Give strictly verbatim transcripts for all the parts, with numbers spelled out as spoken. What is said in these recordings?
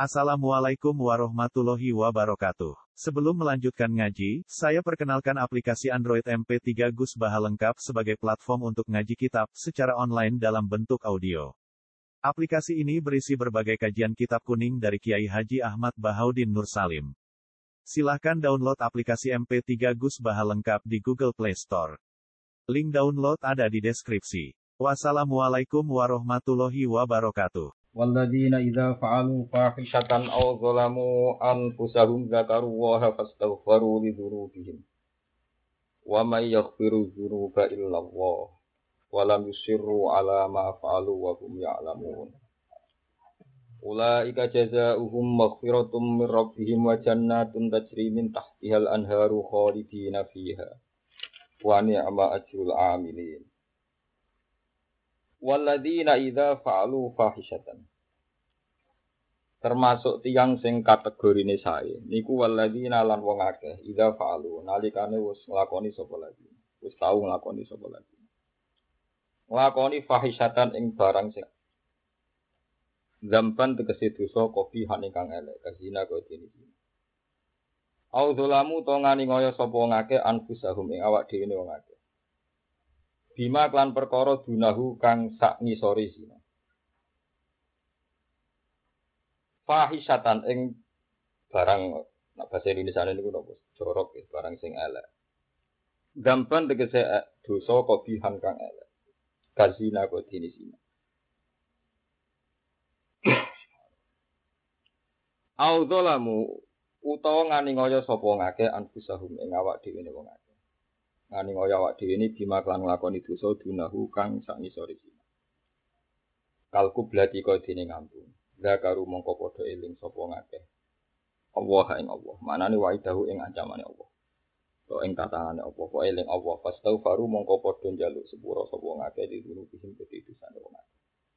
Assalamualaikum warahmatullahi wabarakatuh. Sebelum melanjutkan ngaji, saya perkenalkan aplikasi Android M P tiga Gus Baha lengkap sebagai platform untuk ngaji kitab secara online dalam bentuk audio. Aplikasi ini berisi berbagai kajian kitab kuning dari Kiai Haji Ahmad Bahaudin Nur Salim. Silahkan download aplikasi M P tiga Gus Baha lengkap di Google Play Store. Link download ada di deskripsi. Wassalamualaikum warahmatullahi wabarakatuh. Walladzina idza fa'alu fahishatan aw zalamu anfusahum dzakarullaha fastaghfiru lidzunubihim. Wa may yaghfiru dzunuba illallah wa lam yusirru 'ala ma fa'alu wa hum ya'lamun. Ulaika jazaohum maghfiratum mir rabbihim wa jannatun tajri min tahtihal anharu khalidina fiha. Wa ni'ma ajrul 'amilin. Walladzina idza fa'alu fahishatan. Termasuk tiyang sing kategorine sae niku walladzina lan wong akeh idza fa'alu nalikane wis nglakoni sapa lagi wis tau nglakoni sapa lagi nglakoni fahishatan ing barang sing zamban tegese dosa kopihan ingkang elek kazina kaya dene iki au zalamu to ngani ngoyo sapa wong akeh anfusahum ing awak dhewe wong akeh bima klan perkara dunahu kang sak ngisore zina. Fahisatan ing barang nek bahasa Indonesia niku napa? Jorok ya, barang sing elek. Dampan tegese dosa kobihan kang elek. Kazina kok dene zina. Au dzalamu utawa ngani ngoyo sapa ngake anfusahum ing awak dhewe wong akeh. Ngani ngoyo awak dhewe ini bima klan nglakoni dosa dunahu kang sak ngisore zina. Kalku blati kok dene ngampun. Zakaru mongko padha eling sapa ngakeh. Allah ing Allah. Manane waidahu ing ancamane Allah. To ing tatangane Allah, kok eling Allah. Fastaghfaru mongko padha njaluk sepura sapa ngakeh ditunuh bihim kedhisane wong akeh.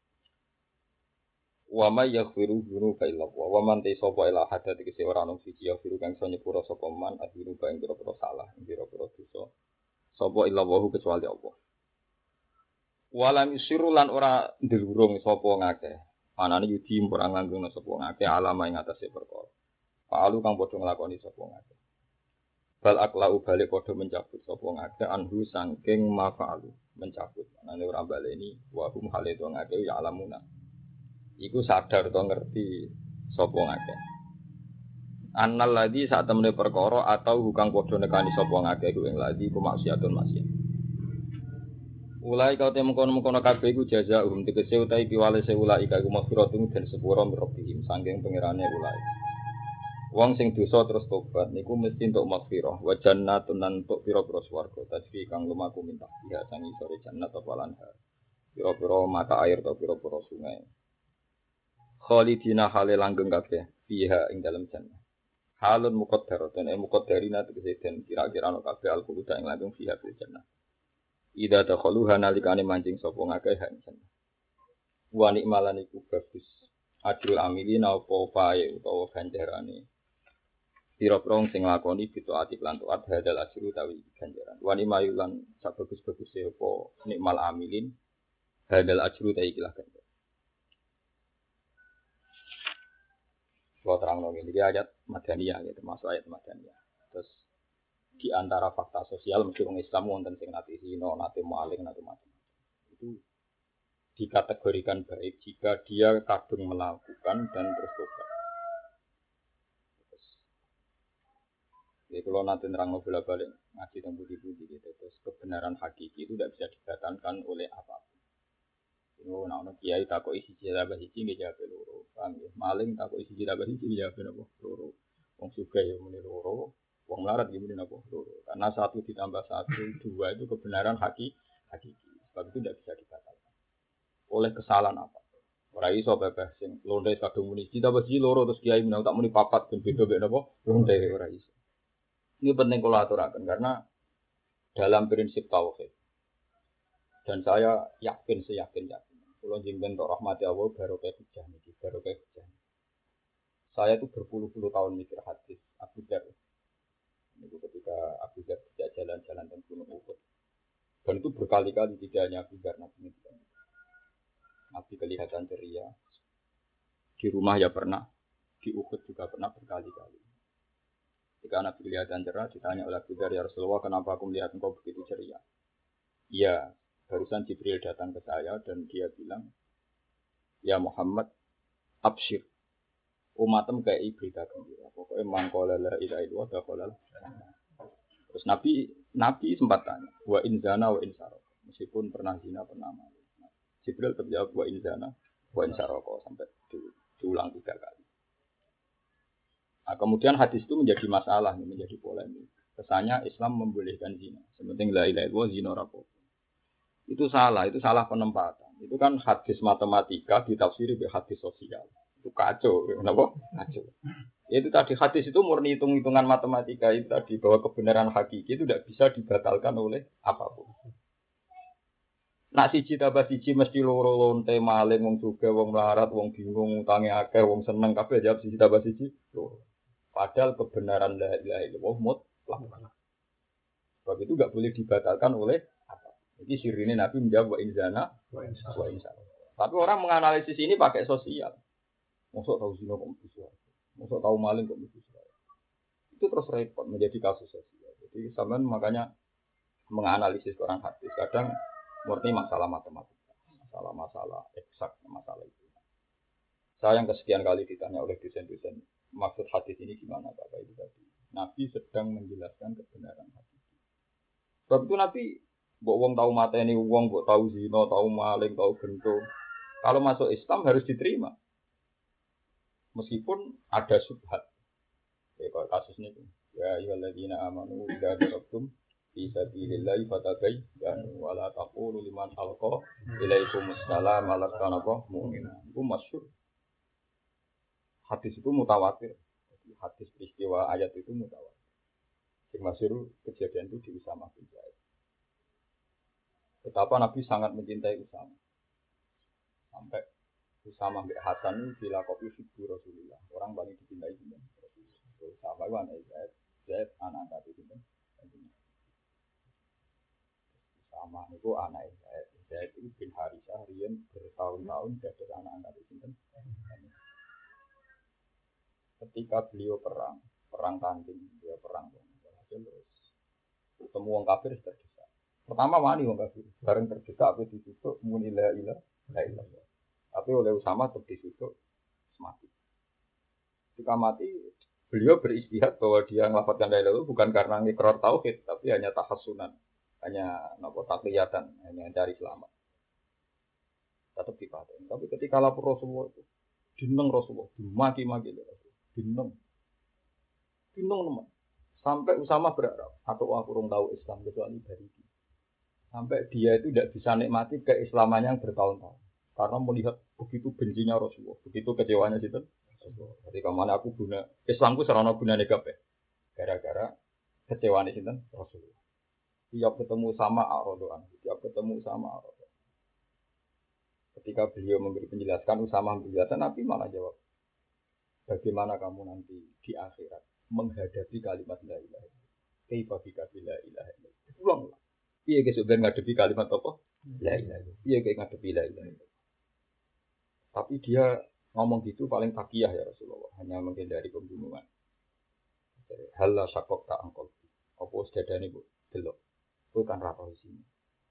Wa may yaghfiru dzunuba illa Allah. Wa man tasaba ila hadat iki ora ono siji yaghfiru kang iso nyepura sapa man adzunuba ing pira-pira salah, ing pira-pira dosa. Sapa illa Allah kecuali Allah. Walam yusiru lan ora ndelurung sapa ngakeh. Manane yudi ora nganggo sapa ngake alama ing atase perkara. Fa'alu kang padha nglakoni sapa ngake. Bal aklau balik padha mencabut sapa ngake anhu saking mafa'alu, mencabut. Manane ora baleni wa hum hale to ngake ya alamuna. Iku sadar to ngerti sapa ngake. Annal ladzi sak temene perkara atau hukang padha nekani sapa ngake ku ing ladzi ku maksiatun maksiat. Ulai kau temu kono-kono kabeh iku jazaa'um tegese utahe piwale ulai iku maghfiratun den sepura mirobihim saking pangerane ulai. Wong sing dosa terus tobat niku mesti entuk maghfirah wa jannatun lan entuk pira-pira swarga tajri kang lumaku minta ya sangi sore jannat apa lan pira-pira mata air atau pira-pira sungai. Khalidina hale langgeng kabeh fiha ing dalem jannah. Halun muqaddaratun e muqaddarina tegese den kira-kira ana kabeh al-quluda ing langgeng fiha fil jannah. Ida dakhaluha nalikane mancing sapa ngakeh hansen. Wa nikmalan iku bagus. Adil amilin apa pae utawa ganjarane. Pira-pira sing nglakoni bitaati lan taat hadal ajru tawi ganjaran. Wa nimayulan sak bagus-baguse apa nikmal amilin hadal ajru tawi ikilah ganjaran. Wa terangno iki ayat Madaniyah ya termasuk ayat Madaniyah. Terus di antara fakta sosial mesti orang Islam wonten sing nate zina, nate maling, nate macam-macam. Itu dikategorikan baik jika dia kadung melakukan dan terus tobat. Jadi kalau nanti nerang bola balik ngaji tentang budi-budi gitu, terus kebenaran hakiki itu tidak bisa dibatalkan oleh apapun. Itu nak kiai takut isi jilabah isi nggak jawab loro, paham ya? Maling takut isi jilabah isi jawab apa loro, wong suka ya muni loro. Wong melarat gimana apa? Karena satu ditambah satu dua itu kebenaran hakiki, hakiki. Sebab itu tidak bisa dibatalkan. Oleh kesalahan apa? Ora iso bebas sing londe kadung muni ditambah siji loro terus kiai menang tak muni papat ben beda-beda apa? Londe ora iso. Ini penting kula aturaken karena dalam prinsip tauhid. Dan saya yakin seyakin-yakin kula jenengan tok rahmati Allah barokah hujah niki, barokah hujah. Saya itu berpuluh-puluh tahun mikir hadis Abu Dzar. Itu ketika Abu Dzar tidak jalan-jalan dan gunung Uhud. Dan itu berkali-kali tidak hanya Abu Dzar Nabi itu. Nabi kelihatan ceria. Di rumah ya pernah, di Uhud juga pernah berkali-kali. Ketika Nabi kelihatan cerah, ditanya oleh Abu Dzar, ya Rasulullah, kenapa aku melihat engkau begitu ceria? Iya, barusan Jibril datang ke saya dan dia bilang, ya Muhammad, absyir. Umatem kayak berita gembira. Pokoknya mangkola la ilaha illallah dakhalal. Terus Nabi Nabi sempat tanya, wa in zana wa in sarqa. Meskipun pernah zina pernah maling. Jibril terjawab wa in zana wa in sarqa sampai di, diulang tiga kali. Nah, kemudian hadis itu menjadi masalah, menjadi polemik. Kesannya Islam membolehkan zina. Sementing la ilaha illallah zina rapo. Itu salah, itu salah penempatan. Itu kan hadis matematika ditafsiri dengan hadis sosial. Itu kacau, kenapa? Kacau. Itu tadi hadis itu murni hitung-hitungan matematika itu tadi bahwa kebenaran hakiki itu tidak bisa dibatalkan oleh apapun. Nak siji tambah siji mesti loro lonte maling wong juga wong melarat wong bingung utange akeh wong seneng kabeh jawab siji tambah siji loro. Padahal kebenaran la ilaha illallah mutlak. Sebab itu enggak boleh dibatalkan oleh apa. Jadi sirine Nabi menjawab wa inzana wa insana. Tapi orang menganalisis ini pakai sosial. Mosok tahu zina kok bisa. Mosok tahu maling kok bisa. Itu terus repot menjadi kasus sosial. Jadi sampean makanya menganalisis Quran hadis kadang murni masalah matematika, masalah-masalah eksak, masalah itu. Saya yang kesekian kali ditanya oleh dosen-dosen, maksud hadis ini gimana Bapak itu tadi? Nabi sedang menjelaskan kebenaran hadis. Sebab itu Nabi, mbok wong tahu mateni wong, mbok tahu zina, tahu maling, tahu gento. Kalau masuk Islam harus diterima. Meskipun ada subhat. Ya kalau kasus ini, ya ayyuhalladzina amanu idza darabtum fi sabilillahi fatabayyanu wa la taqulu liman alqa ilaikumus salam alaqana mu'mina. Itu masyhur. Hadis itu mutawatir. Hadis peristiwa ayat itu mutawatir. Yang masyhur kejadian itu di Usamah bin Zaid. Betapa Nabi sangat mencintai Usamah. Sampai Usamah bin Hasan itu dilakopi figur Rasulullah. Orang paling dicintai itu Usamah itu anak Zaid, Zaid anak angkat itu Usamah itu anak Zaid. Zaid itu bin Harisah riyen bertahun-tahun jadi anak angkat itu. Ketika beliau perang, perang tanding, dia perang terus ketemu wong kafir terdesak. Pertama wani wong kafir, bareng terdesak apa ditutup muni la ilaha illallah. Tapi oleh Usamah tetap disutuk mati. Ketika mati, beliau beristihad bahwa dia melafadzkan la ilaha illallah bukan karena ngikrar tauhid, tapi hanya tahassunan, hanya nopo takliyatan, hanya cari selamat. Tetap dipaten. Tapi ketika lapor Rasulullah itu, dineng Rasulullah, dimaki-maki Rasulullah, dineng, dineng teman. Sampai Usamah berharap, atau aku orang tahu Islam kecuali dari dia. Sampai dia itu tidak bisa nikmati keislamannya yang bertahun-tahun. Karena melihat begitu bencinya Rasulullah, begitu kecewanya itu. Ketika mana aku guna Islamku serana guna negatif, gara-gara kecewaan itu Rasulullah. Tiap ketemu sama Ar-Radu'an, tiap ketemu sama Ar-Radu'an. Ketika beliau memberi penjelasan, Usamah menjelaskan, Nabi malah jawab, bagaimana kamu nanti di akhirat menghadapi kalimat la ilaha illallah? Kaifa bika la ilaha illallah? Ulanglah. Iya guys, sebenarnya ngadepi kalimat apa? La ilaha illallah. Iya guys ngadepi la ilaha illallah. Tapi dia ngomong gitu paling takiyah ya Rasulullah, hanya menghindari pembunuhan. Halla syakok tak angkol. Apa sedadane bu? Delok. Itu kan rata di sini.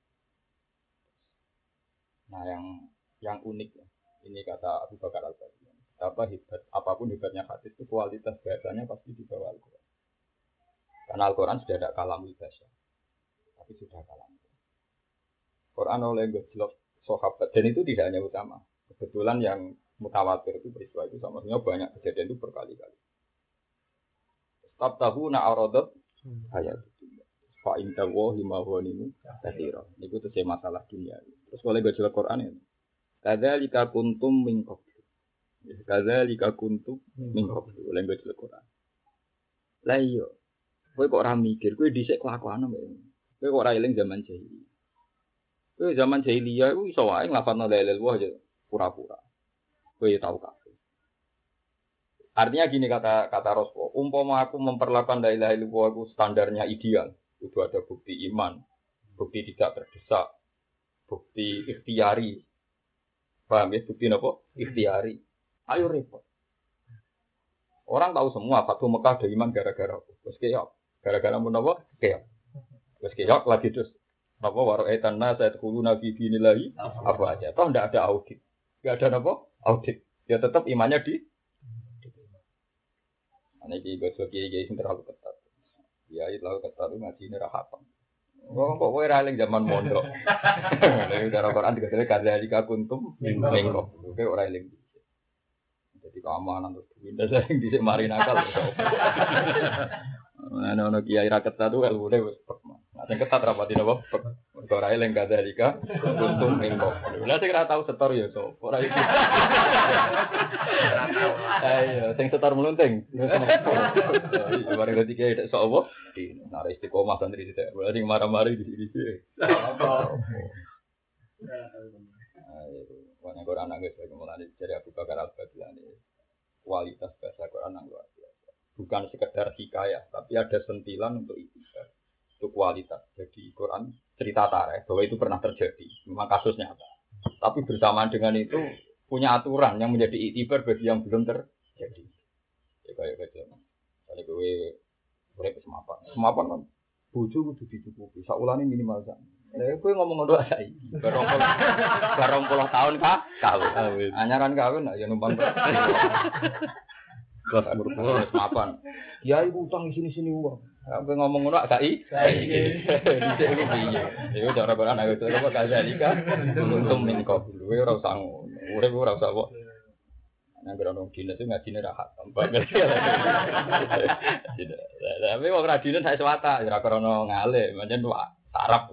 Nah yang yang unik ya, ini kata Abu Bakar Al-Baghdadi. Apa hebat, apapun hebatnya hadis itu kualitas bahasanya pasti di bawah Al-Quran. Karena Al-Quran sudah ada kalam bahasa, tapi sudah kalam. Quran oleh gejlok sahabat dan itu tidak hanya utama. Kebetulan yang mutawatir itu peristiwa itu sama-sama banyak kejadian itu berkali-kali. Setiap tahun na'aradat ayat itu. Fa inta wa lima ghanimu katsira. Niku tuh masalah dunia. Terus oleh gejlok Quran ini. Kadzalika kuntum min qabl. Kadzalika kuntum min qabl. Oleh gejlok Quran. Lah iya. Kowe kok ora mikir, kowe dhisik kelakuan mbek. Kowe kok ora eling zaman jahiliyah. Kowe zaman jahiliyah iku iso wae nglafadzno la ilaha illallah aja pura-pura. Kowe tahu kabeh. Artinya gini kata kata Rasulullah, umpama aku memperlakukan la ilaha illallah itu standarnya ideal, itu ada bukti iman, bukti tidak terdesak, bukti ikhtiari. Paham ya bukti apa? Ikhtiari. Ayo repot. Orang tahu semua Fatu Mekah ada iman gara-gara terus keok. Gara-gara mun apa? Keok. Terus keok lagi terus apa waro etan saya dulu nabi binilahi apa aja. Toh ndak ada audit. Enggak ada apa? Audit. Ya tetap imannya di ana iki gosok kiai sing terlalu ketat. Ya itu terlalu ketat itu ngaji ini rahatam. Wong kok kowe ra eling zaman mondok. Nek cara Quran dikatakan kadzalika kuntum min qablu. Kowe ora eling. Jadi keamanan terus pindah sing dhisik mari nakal. Ana ono kiai ra ketat tuh elune wis pek. Nah sing ketat rapati napa? Mergo ora eling kadzalika kuntum min qablu. Lah sing ra tau setor ya sapa? Ora iki. Ayo sing setor melunting. Mari ngerti kiai tek sok apa? Nah, istiqomah santri tidak. Boleh sing marah-marah di sini sih. Ayo, banyak orang anak guys, kemudian dari Abu Bakar Al-Baghdadi kualitas bahasa Quran yang luar biasa. Bukan sekedar hikayah, tapi ada sentilan untuk itu, untuk kualitas. Jadi Quran cerita tarikh bahwa itu pernah terjadi, memang kasus nyata. Tapi bersamaan dengan itu punya aturan yang menjadi iktibar bagi yang belum terjadi. Ya kayak gitu. Kalau gue boleh semapan, semapan kan bojo kudu dicukupi. Saulane minimal sak. Lah kowe ngomong ngono ae. Barong puluh barong puluh tahun kah? Kawin. Anyaran kawin ya numpang. Kelas umur semapan. Kiai utang di sini-sini uang. Kowe ngomong ngono gak i? Iki. Dhisik iku piye? Iku cara baran ayo to kok kadzalika. Untung min kok. Kowe ora usah ngono. Urip ora usah kok. Nang grono dinas itu ngajine ra hak. Tapi wong ra dinas sak swata ora krono ngale, pancen sarap.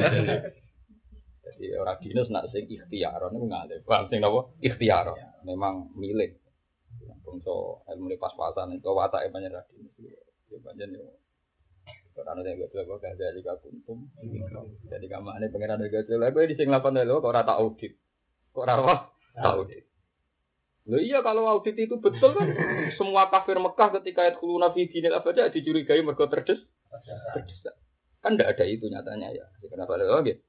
Jadi ora dinas nak sing ikhtiar niku ngale. Bang sing napa? Ikhtiar. Memang milik. Bangsa ilmu pas-pasan itu watake pancen ra dinas. Ya pancen yo. Karena nek gak apa gak dari kakuntum. Jadi kamane pangeran gak lha kowe di sing lapan lho kok ora tak audit. Kok ora apa? Tak audit. Loh iya kalau audit itu betul kan semua kafir Mekah ketika ayat khuluna fi dinil abada dicurigai mergo terdes. Terdesak. Kan enggak ada itu nyatanya ya. Kenapa lho nggih?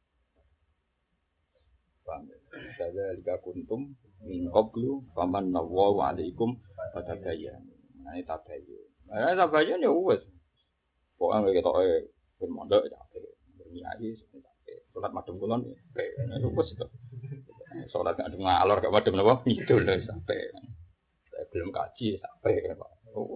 Paham. Saya liga kuntum min qablu faman nawwa alaikum fatabayyan. Nah itu tabayun. Nah tabayun ya wis. Pokoke ketoke ben mondok ya berniai sampe salat madhep kulon ya. Nah wis itu. Sholat gak ada ngalor gak madem apa itu loh sampai saya belum kaji sampai Pak oh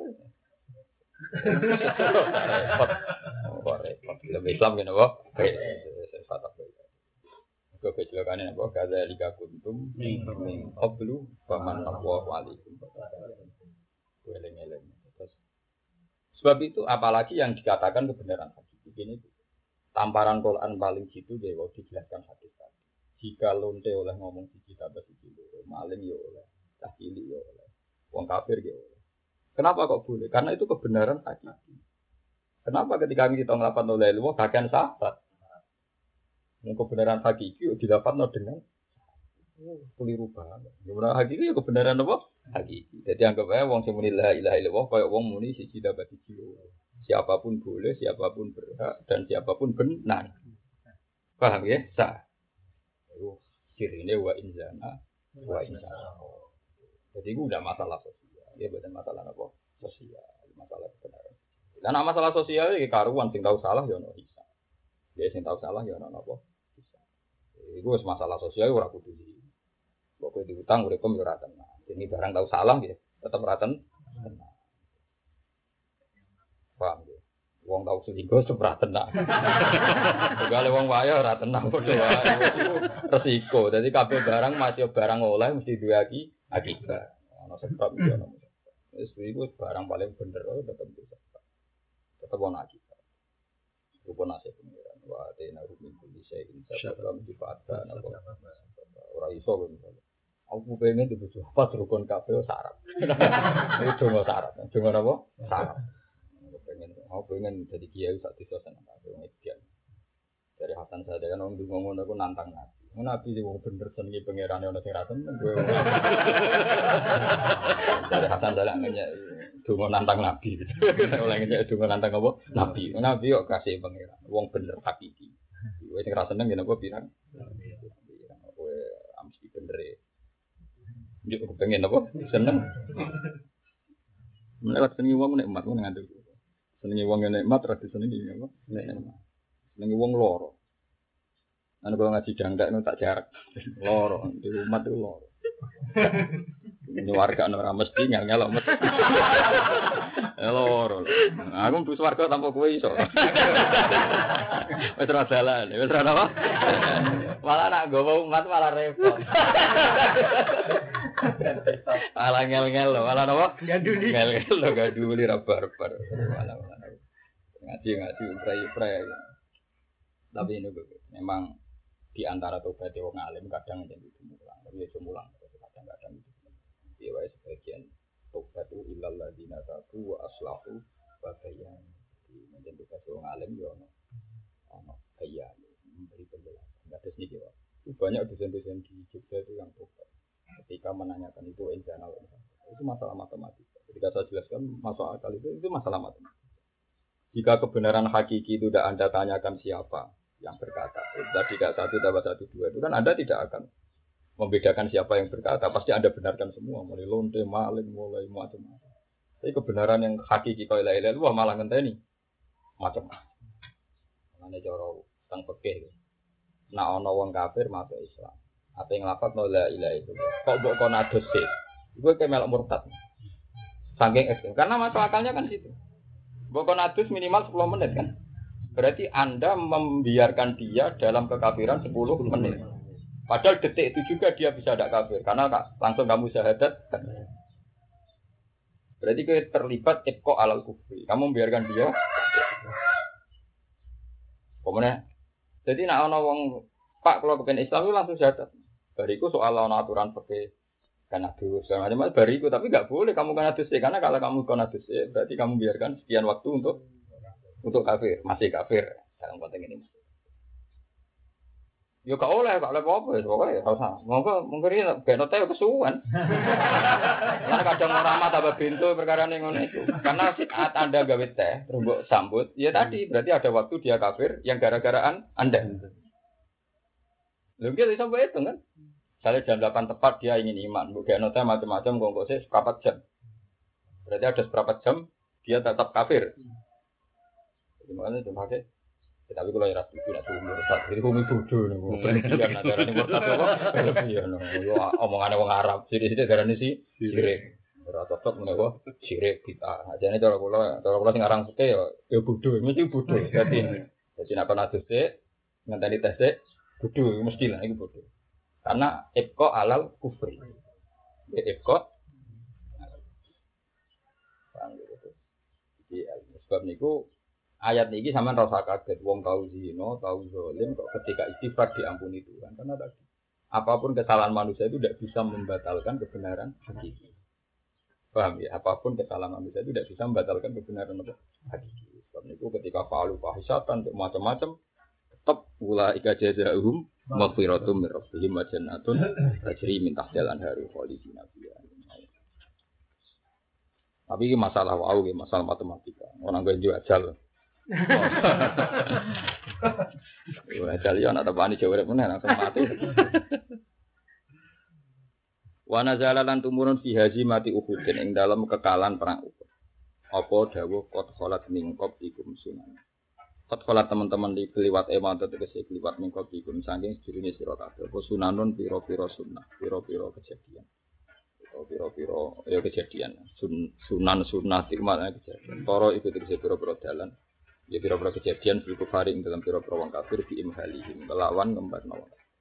repot oh repot lebih Islam kan apa saya kata ke kecelakaan apa kada liga kuntum min qablu faman nawwa alaikum weleng-eleng sebab itu apalagi yang dikatakan kebenaran hadis ini tamparan Quran paling gitu dia waktu dijelaskan hadis tadi. Jika lonte oleh ngomong siji tambah siji loro, maling ya oleh, cah cilik ya oleh, wong kafir ya oleh. Kenapa kok boleh? Karena itu kebenaran hakiki. Kenapa ketika kita ngelapan oleh lu, bagian sahabat, yang kebenaran hakiki didapat dengan keliru banget. Kebenaran hakiki ya kebenaran apa? Hakiki. Jadi anggap aja wong sing muni la ilaha illallah kaya wong muni siji tambah siji loro. Siapapun boleh, siapapun berhak, dan siapapun benar. Paham ya? Sah. Kirine wa inzana wa inzana. Jadi itu udah masalah sosial. Ya bukan masalah apa? Sosial, masalah kebenaran. Dan masalah sosial iki karuan sing tahu salah ya ono bisa. Ya sing tahu salah ya ono apa? Bisa. Iku wis masalah sosial ora kudu di. Pokoke diutang urip kom yo ora tenang. Ini barang tahu salah ya tetep ora tenang. Paham ya? Wong tau selingkuh ora tenang. Segale wong wae ora tenang padha wae. Resiko. Dadi kabeh barang masih barang oleh mesti duwe iki akibat. Ana sebab iki ana. Wis iku barang paling bener tetep bisa. Tetep ana akibat. Rupa nasib pengiran. Wa tena rumin bisa insyaallah difatkan apa. Ora iso kan. Aku pengen dibujuk apa rukun kabeh syarat. Itu cuma syarat. Cuma apa? Syarat. Pengen, aku pengen jadi kiai saat itu senang aku ngedian. Dari Hasan Sadar kan orang ngomong aku nantang nabi. Nabi sih wong bener seneng pangeran ono sing ra seneng gue. Dari Hasan Sadar ngene donga nantang nabi. Oleh ngene donga nantang apa? Nabi. Nabi kok kasih pangeran. Wong bener hakiki. Kowe sing ra seneng yen apa pirang? Kowe mesti bener. Yo pengen apa? Seneng. Lewat senengi wong nikmat ngono ngandel. Senengi wong nikmat tradisi senengi apa? Nikmat. Senengi wong loro. Ana kalau ngaji jangdak nu tak jarak. Loro di rumah itu loro. Ini warga ora mesti nyal-nyal mesti. Loro. Aku mlebu swarga tanpa kowe iso. Wis ora dalan, wis ora apa? Malah nak gowo umat malah repot. Malah ngel-ngel lho, malah apa? Gaduli. Ngel-ngel lho gaduli ra barbar. Malah ngaji-ngaji pray-pray. Tapi ini memang di antara tobat wong alim kadang jadi mulang, tapi ya mulang kadang-kadang itu. Dia wae sebagian tobat itu ilal ladina tabu wa aslahu wa bayan. Menjadi tobat wong alim yo ono ono bayan memberi penjelasan. Enggak ada sedikit Pak. Banyak dosen-dosen di Jogja itu yang tobat. Ketika menanyakan itu internal itu masalah matematika. Ketika saya jelaskan masalah akal itu itu masalah matematika. Jika kebenaran hakiki itu tidak Anda tanyakan siapa yang berkata, tadi tidak satu tambah satu dua itu kan Anda tidak akan membedakan siapa yang berkata, pasti Anda benarkan semua, mulai lonte, maling, mulai macam-macam. Tapi kebenaran yang hakiki kalau ilaha illallah malah ngenteni macam-macam. Mana jauh tentang fikih. Nah ono wong kafir masuk Islam. Apa yang lafaz la ilaha illallah. Kok mbok kon adus sih? Iku kayak melok murtad. Saking ekstrem. Karena masuk akalnya kan situ. Mbok kon adus minimal sepuluh menit kan. Berarti Anda membiarkan dia dalam kekafiran sepuluh menit. Padahal detik itu juga dia bisa tidak kafir. Karena langsung kamu syahadat. Berarti kita terlibat ibqa alal kufri. Kamu membiarkan dia. Kemudian, jadi nak ana wong Pak kalau kepen Islam itu langsung syahadat. Bariku soal ana aturan pakai karena dulu segala macam bariku. Tapi nggak boleh kamu kena dosa. Karena kalau kamu kena dosa, berarti kamu biarkan sekian waktu untuk untuk kafir, masih kafir dalam konteks ini. Yo gak oleh, gak oleh apa-apa ya, pokoknya gak usah. Monggo mungkin ini ben ote kesuwen. Lah kadang ora mah tambah pintu perkara ning ngono itu. Karena saat Anda gawe teh, terus mbok sambut, ya tadi berarti ada waktu dia kafir yang gara-garaan Anda. Lha iki sampai itu kan. Misalnya jam delapan tepat dia ingin iman, mbok gawe teh macam-macam kok sih seperempat jam. Berarti ada seperempat jam dia tetap kafir. Gimana itu pakai? Tapi kalau yang rapi tidak tuh murtad, itu kumi bodoh nih. Berlebihan negara ini murtad apa? Berlebihan. Omongan orang Arab, jadi jadi negara ini sih sirik. Berapa cocok nih kok sirik kita. Aja nih kalau kalau kalau kalau ngarang suke ya, ya bodoh, mesti bodoh. Jadi jadi nak pernah tes deh, ngenteni tes deh, bodoh, mesti lah itu bodoh. Karena ibqa alal kufri. Ibqa. Jadi sebab niku. Ayat ini sama rasa kaget, wong tahu zino, tahu zalim, kok ketika istighfar diampuni Tuhan. Karena tadi, apapun kesalahan manusia itu tidak bisa membatalkan kebenaran hakiki. Paham ya? Apapun kesalahan manusia itu tidak bisa membatalkan kebenaran hakiki. Sebab itu ketika fa'alu fahisatan, macam-macam, tetap ulaika jazaa'uhum maghfiratum min rabbihim wa jannatun tajri min tahtiha al-anharu khalidina fiha. Tapi ini masalah wau, masalah matematika. Orang gue jual ajal. Wah, kalian ada bani jawab mana langsung mati. Wana jalalan tumurun fi haji mati Uhudin ing dalam kekalan perang Uhud. Apa dawuh qad khalat mingkop ikum sunan. Qad khalat teman-teman di keliwat eman tegese keliwat mingkop ikum saking sedurunge sira kabeh. Apa sunanun pira-pira sunnah, pira-pira kejadian. Pira-pira ya kejadian. Sun, sunan sunnah tikmal kejadian. Para iku tegese pira-pira dalan. Ya pira-pira kejadian bil kufari ing dalam pira-pira wong kafir di imhalihim kelawan ngembarno.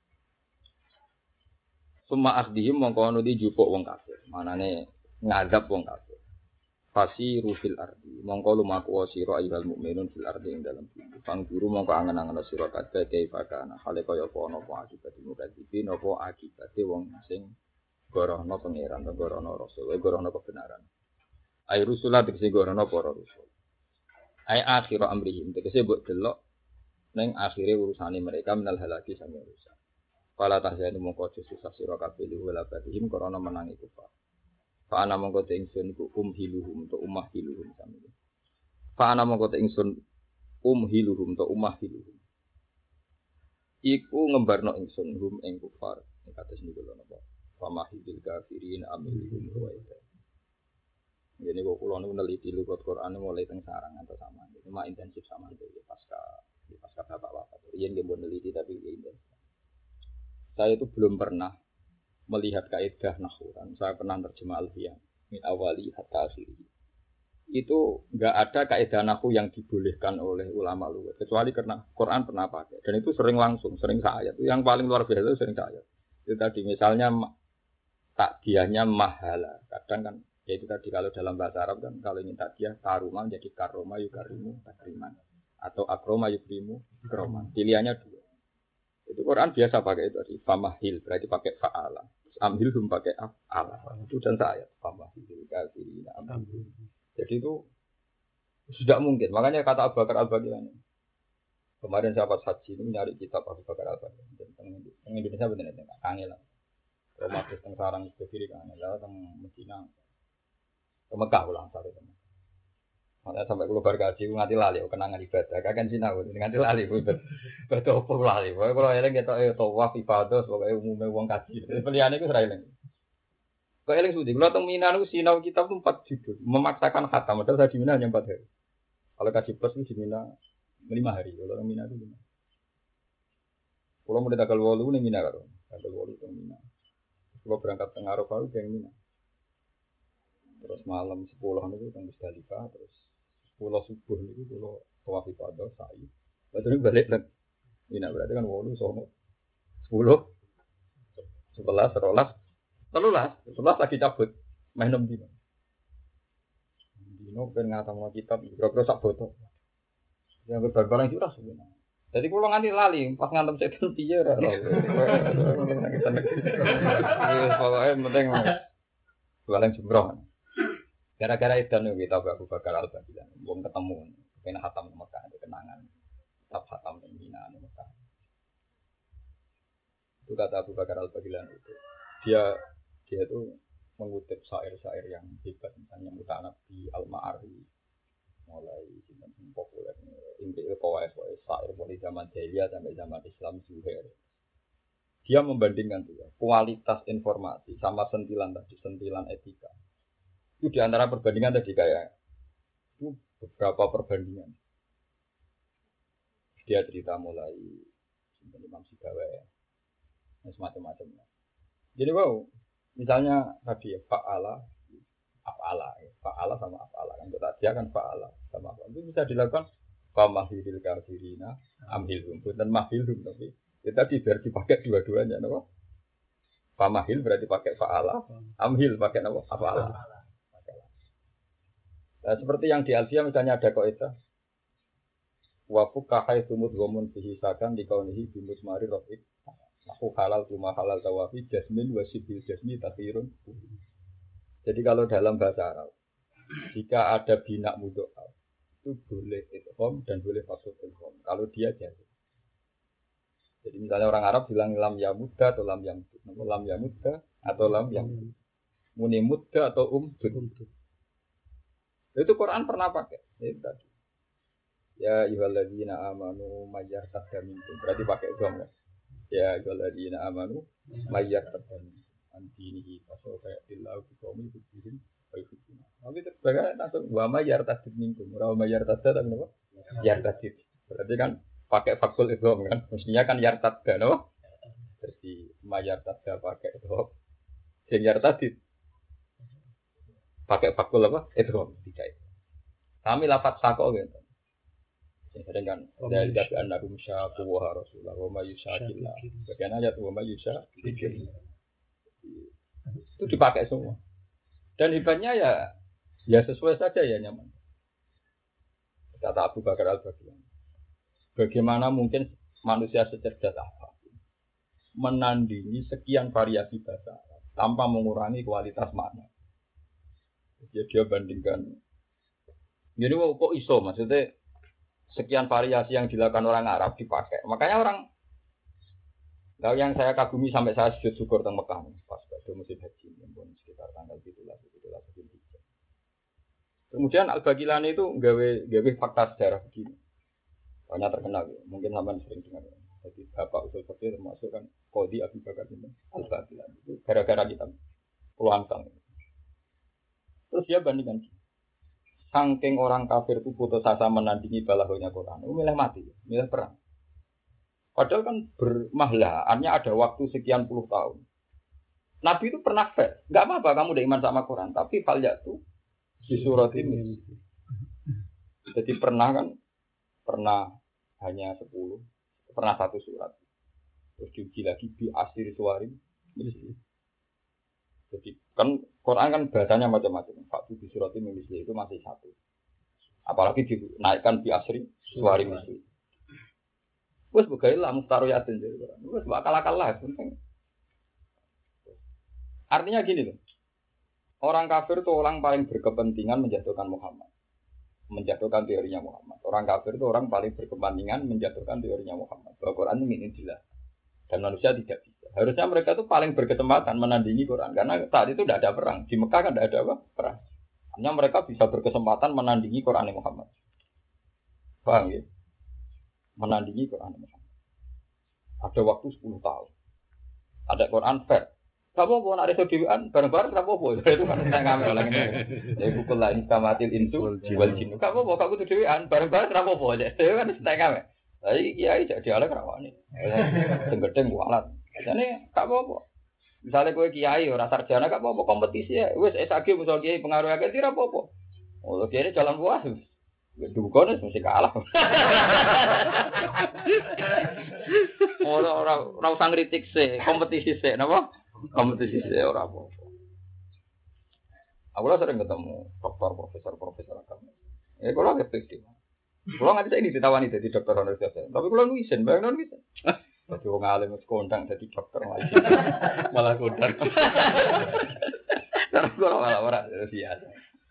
Summa akhdihim mongko ono di jupuk wong kafir. Manane ngadab wong kafir. Fasi rufil ardi. Mongko lumaku sira ayyuhal mukminun fil ardi ing dalam bumi. Pang guru mongko angen-angen sira kabeh kaifakana hale kaya apa ana apa akibat mukadzibin apa akibate wong sing gorohno pangeran gorohno rasul gorohno kebenaran. Ai rusulah tegese gorohno para rasul. Ai akhir amrihim tegese mbok delok ning akhire urusane mereka menal halaki sami urusan. Fala tahzanu mongko susah sira kabeh wala badihim karena menang iku Pak. Fa ana mongko te ingsun iku umhiluhum to umah hiluhum sami. Fa ana mongko te ingsun umhiluhum to umah hiluhum. Iku ngembarno ingsun hum ing kufar kados niku lho napa. Fa mahidil kafirin amilhum wa ida. Jadi kok kulo nu neliti lugat Quran mulai teng sarang atau sama. Cuma intensif sama itu ya pasca di pasca bapak bapak. Iya nggak mau neliti tapi ya intensif. Saya itu belum pernah melihat kaidah nahwu. Saya pernah terjemah alfiyah min awali hatta akhiri. Itu nggak ada kaidah nahwu yang dibolehkan oleh ulama lugat kecuali karena Quran pernah pakai dan itu sering langsung, sering ayat. Yang paling luar biasa itu sering ayat. Itu tadi misalnya takdiahnya mahala. Kadang kan ya itu tadi kalau dalam bahasa Arab kan kalau ingin takdiah karuma jadi karoma yukarimu takriman atau akroma yukrimu kroman. Pilihannya dua. Itu Quran biasa pakai itu tadi famahil berarti pakai faala. Amhil hum pakai afala. Itu dan ayat famahil kafirin amhil. Jadi itu sudah mungkin. Makanya kata Abu Bakar Al-Baghdadi kemarin sahabat haji ini nyari kitab Abu Bakar Al-Baghdadi tentang Indonesia benar-benar kangen lah. Roma teng sarang berdiri kan, lalu teng Medina, ke Mekah ulang satu teman. Makanya sampai keluar gaji, nganti lali, kenangan ibadah, kakek sinau, nganti lali, betul, betul pun lali. Pokoknya kalau eling kita itu tawaf ibadah, pokoknya umumnya uang gaji. Pilihan itu serah eling. Kalau eling sudah, kalau teng Mina itu sinau kitab itu empat judul, memaksakan khatam, padahal saya di Mina hanya empat hari. Kalau gaji plus itu di Mina lima hari, kalau teng Mina itu lima. Kalau mulai tanggal walu nih Mina kan, tanggal walu teng Mina. Kalau berangkat ke Arafah itu yang Mina. Terus malam sepuluh itu teng Musdalifah, terus sepuluh subuh itu kalau tawaf ibadah sa'i. Lalu balik lagi. Mina berarti kan walu sono. sepuluh, sebelas, sebelas, sebelas, sebelas lagi cabut. Main enam dino. Dino ben ngatamno kitab, kira-kira sak botol. Yang berbarang curah sebenarnya. Jadi kalau nganti lali, pas ngantem setan piye ora ora. Pokoknya penting jualan jumroh. Gara-gara itu nih kita Abu Bakar Al-Baghdadi, belum ketemu, kena hatam di Mekah, itu kenangan, tetap hatam di Mina di Mekah. Itu kata Abu Bakar Al-Baghdadi itu, dia dia itu mengutip syair-syair yang hebat, misalnya Mutanabi, Al-Ma'ari, mulai sinten populer intik poes poes syair mulai zaman jahiliyah sampai zaman Islam Zuhair. Dia membandingkan tuh ya, kualitas informasi sama sentilan tadi, sentilan etika. Itu di antara perbandingan tadi kayak itu beberapa perbandingan. Dia cerita mulai sinten Imam Sibawa semacam-macamnya. Jadi wow, misalnya tadi ya fa'ala af'ala, fa'ala sama af'ala kan itu tadi kan fa'ala sama apa itu bisa dilakukan famahilil kafirina amhilhum dan mahilhum tapi itu tadi biar dipakai dua-duanya no? Famahil berarti pakai fa'ala amhil pakai apa af'ala. Nah, seperti yang di Alfiyah misalnya ada kaidah wa fuqahai sumut gomun fihi sakan di kaunihi bimus mari rafiq aku halal cuma halal tawafi jasmin wasibil jasmi takhirun. Jadi kalau dalam bahasa Arab, jika ada bina mudho'af, itu boleh idgham dan boleh maksud idgham. Kalau dia jadi. Jadi misalnya orang Arab bilang lam yamudda atau lam yamudda, lam yamudda atau lam yamudda, muni mudda atau umdud. Itu Quran pernah pakai. Itu tadi. Ya ayyuhalladzina amanu mayyartadda minkum. Berarti pakai idgham kan? Ya ayyuhalladzina amanu mayyartadda minkum. Antini pasal kayak bilau kami bikin baik itu. Tapi terbagai langsung wama yartadid minkum. Wama yartadid tak kenapa? Yartadid. Berarti kan pakai fakul idgham kan. Mestinya kan yartadda no. Jadi mayartadda pakai idgham. Sing yartadid pakai fakul apa? Idgham tidak. Kami lafaz sako gitu. Sering kan dari dari anakum syaku wa rasulullah wa ma yusyakillah. Bagian ayat wa ma yusyakillah. Itu dipakai semua. Dan hebatnya ya ya sesuai saja ya nyaman. Kata Abu Bakar Al-Baghdadi. Bagaimana mungkin manusia secerdas apa menandingi sekian variasi bahasa Arab tanpa mengurangi kualitas makna. Jadi dia bandingkan. Jadi kok iso maksudnya sekian variasi yang dilakukan orang Arab dipakai. Makanya orang nah, yang saya kagumi sampai saya sujud syukur teng Mekah pas pada musim haji pun sekitar tanggal tujuh belas tujuh belas Zulhijjah. Kemudian Al-Baghdadi itu gawe gawe fakta sejarah begini. Banyak terkenal ya. Mungkin sampean sering dengar. Jadi Bapak Usul Fikih termasuk kan Qadhi Abu Bakar bin Al-Baghdadi itu gara-gara kita puluhan tahun. Terus dia bandingkan. Saking orang kafir itu putus asa menandingi balahonya Quran. Itu milih mati, milih perang. Padahal kan bermahlaannya ada waktu sekian puluh tahun. Nabi itu pernah fair. Enggak apa-apa kamu udah iman sama Quran, tapi fal yatu di surat ini. Jadi pernah kan pernah hanya sepuluh, pernah satu surat. Terus diuji lagi di asir suarim. Jadi kan Quran kan bahasanya macam-macam. Faktu di surat ini itu masih satu. Apalagi dinaikkan di asri suarim itu. Wes begailah mustaroyatin jadi Quran. Wes bakal-akal lah penting. Artinya gini loh. Orang kafir itu orang paling berkepentingan menjatuhkan Muhammad. Menjatuhkan teorinya Muhammad. Orang kafir itu orang paling berkepentingan menjatuhkan teorinya Muhammad. Bahwa Quran ini ingin jelas. Dan manusia tidak bisa. Harusnya mereka itu paling berkesempatan menandingi Quran. Karena saat itu tidak ada perang. Di Mekah kan tidak ada apa? Perang. Hanya mereka bisa berkesempatan menandingi Quran Muhammad. Paham ya? Menandingi Quran Muhammad. Ada waktu sepuluh tahun. Ada Quran fair. Gak apa-apa, nak reso dewan, bareng-bareng gak apa-apa. Itu kan saya ngambil orang ini. Jadi pukul lain kamatil insu, jiwal jinu. Gak apa-apa, gak butuh dewan, bareng-bareng gak apa-apa. Itu kan saya ngambil. Jadi kiai jadi alat kerawan ini. Tenggedeng kualat. Jadi gak apa-apa. Misalnya kue kiai, orang sarjana gak apa-apa, kompetisi ya. Wes S A G musuh kiai pengaruh agak tidak apa-apa. Oh, kiai jalan buah. Dukun mesti kalah. Orang orang usah ngritik sih, kompetisi sih, napa? Kompetisi sih orang apa. Aku lah sering ketemu dokter, profesor, profesor agama. Ya kalau agak fiktif. Kalau nggak bisa ini ditawani jadi dokter universitas. Tapi kalau nuisen, bayang nuisen. Jadi orang alim itu kondang jadi dokter lagi. Malah kondang. Karena kalau malah orang biasa.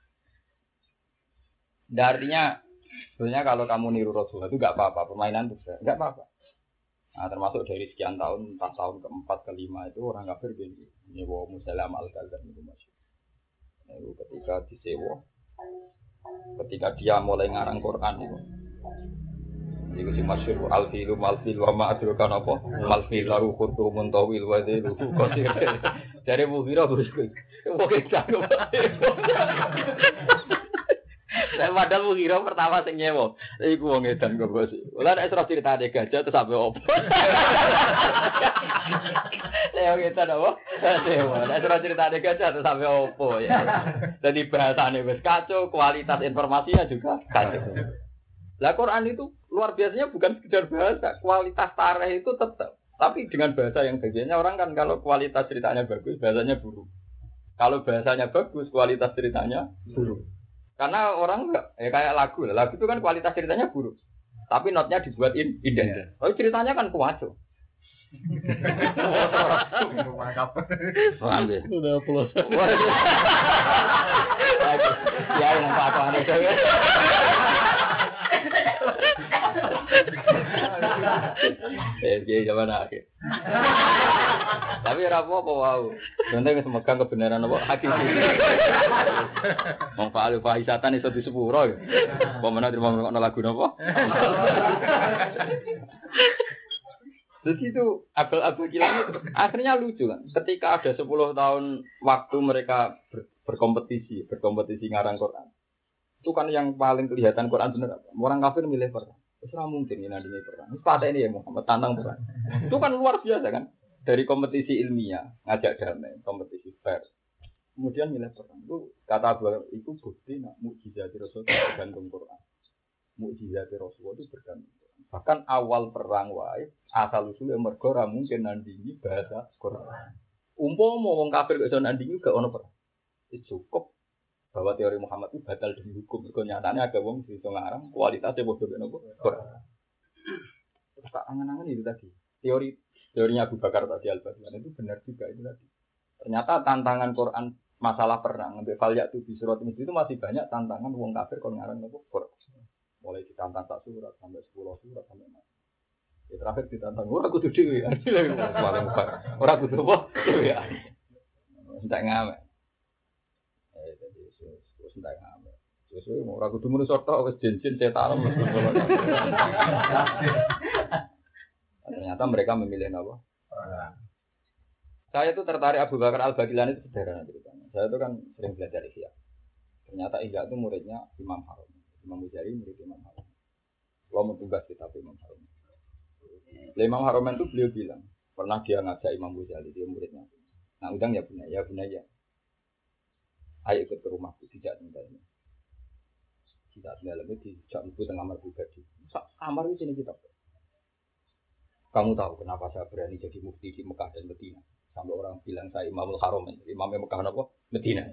Artinya sebenarnya kalau kamu niru Rasulullah itu nggak apa-apa, permainan itu nggak apa-apa. Nah, termasuk dari sekian tahun, entah tahun keempat, kelima itu orang kafir gini, nyewa Musailama al-Kadzdzab itu masuk. Nah, itu ketika disewa, ketika dia mulai ngarang Quran itu, itu si masyhur al-filu mal-fil wa ma'adrukan apa? Mal-fil lahu khurtu muntawil wa dhilu qasir. Dari Mughirah bosku. Oke, cakep. Saya padahal Mughirah pertama sing nyewa. Iku wong edan kok bos. Lah nek terus critane gajah terus sampe opo. Saya edan apa? Sewa. Nek terus critane gajah terus sampe opo ya. Jadi bahasane wis kacau, kualitas informasinya juga kacau. Lah Quran itu luar biasanya bukan sekedar bahasa, kualitas tarikh itu tetap. Tapi dengan bahasa yang bagiannya orang kan kalau kualitas ceritanya bagus, bahasanya buruk. Kalau bahasanya bagus, kualitas ceritanya buruk. Karena orang enggak, ya kayak lagu, lagu itu kan kualitas ceritanya buruk. Tapi notnya dibuatin indah. Tapi ceritanya kan kuaco. Sudah plus. Ya yang apa aneh saya. Eh, dia zaman akhir. Tapi ora apa-apa wae. Penting wis megang kebenaran apa hakiki. Wong fa'al fahisatan iso disepuro. Apa meneh terima ngono lagu napa? Jadi itu abal-abal kilang itu akhirnya lucu kan. Ketika ada sepuluh tahun waktu mereka ber, berkompetisi, berkompetisi ngarang Quran. Itu kan yang paling kelihatan Quran benar apa? Orang kafir milih Quran. Itu mungkin ini nantinya Quran. Pada ini ya Muhammad tantang Quran. Itu kan luar biasa kan. Dari kompetisi ilmiah, ngajak damai, kompetisi fair. Kemudian milih Quran. Itu kata Abu itu bukti nak mukjizat Rasulullah bergantung Quran. Mukjizat Rasulullah itu bergantung Quran. Bahkan awal perang wae asal usulnya mergo ora mungkin nandingi bahasa Quran. Umpama wong kafir kok iso nandingi gak ono perang. Itu cukup bahwa teori Muhammad itu batal demi hukum. Mergo nyatane ada wong sing iso ngarang kualitasnya padha karo nopo Quran. Terus tak angan-angan itu tadi. Teori teorinya Abu Bakar tadi Al-Baghdadi itu benar juga itu tadi. Ternyata tantangan Quran masalah perang sampai falyak itu di surat itu masih banyak tantangan wong kafir kon ngarang nopo Quran. Mulai ditantang tak surat sampai sepuluh surat sampai mana. Ya terakhir ditantang ora kudu dhewe. Paling parah. Ora kudu apa? Dhewe. Entek ngamek. Eh dadi wis entek ngamek. Wis ora kudu muni sorto wis jenjin setan mesti ngono. Ternyata mereka memilih apa? Saya itu tertarik Abu Bakar Al-Baghdadi itu sederhana ceritanya. Saya itu kan sering belajar Ihya. Ternyata Ihya itu muridnya Imam Harun. Imam Ghazali murid Imam Harun. Kalau mau tugas kitab Imam Harun. Imam Harun itu beliau bilang, pernah dia ngajak Imam Ghazali, dia muridnya. Nah, undang ya punya, ya punya ya. Ayo ikut ke rumahku, tidak tinggalnya. Tidak tinggal lagi, tidak ikut tengah kamar pribadi. Kamar di sini kita. Kamu tahu kenapa saya berani jadi mufti di Mekah dan Medina? Sampai orang bilang saya Imamul Haram, Imamnya Mekah apa? Medina.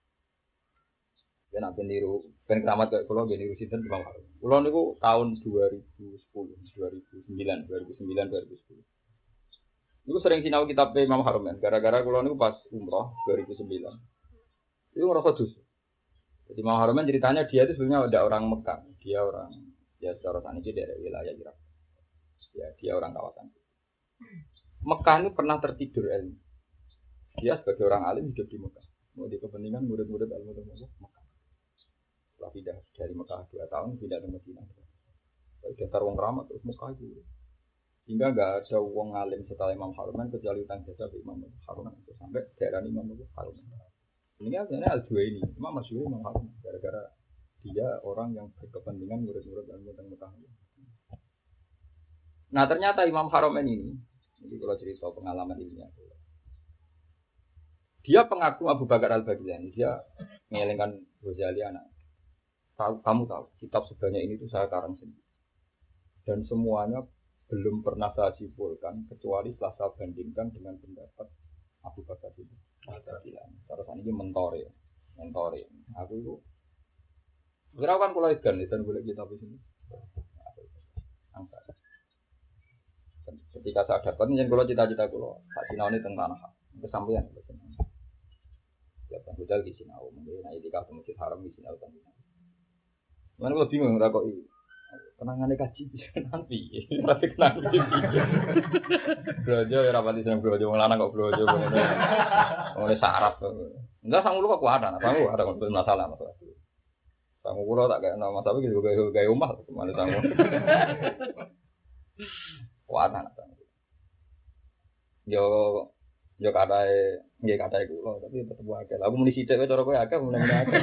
Dan apa niru, ben keramat kayak pulau, ben niru sinten Imam Haram. Pulau niku tahun dua ribu sepuluh, dua ribu sembilan, dua ribu sembilan, dua ribu sepuluh. Niku sering sinau kitab Imam Haram, gara-gara pulau niku pas umroh dua ribu sembilan. Itu ngerasa dosa. Jadi Imam Haram ceritanya dia itu sebenarnya ada orang Mekah, dia orang ya secara sana itu dari wilayah Irak. Ya dia orang kawasan. Mekah itu pernah tertidur ilmu. Dia sebagai orang alim hidup di Mekah. Mau di kepentingan murid-murid ilmu di Mekah. Setelah pindah dari Mekah dua tahun, pindah ke Madinah. Dasar wong ramah terus Mekah itu. Hingga nggak ada wong alim setelah Imam Haruman kecuali utang jasa ke Imam Haruman sampai daerah Imam Haruman. Ini kan sebenarnya Al-Juwaini, Imam Masyhur Imam Haruman. Gara-gara dia orang yang berkepentingan murid-murid ilmu di Mekah. Nah ternyata Imam Haruman ini, jadi kalau cerita pengalaman ini, dia pengaku Abu Bakar Al-Baghdadi, dia mengelengkan Ghazali anak. Tahu, kamu tahu, kitab sebanyak ini itu saya karang sendiri. Dan semuanya belum pernah saya simpulkan, kecuali setelah saya bandingkan dengan pendapat Abu Bakar itu. Terus ini mentor ya, mentor ya. Aku itu, kira kan kalau ikan, dan boleh kitab ini. Angkat. Ketika saya dapat, jangan kalau cita-cita kalau tak sinau ini tentang tanah, kesampaian. Ya, Bang di sinau, mungkin nah itu kalau masjid haram di sinau tentang. Mana gue bingung nggak kok ini, kenangannya kaji bisa nanti, tapi kenangan belajar ya rapati senang belajar, malah kok belajar, mulai sarap, enggak sanggup lu kok kuat, nah sanggup ada konflik masalah masalah, sanggup lu tak kayak nama masalah gitu kayak kayak umah, mana sanggup, kuat anak sanggup, yo yo kadai, yo kadai gue, tapi tetap agak, aku munisi cewek cara gue agak, mulai mulai agak.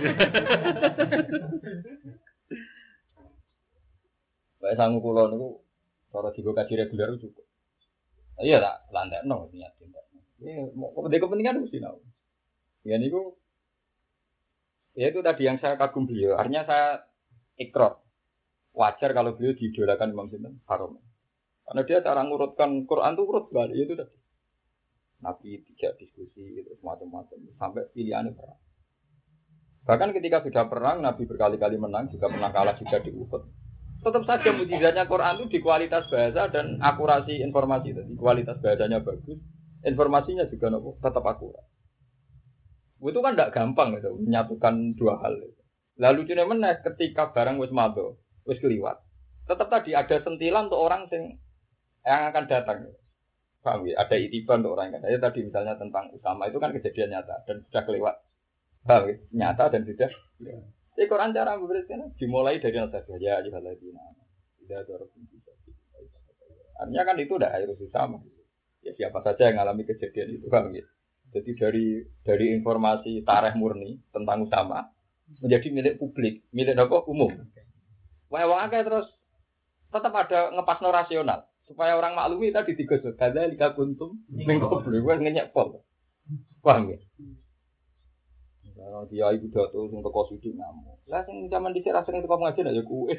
Baik sanggup pulau niku cara dibuka kaji reguler cukup. Iya tak lantai nol niat tindak. Ini mau kepentingan mesti tahu. Ya niku ya itu tadi yang saya kagum beliau. Artinya saya ikrar wajar kalau beliau diidolakan Imam Sinten Harum. Karena dia cara ngurutkan Quran itu urut balik itu tadi. Nabi tidak diskusi itu macam-macam sampai pilihannya perang. Bahkan ketika sudah perang Nabi berkali-kali menang juga pernah kalah juga di Uhud. Tetap saja mukjizatnya Quran itu di kualitas bahasa dan akurasi informasi tadi. Kualitas bahasanya bagus, informasinya juga nopo, tetap akurat. Itu kan tidak gampang gitu, menyatukan dua hal. Gitu. Lalu cuma menaik ketika barang wis mado, wis keliwat. Tetap tadi ada sentilan untuk orang yang yang akan datang. Gitu. Paham ya? Ada itiban untuk orang yang akan datang. Tadi misalnya tentang Usama itu kan kejadian nyata dan sudah kelewat. Paham ya? Nyata dan sudah. Ya. Jadi Quran cara memberikan dimulai dari al-Fatihah ya ayyuhalladzina amanu. Tidak ada orang yang bisa. Artinya kan itu udah harus sama. Ya siapa saja yang mengalami kejadian itu kan gitu. Jadi dari dari informasi tarikh murni tentang Usama menjadi milik publik, milik apa umum. Wah, wong akeh terus tetap ada ngepasno rasional supaya orang maklumi tadi digosok. Kadzalika kuntum min qablu wa ngenyek pol. Paham ya? Kalau dia ibu dato sing teko sithik ngamuk. Lah sing zaman dhisik rasane teko ngaji nek ya kuwe.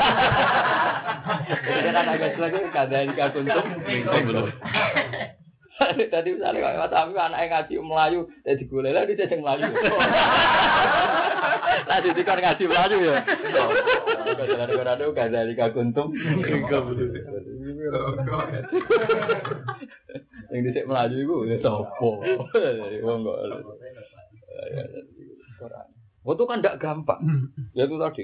Jadi kan agak lagi kadzalika kuntum min qablu. Tadi misalnya Mas Abi anake ngaji Melayu, dadi golek lah dhisik sing Melayu. Lah dadi kon ngaji Melayu ya. Kadzalika kadzalika kuntum min qablu. Yang dhisik Melayu iku ya sapa? Wong kok oh itu kan tidak gampang. Ya itu tadi.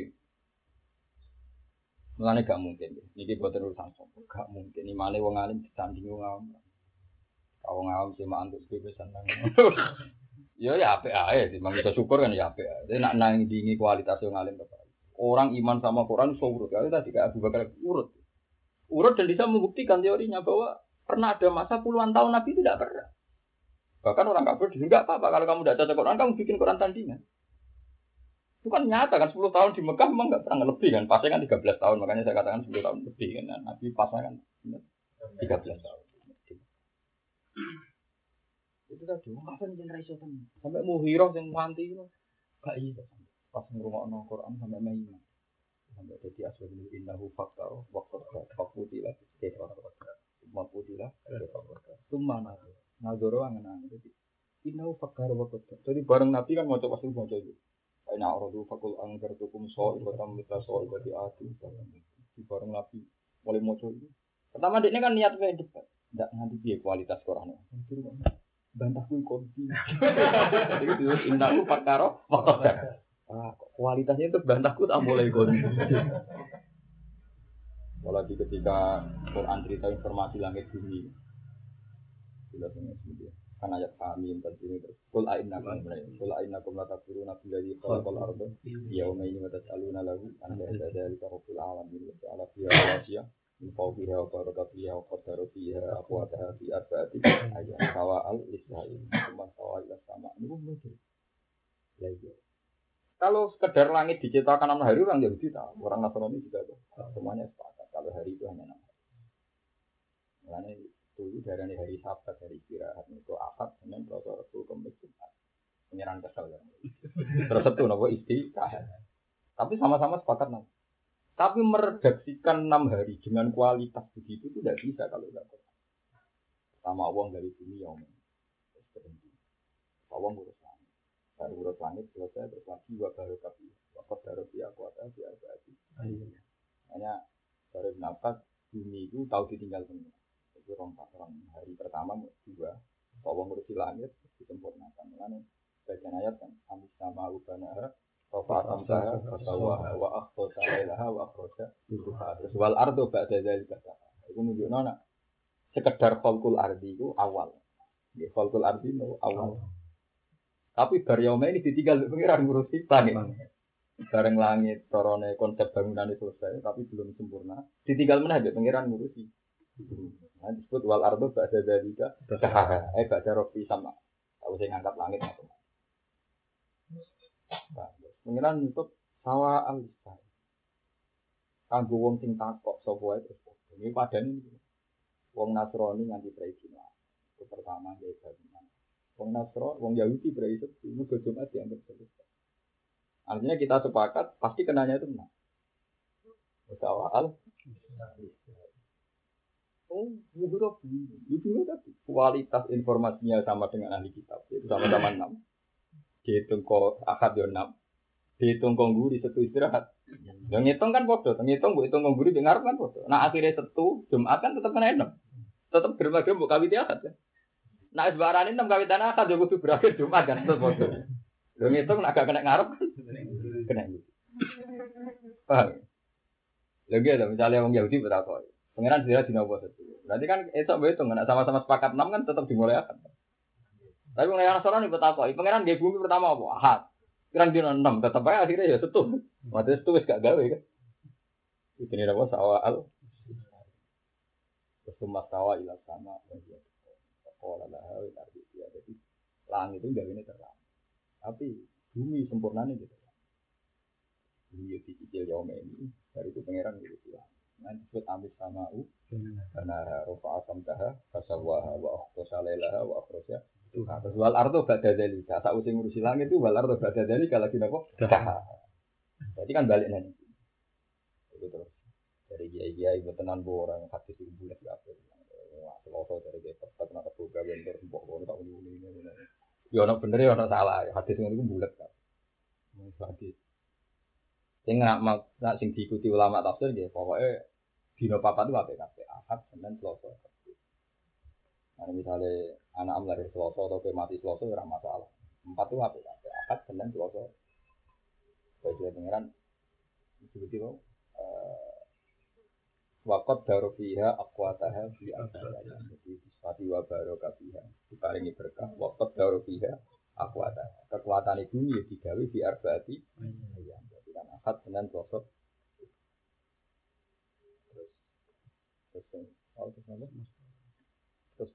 Mulane gak mungkin. Niki boten urusan sopo. Gak mungkin. Imane wong alim disanding wong awam. Wong awam cuma antuk bebesan nang. Ya ya apik ae, memang bisa syukur kan ya apik ae. Tapi nak nang dingi kualitas wong alim tepat. Orang iman sama Quran so urut. Kalau tadi kayak Abu Bakar urut. Urut dan bisa membuktikan teorinya bahwa pernah ada masa puluhan tahun Nabi itu tidak pernah. Bahkan orang kafir juga apa-apa kalau kamu tidak cocok Quran, kamu bikin Quran tandingan. Itu kan nyata kan sepuluh tahun di Mekah memang nggak pernah lebih kan. Pasnya kan tiga belas tahun, makanya saya katakan sepuluh tahun lebih kan. Nah, Nabi pasnya kan tiga belas tahun. Itu tadi, apa nih generasi itu? Sampai Muhirah yang mati itu, gak iya. Pas ngurungokno Quran sampai Maiman, sampai jadi asal ini innahu fakta, waktu waktu tidak, tidak waktu tidak, itu mana? Ngadoro angan jadi innahu fakta waktu. Jadi bareng Nabi kan mau coba semua jadi. Aina orang fakul angker tukum soal batam kita soal jadi ati. Di bareng Nabi mulai mau coba. Pertama dia kan niat kayak debat, tidak nanti dia kualitas Quran. Bantahku konti. Jadi itu indahku perkara waktu. Ah, kualitasnya itu bantahku tak boleh konti. Apalagi ketika Quran cerita informasi langit bumi. Jelas ini kan ayat kami tadi ini terus. Kul a'innakum kul a'innakum la takfuruna billahi khalaqal arda yauma ini wa tas'aluna lahu an dzalika rabbil alamin wa ta'ala fiha wasiya min fawqiha wa baraka fiha wa qaddara fiha aqwataha fi arba'ati ayat sawa'al lisa'il cuma sawa'il sama ini mungkin lagi kalau sekedar langit diciptakan enam hari orang Yahudi tahu orang Nasrani juga tahu semuanya sepakat kalau hari itu hanya enam hari makanya dulu dari hari Sabat hari istirahat itu Ahad Senin Selasa Rabu Kamis Jumat pengiran kesal ya terus itu nopo istirahat tapi sama-sama sepakat nanti. Tapi meredaksikan enam hari dengan kualitas begitu itu tidak bisa kalau tidak Quran. Sama uang dari bumi yang berhenti. Uang urus langit. Baru urus langit selesai terus lagi dua baru kapi. Waktu baru dia kuasa dia berarti. Hanya dari nafas bumi itu tahu ditinggal semua. Itu orang orang hari pertama dua. Uang urus langit disempurnakan. Karena bagian ayat kan kami sama ubana Rafa amsaha fasawaha wa akhroja lailaha wa akhroja duha. Terus wal ardo ba'da dzalika. Itu nunjukno nak sekedar khalqul ardi itu awal. Nggih khalqul ardi itu awal. Tapi bar yauma ini ditinggal pengiran ngurusi langit. Bareng langit corone konsep bangunan itu selesai tapi belum sempurna. Ditinggal meneh pengiran ngurusi. Nah disebut wal ardo ba'da dzalika. Eh ba'da rabbi sama. Tahu sing ngangkat langit macam. Pengiran untuk sawa al-isai. Kanggo wong sing takok sapa wae terus. Ini padane wong Nasrani nganti tradisional. Itu pertama ya bangunan. Wong Nasrani, wong Yahudi berarti itu Jumat dianggap selesai. Artinya kita sepakat pasti kenanya itu benar. Sawa al-isai. Oh, huruf ini. Itu tadi kualitas informasinya sama dengan ahli kitab. Itu sama-sama enam. Dihitung kok akad yo enam. Dihitung kongguri satu istirahat. Yang ngitung kan bodoh, ngitung bu hitung kongguri dengar kan bodoh. Nah akhirnya satu Jumat kan tetap kena enam, tetap germa-germa buat kawit akad kan. Nah sebarang enam kawitan akad juga tuh berakhir Jumat kan tetap bodoh. Yang ngitung agak kena ngarep kan, kena gitu. Paham? Lagi ada misalnya orang Yahudi berapa? Pengiran dia di nomor satu. Berarti kan esok berhitung, nah sama-sama sepakat enam kan tetap dimulai akad. Tapi mulai anak seorang ini bertakwa, pengiran dia bumi pertama apa? Ahad. Kirang dino enam, tetap aja akhirnya ya setu. Maksudnya setu wis gak gawe kan. Itu ini apa sawal. Semua sawa ilah sama. Sekolah lah, tapi ya jadi langit itu gawe ini terang. Tapi bumi sempurnanya gitu. Bumi itu dicicil yaum ini, dari itu pangeran gitu bilang. Nanti disebut amis sama u, karena rofa asam taha, fasawaha wa akhtosa lailaha wa akhtosa. Nah, terus wal ardo ba'da dzalika. Sak using ngurusi langit itu wal ardo ba'da dzalika lagi napa? Berarti kan balik nanti. Itu terus. Dari kiai-kiai tenan bo orang hati sing bulat kabeh. Wah, seloso dari dia tetep nak buka bentor mbok ngono tak ngene-ngene. Ya ono bener ya ono salah. Hadis ngono iku bulat kan. Wis hadis. Sing nak nak sing diikuti ulama tafsir nggih pokoke dina papat itu apik kabeh. Ahad, Senin, Selasa. Nah, misalnya anak lahir Selasa atau mati Selasa ora masalah. Empat itu apa? Akad Senin Selasa. Bagi pengiran seperti itu. Wakot darofiha akwataha fi asal. Jadi disfati wa barokatiha. Diparingi berkah. Wakot darofiha akwataha. Kekuatan itu ya digawe di arba'ati. Jadi kan akad Senin Selasa. Terus terus oh terus apa? Terus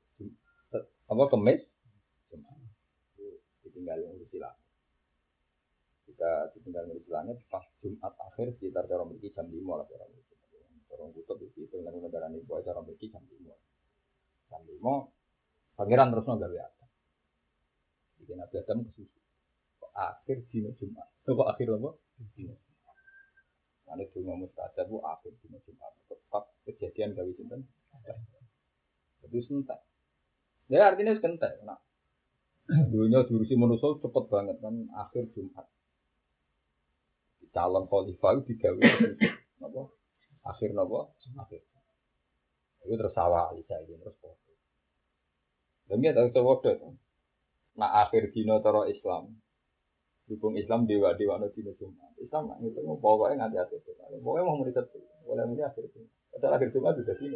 apa kemis Jumat itu ditinggal ngurusi lah. ketika ditinggal dari langit pas Jumat akhir sekitar cara mriki jam lima lah cara mriki. Orang kutub itu dengan negara ini buat cara mriki jam lima. Jam lima pangeran terusno gawe apa? Iki Nabi Adam kesusu. Kok akhir dina Jumat. Kok akhir apa? Dina. Ane dungo mustajab bu akhir dina Jumat. Tepat kejadian gawe sinten? Jadi sentak. Ya artinya sentak. Nah, dunia jurusi manusia cepet banget kan akhir Jumat. Calon khalifah itu digawe apa? Akhir napa? Akhir. Itu terus sawah isa iki terus foto. Demi ada sewodo. Nah akhir dina cara Islam. Dukung Islam dewa-dewa no dina Jumat. Islam itu pokoknya nganti akhir Jumat. Pokoknya mau meriset. Boleh mesti akhir Jumat. Padahal akhir Jumat sudah sini.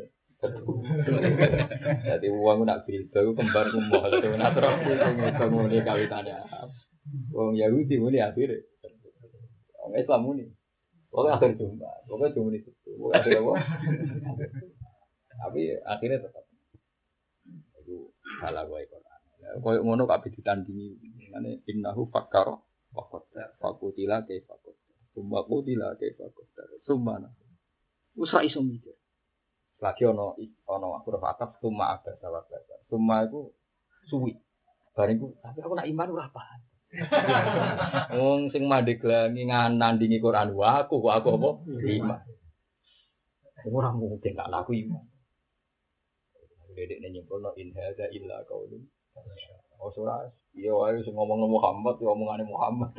Jadi uang nak filter kembar kumpuh itu natural itu muni kawitannya. Wong Yahudi muni akhir. Wong Islam muni. Pokoknya akhir Jumat. Pokoknya cuma itu. Pokoknya akhir apa? Tapi akhirnya tetap. Itu salah gue Quran. Koyok ngono kabeh ditandingi. Ngene innahu fakkar wa qaddar. Fakutila kaifa qaddar. Summa qutila kaifa qaddar. Summa. Wis ra iso mikir. Lagi ono ono aku ora fatah summa ada salah baca. Summa iku suwi. Bariku tapi aku nak iman ora paham. Wong sing mandeg langi nandingi Quran wa aku kok aku apa? Iman. Ora mungkin gak laku iman. Dedek nyempolno in hadza illa qaulun. Oh surah, iya wae sing ngomong Muhammad, ya omongane Muhammad.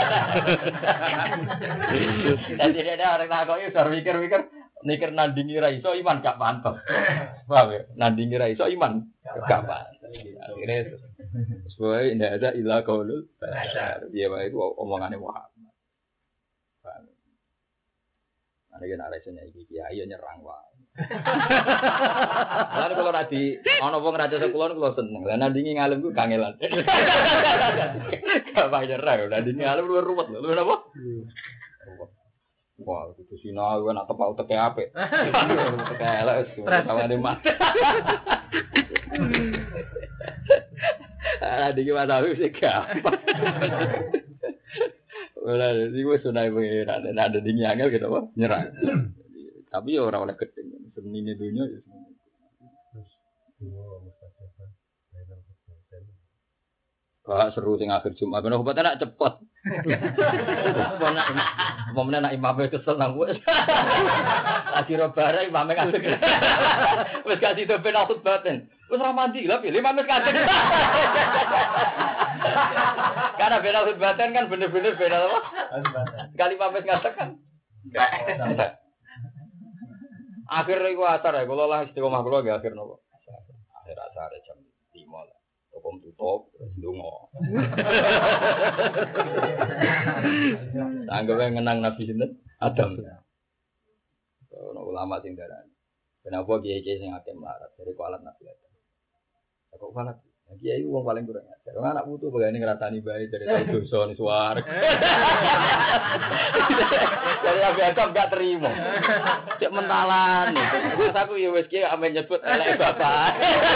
Dadi ada orang takoki sar mikir-mikir mikir nandingi ra iso iman gak mantep. Paham ya? Nandingi ra iso iman gak mantep. Akhire sesuai ndak ada illa qaulul bashar. Iya wae itu omongane Muhammad. Paham. Ana yen alasannya iki kiai nyerang wae. Lan kula ra di ana wong raja sekulon kula seneng. Lah nandingi ngalem ku kangelan. Gak bayar ra, nandingi ngalem luwih ruwet lho. Lho napa? Wah, itu sinau kan atau pau teke apik. Teke elek wis kawane mat. Ada iki wae wis gampang. Ora iki wis sunai pengen ada dingin angel gitu apa? Nyerang. Tapi ya ora oleh gedeng. Senine dunya ya. Wah, seru sing akhir Jumat. Ben obat enak cepet. Apa meneh nak imame kesel nang wis. Lagi robare imame kasih. Wis kasih to ben aku baten. Wis ora mandi lha pilih imame kasih. Karena ben aku baten kan bener-bener ben apa? Sekali imame ngasih kan. Akhir iku asar ya, kula lah istiqomah kula nggih akhir napa? Akhir asar jam lima lah. Topom tutup terus ndonga. Anggawe ngenang Nabi sinten? Adam. Ono ulama sing darani. Kenapa kiai-kiai sing akeh melarat dari kualat Nabi Adam? Kok kualat? Kiai wong paling kurang ajar. Wong anak putu bagane ngrasani bae dari tau dosa ni suwareg. Jadi Nabi Adam gak terima. Cek mentalan. Terus aku ya wis ki ame nyebut elek bapak.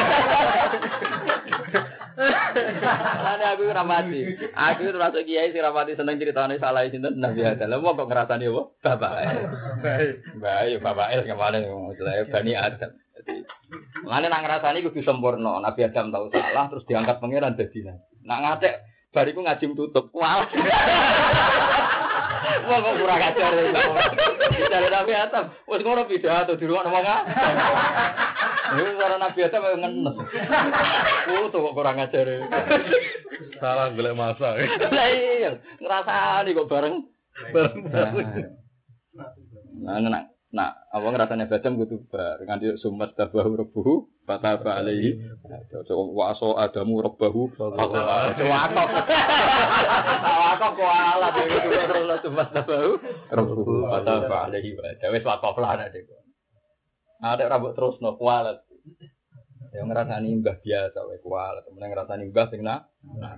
Lane aku ora mati. Aku termasuk kiai sing ora mati seneng critane salah sinten Nabi Adam. Lah wong kok ngrasani apa? Bapak. Baik. Baik bapak el kemana jenenge Bani Adam. Jadi lane nang ngrasani kudu sempurna. Nabi Adam tahu salah terus diangkat pangeran dadi nabi. Nak ngatek bariku ngaji tutup. Wah. Wah kok kurang ajar ya. Dari Nabi Adam wis ngono pidato di ruang ngomong ah. Ini cara Nabi Adam ngenes. Oh, tuh kok kurang ajar. Salah golek masa. Lah iya, ngrasani kok bareng. Bareng. Nah, nah, nah, apa ngrasane Adam kudu bar nganti sumat tabahu rebuhu fataba alaihi. Wa aso adamu rabbahu fataba. Wakok. Wakok kok ala dhewe terus sumat tabahu rebuhu fataba alaihi. Wis wakok lah nek. Ada rambut terus no kualat. Yang ngerasani mbah biasa wae kualat, temen ngerasani mbah sing nak.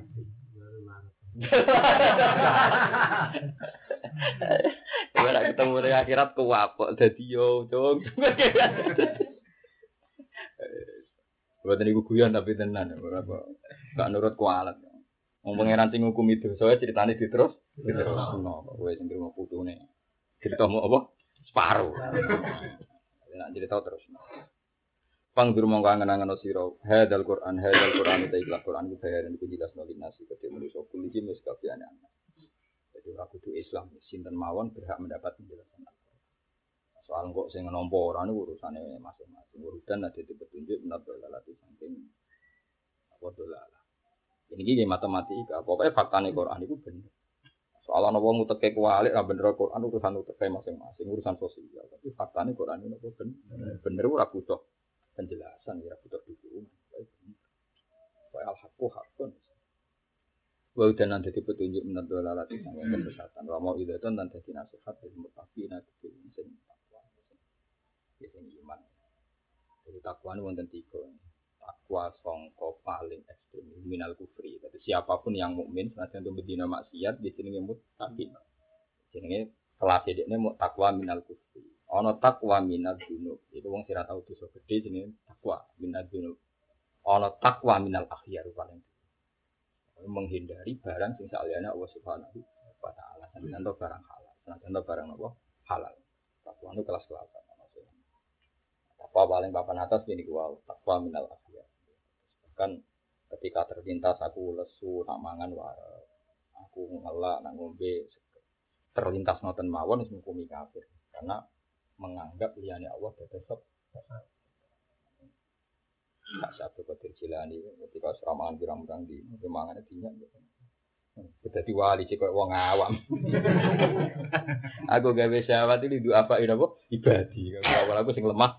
Ora ketemu di akhirat kuwapok dadi yo, Cung. Buat niku guyon tapi tenan ora apa. Gak nurut kualat. Wong pangeran sing hukum itu, soalnya ceritane diterus, diterusno. Kowe sing terima putune. Cerita mau apa? Separuh. Nek cerita terus. Pangdur mongko angen-angen sira. Hadzal Qur'an, hadzal Qur'an ta ikhlas Qur'an iki bayaran iku jelas nol nasi kedhe manusa kuliji wis kabehane. Jadi ora kudu Islam, sinten mawon berhak mendapat penjelasan. Soal kok sing nampa ora niku urusane masing-masing. Urusan ada di petunjuk menurut lalati saking apa dolalah. Ini iki matematika. Pokoknya faktane Quran itu bener. Soal ana wong uteke kualik ra bener Quran urusan uteke masing-masing, urusan sosial. Tapi faktane Quran itu bener. Bener ora butuh penjelasan, ora butuh dukungan. Wa al-haqqu haqqun. Wa udan nanti petunjuk menurut lalati saking kesesatan. Wa mau itu dan dadi nasihat dari mutaqina sing takwa. Sing iman. Jadi takwa itu wonten tiga. Takwa sangka paling ekstrem minal kufri. Jadi siapapun yang mukmin senajan itu bedina maksiat di sini muttaqin. Jenenge kelas dekne mu takwa minal kufri. Ana takwa minal dzunub. Itu wong sira tau dosa gedhe jenenge takwa minal dzunub. Ana takwa minal akhyar paling menghindari barang sing saliyane Allah Subhanahu wa taala. Senajan barang halal. Senajan barang apa? Halal. Takwa itu kelas-kelasan. Takwa paling papan atas ini gua takwa minal akhyar. Kan ketika terlintas aku lesu nak mangan wae aku ngelak nak ngombe terlintas ngoten mawon wis ngukumi kafir karena menganggap liyane Allah dados sebab. Tak satu keterjilani ketika seramangan pirang-pirang di mangane dinyak dadi wali sik koyo wong awam. Aku gawe syahwat iki duwe apa ini apa ibadi. Awal aku sing lemah.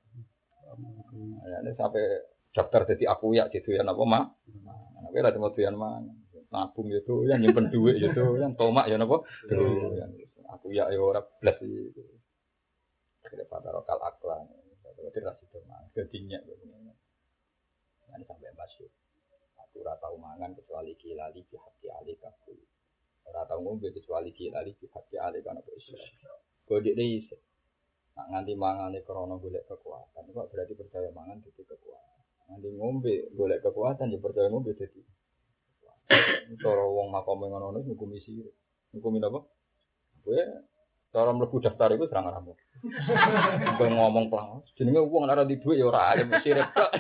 Ya sampai daftar jadi aku ya gitu ya napa mah. Nah, kowe lha temu doyan mangan. Nabung itu yang nyimpen duit itu yang tomak ya napa. Aku ya ya ora blas iki. Kira pada lokal aklan. Berarti ra sido mangan. Gedinyak kok. Ini sampai masyhur. Aku ora tau mangan kecuali kilali di hati ali kabul. Ora tau ngombe kecuali kilali di hati ali kan apa iso. Kode iki nak nganti mangane krana golek kekuatan. Kok berarti percaya mangan dadi kekuatan. Nganti ngombe golek kekuatan ya percaya ngombe dadi. Cara wong makome ngono niku ngukumi sire. Ngukumi apa? Kowe cara mlebu daftar iku serang ramu. Kowe ngomong pelang. Jenenge wong ora di dhuwit ya ora alim sire tok.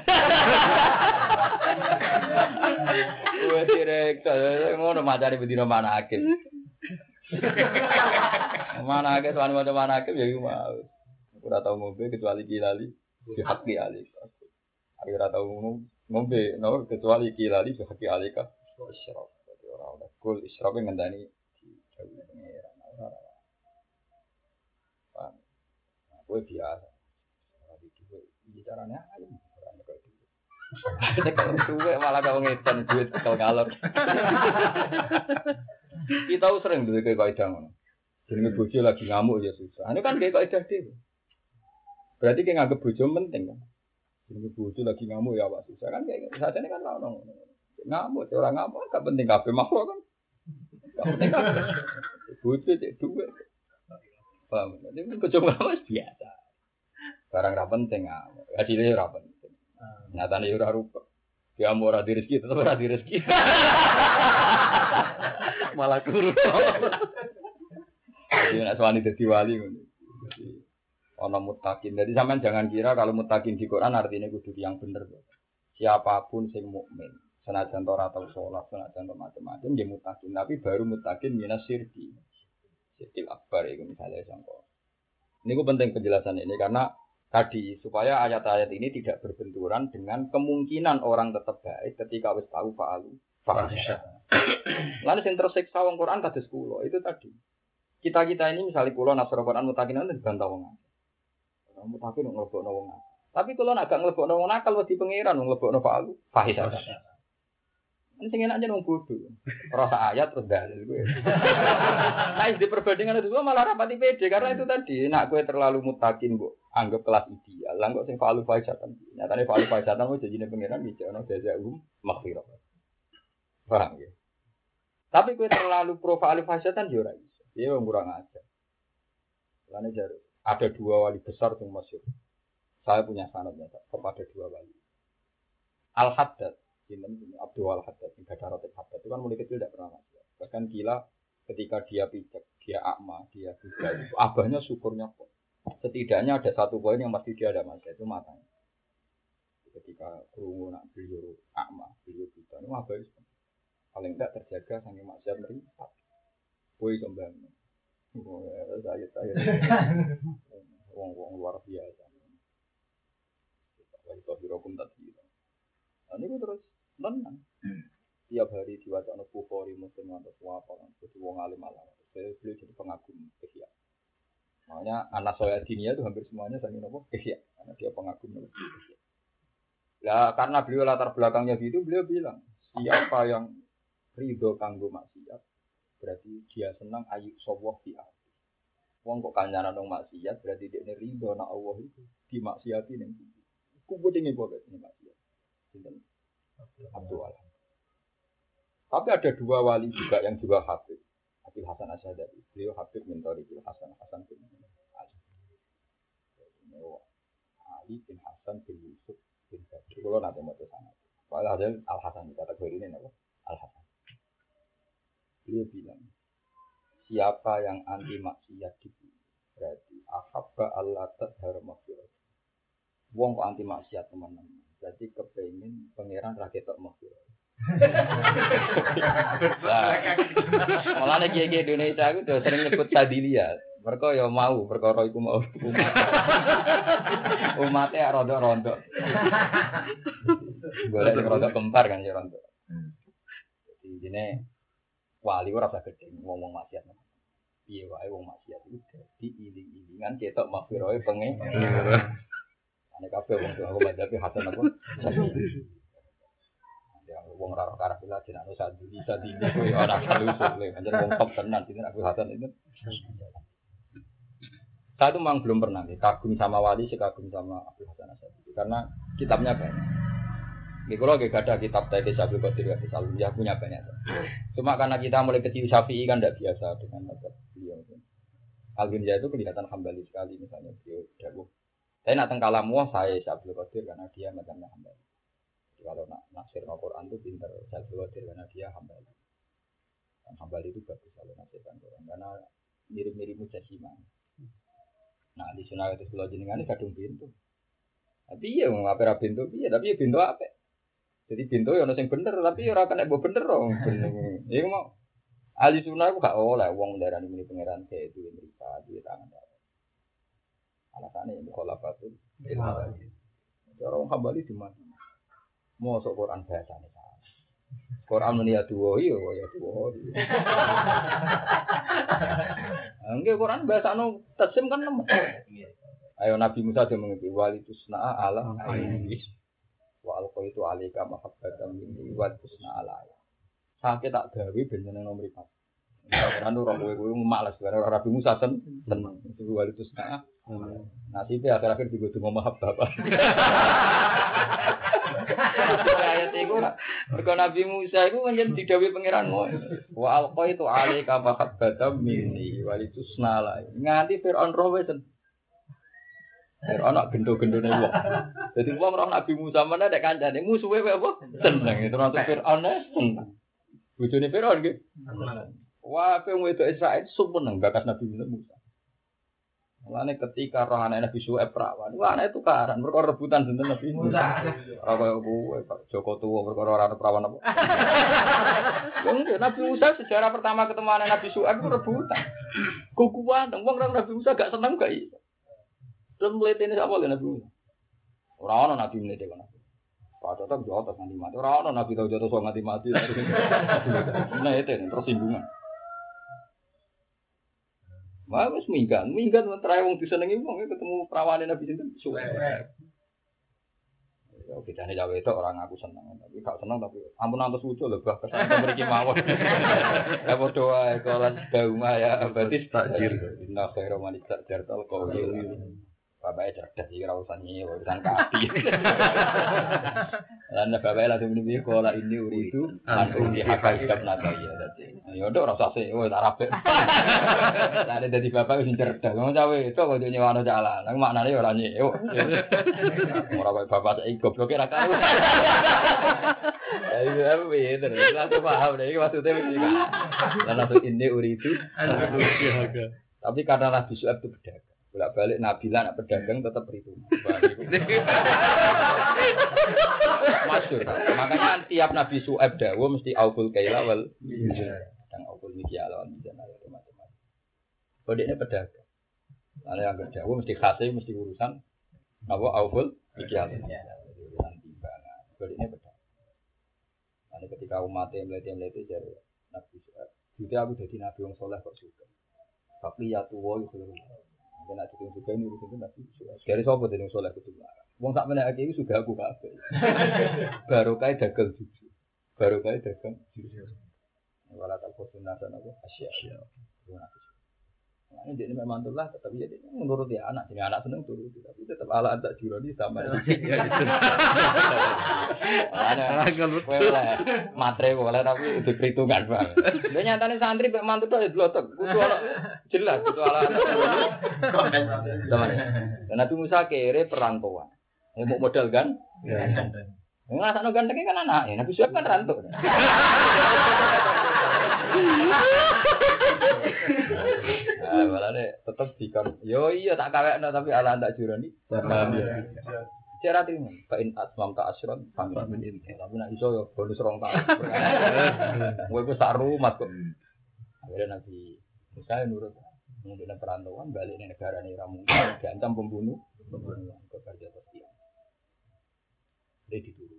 Kowe sire ngono macane bedino manake. Manake tuan macam manake ya iku mau. Ora tau ngombe kecuali kilali di hati ali. Aku ora tau ngombe no kecuali kilali di hati ali ka. Isyraf. Ora ora kul isyraf ngendani dawuh pengiran. Paham. Kowe biasa. Ora iki bicarane alim. Ora nek iki. Nek suwe malah kok ngedan duit tekel ngalor. Kita sering duwe kaidah ngono. Jenenge bojo lagi ngamuk ya susah. Ini kan kayak kaidah dhewe. Berarti ki nganggep bojo penting kan. Jenenge bojo lagi ngamuk ya awak susah kan kayak sajane kan ono ngono. Ngamuk ora ngamuk gak penting kabeh makhluk kan. Gak penting kabeh. Bojo cek duwe. Paham. Jadi bojo ngamuk biasa. Barang ra penting ngamuk. Adile ora penting. Nyatane ora rupa. Dia mau ora di rezeki tetep ora di rezeki. Malah kuru. Jadi nek suwani dadi wali ngono. Jadi ana muttaqin. Jadi sampean jangan kira kalau muttaqin di Quran artinya kudu yang bener. Siapapun sing mukmin, senajan ora tau salat, senajan macam-macam dia muttaqin, tapi baru muttaqin minas syirki. Syirkil akbar itu misalnya contoh. Ini ku penting penjelasan ini karena tadi supaya ayat-ayat ini tidak berbenturan dengan kemungkinan orang tetap baik ketika wis tahu fa'alu fa'asya. Lalu sing tersiksa wong Quran kados kula itu tadi. Kita-kita ini misalnya kula nasra Quran mutakin itu dibantah wong akeh. Wong mutakin nglebokno wong akeh. Tapi kula nek gak nglebokno wong nakal wedi pangeran nglebokno fa'alu fa'asya. Ini sing enak jeneng bodho. Rasa ayat terus dalil kowe. Nah, di perbandingan itu malah rapati pede karena itu tadi nak kowe terlalu mutakin, Bu. Anggap kelas ideal. Lah kok sing fa'alu fa'asatan. Nyatane fa'alu fa'asatan kok janjine pangeran iki ana jazaa'um maghfirah. Paham ya? Tapi kowe terlalu pro fa'alu fa'asatan yo ora iso. Dia wong kurang ajar. Lane jar ada dua wali besar yang masyhur. Saya punya sanadnya kepada dua wali. Al-Haddad Sinten Abdul Haddad, sing Haddad Haddad itu kan mulai kecil tidak pernah maksiat. Bahkan gila ketika dia pijak, dia akma, dia buta itu abahnya syukurnya kok. Setidaknya ada satu poin yang pasti dia ada maksiat itu matanya. Ketika kerungu nak beliau akma, beliau buta, itu abahnya paling tidak terjaga sampai maksiat meripat. Boy sembang. Oh, saya saya. Wong-wong luar biasa. Wah, itu hirokum tadi. Nah, ini terus tenang. Tiap hari diwaca anak Bukhari Muslim atau apa kan, jadi wong alim alam. Saya beliau jadi pengagum ihya. Makanya anak saya dinia itu hampir semuanya saya nopo ihya, karena dia pengagum ihya. Lah karena beliau latar belakangnya gitu, beliau bilang siapa yang ridho kanggo maksiat, berarti dia senang ayuk sawah fi ardi. Wong kok kancanan nang maksiat, berarti dia ridho nak Allah itu dimaksiati ning. Kumpul ini boleh ini maksiat. Sinten Abdul Alam. Tapi ada dua wali juga yang juga Habib. Habib Hasan Asy'ari. Beliau Habib mentori Habib Hasan Hasan bin Ali. Ali bin Hasan bin Yusuf bin Bakir. Kalau nanti mau ke sana. Walau ada Al Hasan kategori ini apa? Al Hasan. Beliau bilang, siapa yang anti maksiat itu berarti ahabba Allah tadhar maksiat. Wong kok anti maksiat teman-teman. Berarti kepengin pangeran ra ketok maksiat. Malah nek iki Indonesia aku udah sering nyebut Sadilia. Mereka ya mau perkara iku mau umat. Umate rondo-rondo. Golek sing rondo kempar kan ya rondo. Jadi dene wali ora usah gedhe ngomong maksiat. Piye wae wong maksiat iku dadi iling-ilingan ketok maghfirah pengen. Nek kabeh wong aku madzhabi hasan apa? Wong ora ora kira jenenge sadu bisa dini kowe ora salusuk le anjen wong top tenan iki aku hasan itu. Saya itu memang belum pernah nih kagum sama wali, sekagum sama Abdul Hasan Asy'ari karena kitabnya banyak. Nggih kula nggih ada kitab Taidis Abdul Qadir Hadis Al-Uliyah punya banyak. Cuma karena kita mulai kecil Syafi'i kan tidak biasa dengan mazhab beliau. Al-Ghazali itu kelihatan Hambali sekali misalnya beliau dawuh. Saya nak teng kalamu saya Abdul Qadir karena dia mazhabnya Hambali. Kalau nak nafsir Al-Qur'an itu pintar Abdul Qadir karena dia Hambali. Dan Hambali itu bagus kalau nafsirkan Quran karena mirip-mirip Mujassimah. Nah di sunnah itu sebelah jenengan ini kadung pintu. Tapi ya mau apa pintu, iya tapi ya pintu apa? Jadi pintu ya nasi bener, tapi ya orang kena bawa bener dong. Iya mau ahli sunnah itu gak oleh uang darah ini pangeran saya itu yang berita di tangan. Alasannya yang mukhalafat itu. Orang Hambali di mana? Mau sok Quran bahasa nih. Quran ini ya dua, iya ya dua. Enggak Quran bahasa no tasim kan nama. Ayo Nabi Musa dia mengerti wali tusna ala aini. Wa alqa itu alika mahabbatan minni wa tusna ala. Sakit tak gawe ben jeneng nomor empat. Quran ora kowe-kowe malas karena Nabi Musa sen seneng. Itu wali tusna. Nasibe akhir-akhir digo donga mahabbah. Ayat itu mergo Nabi Musa itu menjadi didhawuhi pangeranmu. Wa alqa itu alika mahabbatan minni wa tusna ala. Nganti Firaun roh wis Firaun nak gendo-gendone wong. Dadi wong roh Nabi Musa mana nek kancane musuhe wae apa? Seneng itu nanti Firaun seneng. Bojone Firaun nggih. Wah, pe wedok Israil seneng bakat Nabi Musa. Mulane ketika roh anak Nabi Syuaib perawan, wah anak itu karan perkara rebutan sinten Nabi Musa. Ora koyo kowe Joko tuwa perkara ora perawan apa. Nabi Musa sejarah pertama ketemu anak Nabi Syuaib itu rebutan. Kukuan wong Nabi Musa gak seneng gak iso. Terus mletene sapa Nabi Musa. Ora ana Nabi mlete kono. Pak tetep jotos nganti mati. Ora ana Nabi tau jotos nganti mati. Nah itu tersinggungan. Wah, wis minggat, minggat terae wong disenengi wong ketemu prawane Nabi sinten Syuaib. Ya bedane jawe itu orang aku seneng, tapi gak seneng tapi ampun antus lucu lho bah kesan mriki mawon. Ya padha wae kolan dauma ya berarti takdir. Inna khairu man takdir tal qawl. bapaknya cerdas iki ora urusan iki urusan kapi. Lan bapaknya langsung muni kola ini uridu anu di hak hidup nata ya dadi. Ya ndok ora usah sik wis arep. Lah dadi bapak wis cerdas. Wong cawe itu kok nyewano jalan. Nang maknane ora nyewa. Ora kaya bapak saiki gobloke ra karo. Ya iki apa ya terus langsung paham nek iki maksudnya iki. Lan langsung ini uridu. Tapi karena Nabi Syuaib itu pedagang. Bolak-balik Nabi lah nak pedagang tetap perhitungan. Masyhur. Makanya tiap Nabi Syuaib dawuh mesti aukul kaila wal yang aukul mikyal wal mizan macam-macam. Kodene pedagang. Lalu yang dawuh mesti khase mesti urusan apa aukul mikyal. Urusan timbangan. Kodene pedagang. Lalu ketika umatnya melete-melete jadi Nabi Syuaib. Jadi aku jadi Nabi yang soleh kok juga. Tapi ya tuwa iku nek ditung juga ini urusan Nabi Syuaib. Dari sapa dening soleh kudu larang. Wong sak meneh iki sudah aku kabeh. Barokah dagang jujur. Barokah dagang jujur. Wala tak posuna sana apa asya. Nah, ini dia memang tulah tetapi dia menurut dia anak, jadi anak seneng turut tapi tetap ala tak juroni sama. Ada boleh matre boleh tapi itu perhitungan bang. Dia nyatanya santri mek mantu tuh blotok, kudu ala jelas kudu ala. Dan Nabi Musa kere perantauan, mau modal kan? Ngerasa gantengnya kan anak, Nabi Syuaib kan rantau. Ah, balane tetep dikon. Yo iya tak kawekno tapi ala tak juroni. Cara terima. Fa in asmam ta asron fa min in. Tapi nek iso yo bonus rong tahun. Kowe ku sak rumah kok. Akhirnya Nabi Musa nurut. Mungkin perantauan balik ning negara ne ra mungkin diancam pembunuh, pembunuhan ke kerja setia. Dia dituru.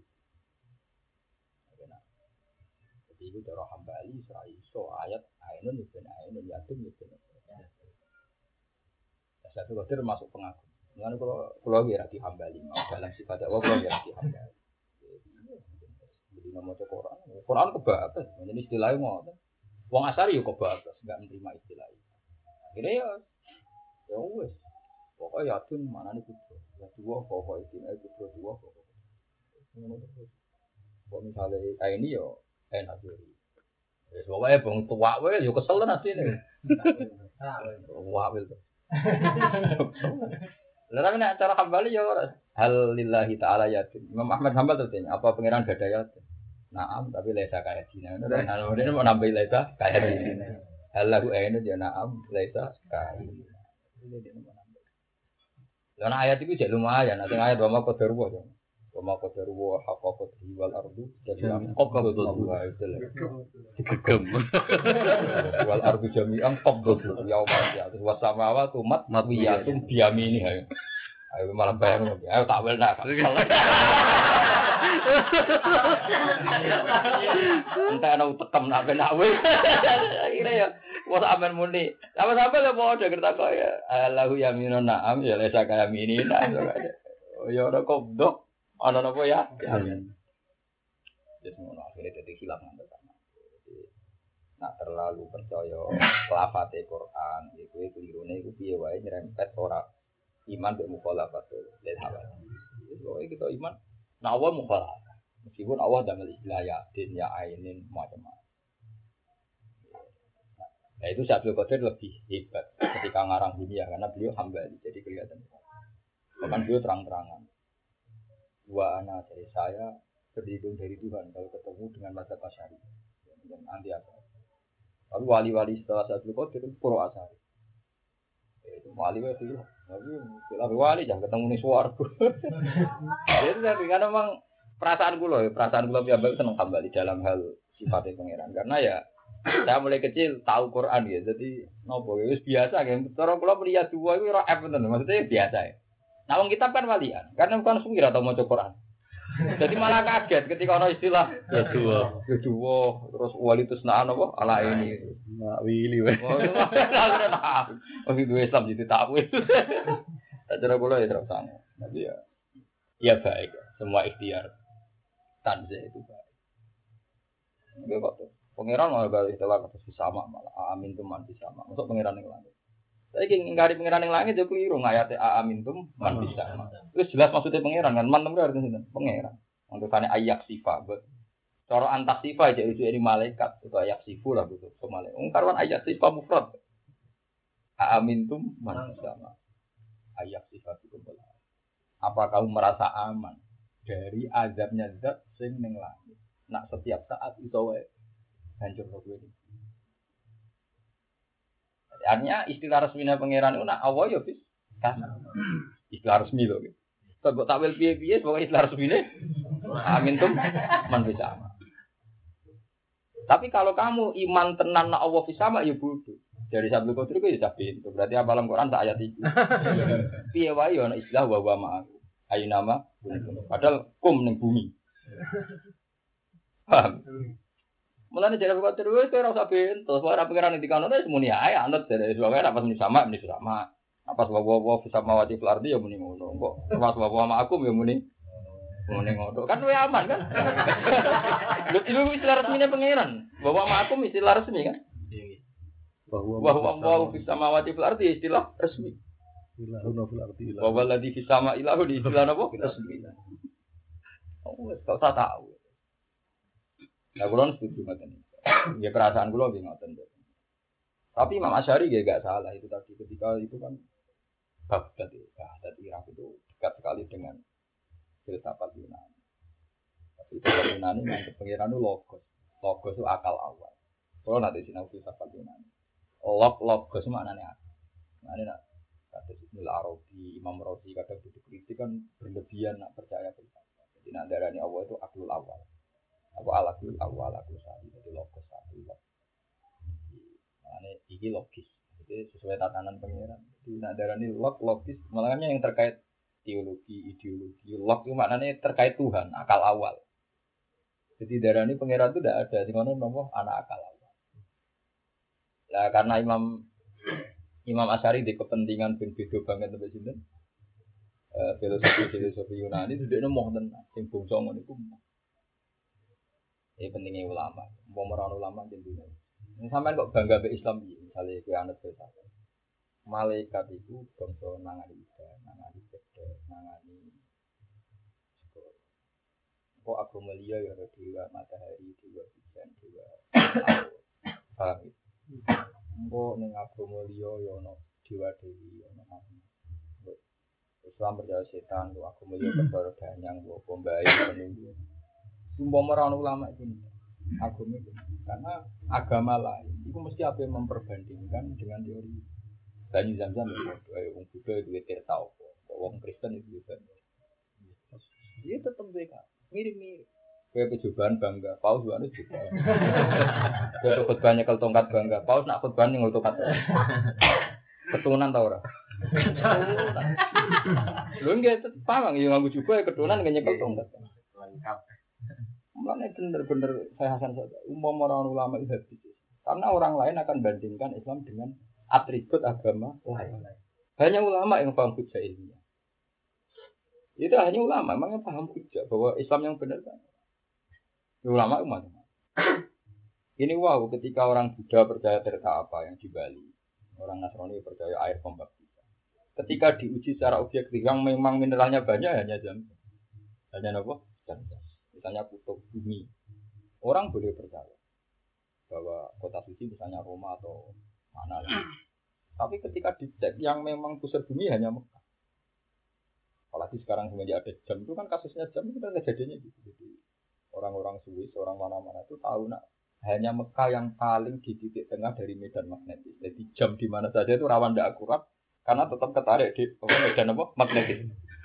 Ibu cara hambali Israel so ayat ainun ibn ainun yatim ibn satu kali termasuk pengagum. Mengenai kalau kalau dia di hambali mau dalam sifat Allah kalau dia di hambali. Jadi nama Quran, Quran kebatas. Jadi istilahnya mau. Wong Asari yo kebatas, enggak menerima istilah itu. Akhirnya ya, ya wes. Pokoknya yatim mana nih putra, ya dua pokok itu, eh putra dua pokok. Kalau misalnya kayak ini yo. Enak sih. Ya soalnya bang tua, weh, yo kesel nanti nih. Wah, wil. Lalu nak cara hambali yo, hal lillahi taala yatim. Imam Ahmad Hambal tertanya, apa pangeran gada yatim? Naam, tapi lesa kaya Cina. Nah, kemudian mau nambah lesa kaya Cina. Hal lagu enu dia naam, lesa kaya. Lalu ayat itu jadi lumayan. Nanti ayat dua kau terbuat. Wama qadaru wa haqqa qadri wal ardu jami'an qabdatuhu itu lho. Digegem. Wal ardu jami'an qabdatuhu yauma ya'tus was samawati matwiyatun biyamini ayo. Ayo malah bayang ayo tak wel nak. Entah ana utekem nak ben awe. Akhire ya wis amen muni. Sama-sama lho padha kerta kaya Allahu yaminun na'am ya lesa kaya mini. Ya ora qabdo. Ana napa ya? Amin. Jadi ngono akhirnya dadi hilang nang pertama. Nak terlalu percaya lafate Quran, iku klirune iku piye wae nyerempet ora iman mek mukhalafat lil hawa. Pokoke kita iman nak wa mukhalafat. Meskipun Allah damel istilah yatin ya ainin macam-macam. Nah itu Syaikhul Qadir lebih hebat ketika ngarang dunia karena beliau hambali jadi kelihatan. Bahkan beliau terang-terangan. Dua anak dari saya berlindung dari Tuhan kalau ketemu dengan mazhab Asy'ari dan anti Asy'ari. Lalu wali-wali setelah Syaikhul Qadir itu pro Asy'ari. Itu wali itu lah. Tapi kalau wali jangan ketemu di swarga. Jadi tapi karena memang perasaan kula, perasaan kula piambak seneng kembali dalam hal sifatnya pangeran karena ya saya mulai kecil tahu Quran ya. Jadi nopo wis biasa kan. Cara kula melihat dua itu ora F tenan, maksudnya biasa ya. Nah, wong kitab kan walian, karena bukan sungguh atau mau Quran. Jadi malah kaget ketika ono istilah ya dua, ya dua, terus wali itu senaan apa? Ala ini, mak wili weh. Oh, itu Islam jadi takwil. Tak cara bola ya terus sana. Tapi ya, ya baik, semua ikhtiar tanzih itu baik. Enggak kok. Pangeran malah balik istilah kata sama malah amin tuh mati sama. Masuk pangeran yang lain. Saiki ngingkari pangeran ning langit yo keliru ngayate aamintum man bisa. Wis jelas maksudnya pangeran kan man itu artinya sinten? Pangeran. Untungane ayak sifat. Cara antas sifat aja itu dari malaikat itu ayak sifu lah gitu. Ke malaikat. Wong karuan ayak sifat mufrad. Aamintum man bisa. Ayak sifat itu belas. Apa kamu merasa aman dari azabnya zat sing ning langit? Nak setiap saat itu wae hancur kowe iki. Artinya istilah resminya pangeran itu nak Allah ya bis. Istilah resmi lho. Kok takwil piye-piye pokoke istilah resmine amin tum man bisa. Tapi kalau kamu iman tenan nak Allah bisa mak ya bodoh. Dari Sabtu Qadri ku ya sabit. Berarti apalan Quran tak ayat itu. Piye wae ana istilah wa wa ma'ak. Ayo nama padahal kum ning bumi. Paham? Mulane jare kok terus ora usah bento, ora pengiran dikano wis muni ae anut dari sebab apa muni sama muni sama. Apa sebab wa bisa mawati fil ardi ya muni ngono. Kok wa wa aku ya muni muni ngono. Kan luwih aman kan? Lho itu istilah resmine pengiran. Bahwa aku istilah resmi kan? Bahwa wa bisa mawati fil ardi istilah resmi. Ilahuna fil ardi ilah. Wa walladzi fis sama ilahu di istilah apa? Resmi. Oh, wis kok tak tahu. Nah, kulon setuju ngoten. Ya perasaan kula nggih ngoten. Tapi Imam Asy'ari nggih enggak salah itu tadi ketika itu kan Baghdad ya, Baghdad Irak itu dekat sekali dengan filsafat Yunani. Tapi filsafat Yunani yang pengiran itu logos. Logos itu akal awal. Kalau nanti sinau filsafat Yunani. Log logos maknanya akal. Maknanya nak kata Ibnu Arabi, Imam Razi kadang itu kritik kan berlebihan nak percaya filsafat. Jadi nak darani Allah itu aklul awal. Apa alakul awal aku sahih jadi logos sahih. Maknanya ini logis. Jadi sesuai tatanan pengiran. Jadi nak darani log logis. Maknanya yang terkait teologi, ideologi, log itu maknanya terkait Tuhan, akal awal. Jadi darani pengiran itu tidak ada. Di mana nomor anak akal awal. Nah karena Imam Imam Asy'ari di kepentingan ben beda banget sampai sini. Eh filosofi filosofi Yunani itu dia mau tenan. Sing bangsa ngono iku. Ini pentingnya ulama. Mau merawat ulama di dunia. Sampai kok bangga be Islam ini. Misalnya kue anut filsafat. Malaikat itu bangsa nangani ibadah, nangani ibadah, nangani. Kok aku melihat ya dewa matahari, dewa hujan, dewa paham itu. Kok neng aku melihat ya no dewa dewi, no nabi. Islam percaya setan, kok aku melihat kepada danyang, kok pembaik penunggu. Sumpah merawat ulama itu agama itu karena agama lain itu mesti apa yang memperbandingkan dengan teori Bani Zamzam itu orang Buddha itu tirta apa orang Kristen itu juga dia tetap mereka mirip-mirip kayak percobaan bangga paus juga ada juga kayak khutbah nyekel tongkat bangga paus nak khutbah nyekel tongkat keturunan tau ora lu enggak paham ya nganggo juga ya keturunan nyekel tongkat lengkap. Mulanya benar-benar saya hasan saja. Umum orang ulama itu habis. Karena orang lain akan bandingkan Islam dengan atribut agama lain. Hanya ulama yang paham hujah ilmiah. Itu hanya ulama, memangnya paham hujah bahwa Islam yang benar kan. Ulama umat. Ini wow, ketika orang Buddha percaya terta apa yang di Bali, orang Nasrani percaya air pembaptisan. Ketika diuji secara objektif yang memang mineralnya banyak hanya jam. Hanya apa? Jam. Misalnya kutub bumi, orang boleh percaya bahwa kota suci misalnya Roma atau mana lagi. Tapi ketika dicek yang memang pusat bumi hanya Mekah. Apalagi sekarang semenjak ada jam itu kan kasusnya jam itu kan kejadiannya gitu. Jadi orang-orang Swiss, orang mana-mana itu tahu nak hanya Mekah yang paling di titik tengah dari medan magnetis. Jadi jam di mana saja itu rawan tidak akurat karena tetap ketarik di medan apa magnetis.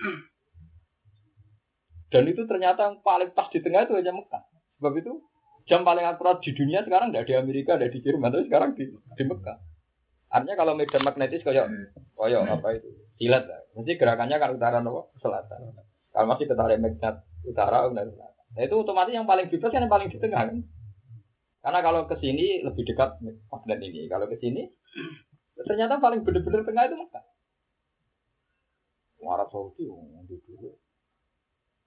Dan itu ternyata yang paling pas di tengah itu hanya Mekah. Sebab itu jam paling akurat di dunia sekarang tidak di Amerika, tidak di Jerman, tapi sekarang di, di Mekah. Artinya kalau medan magnetis kayak kayak apa itu silat lah. Mesti gerakannya kan utara nopo selatan. Kalau masih ketarik magnet utara dan selatan. Nah itu otomatis yang paling bebas kan yang paling di tengah kan. Karena kalau ke sini lebih dekat magnet ini. Kalau ke sini ternyata paling benar-benar tengah itu Mekah. Arab Saudi untuk dulu.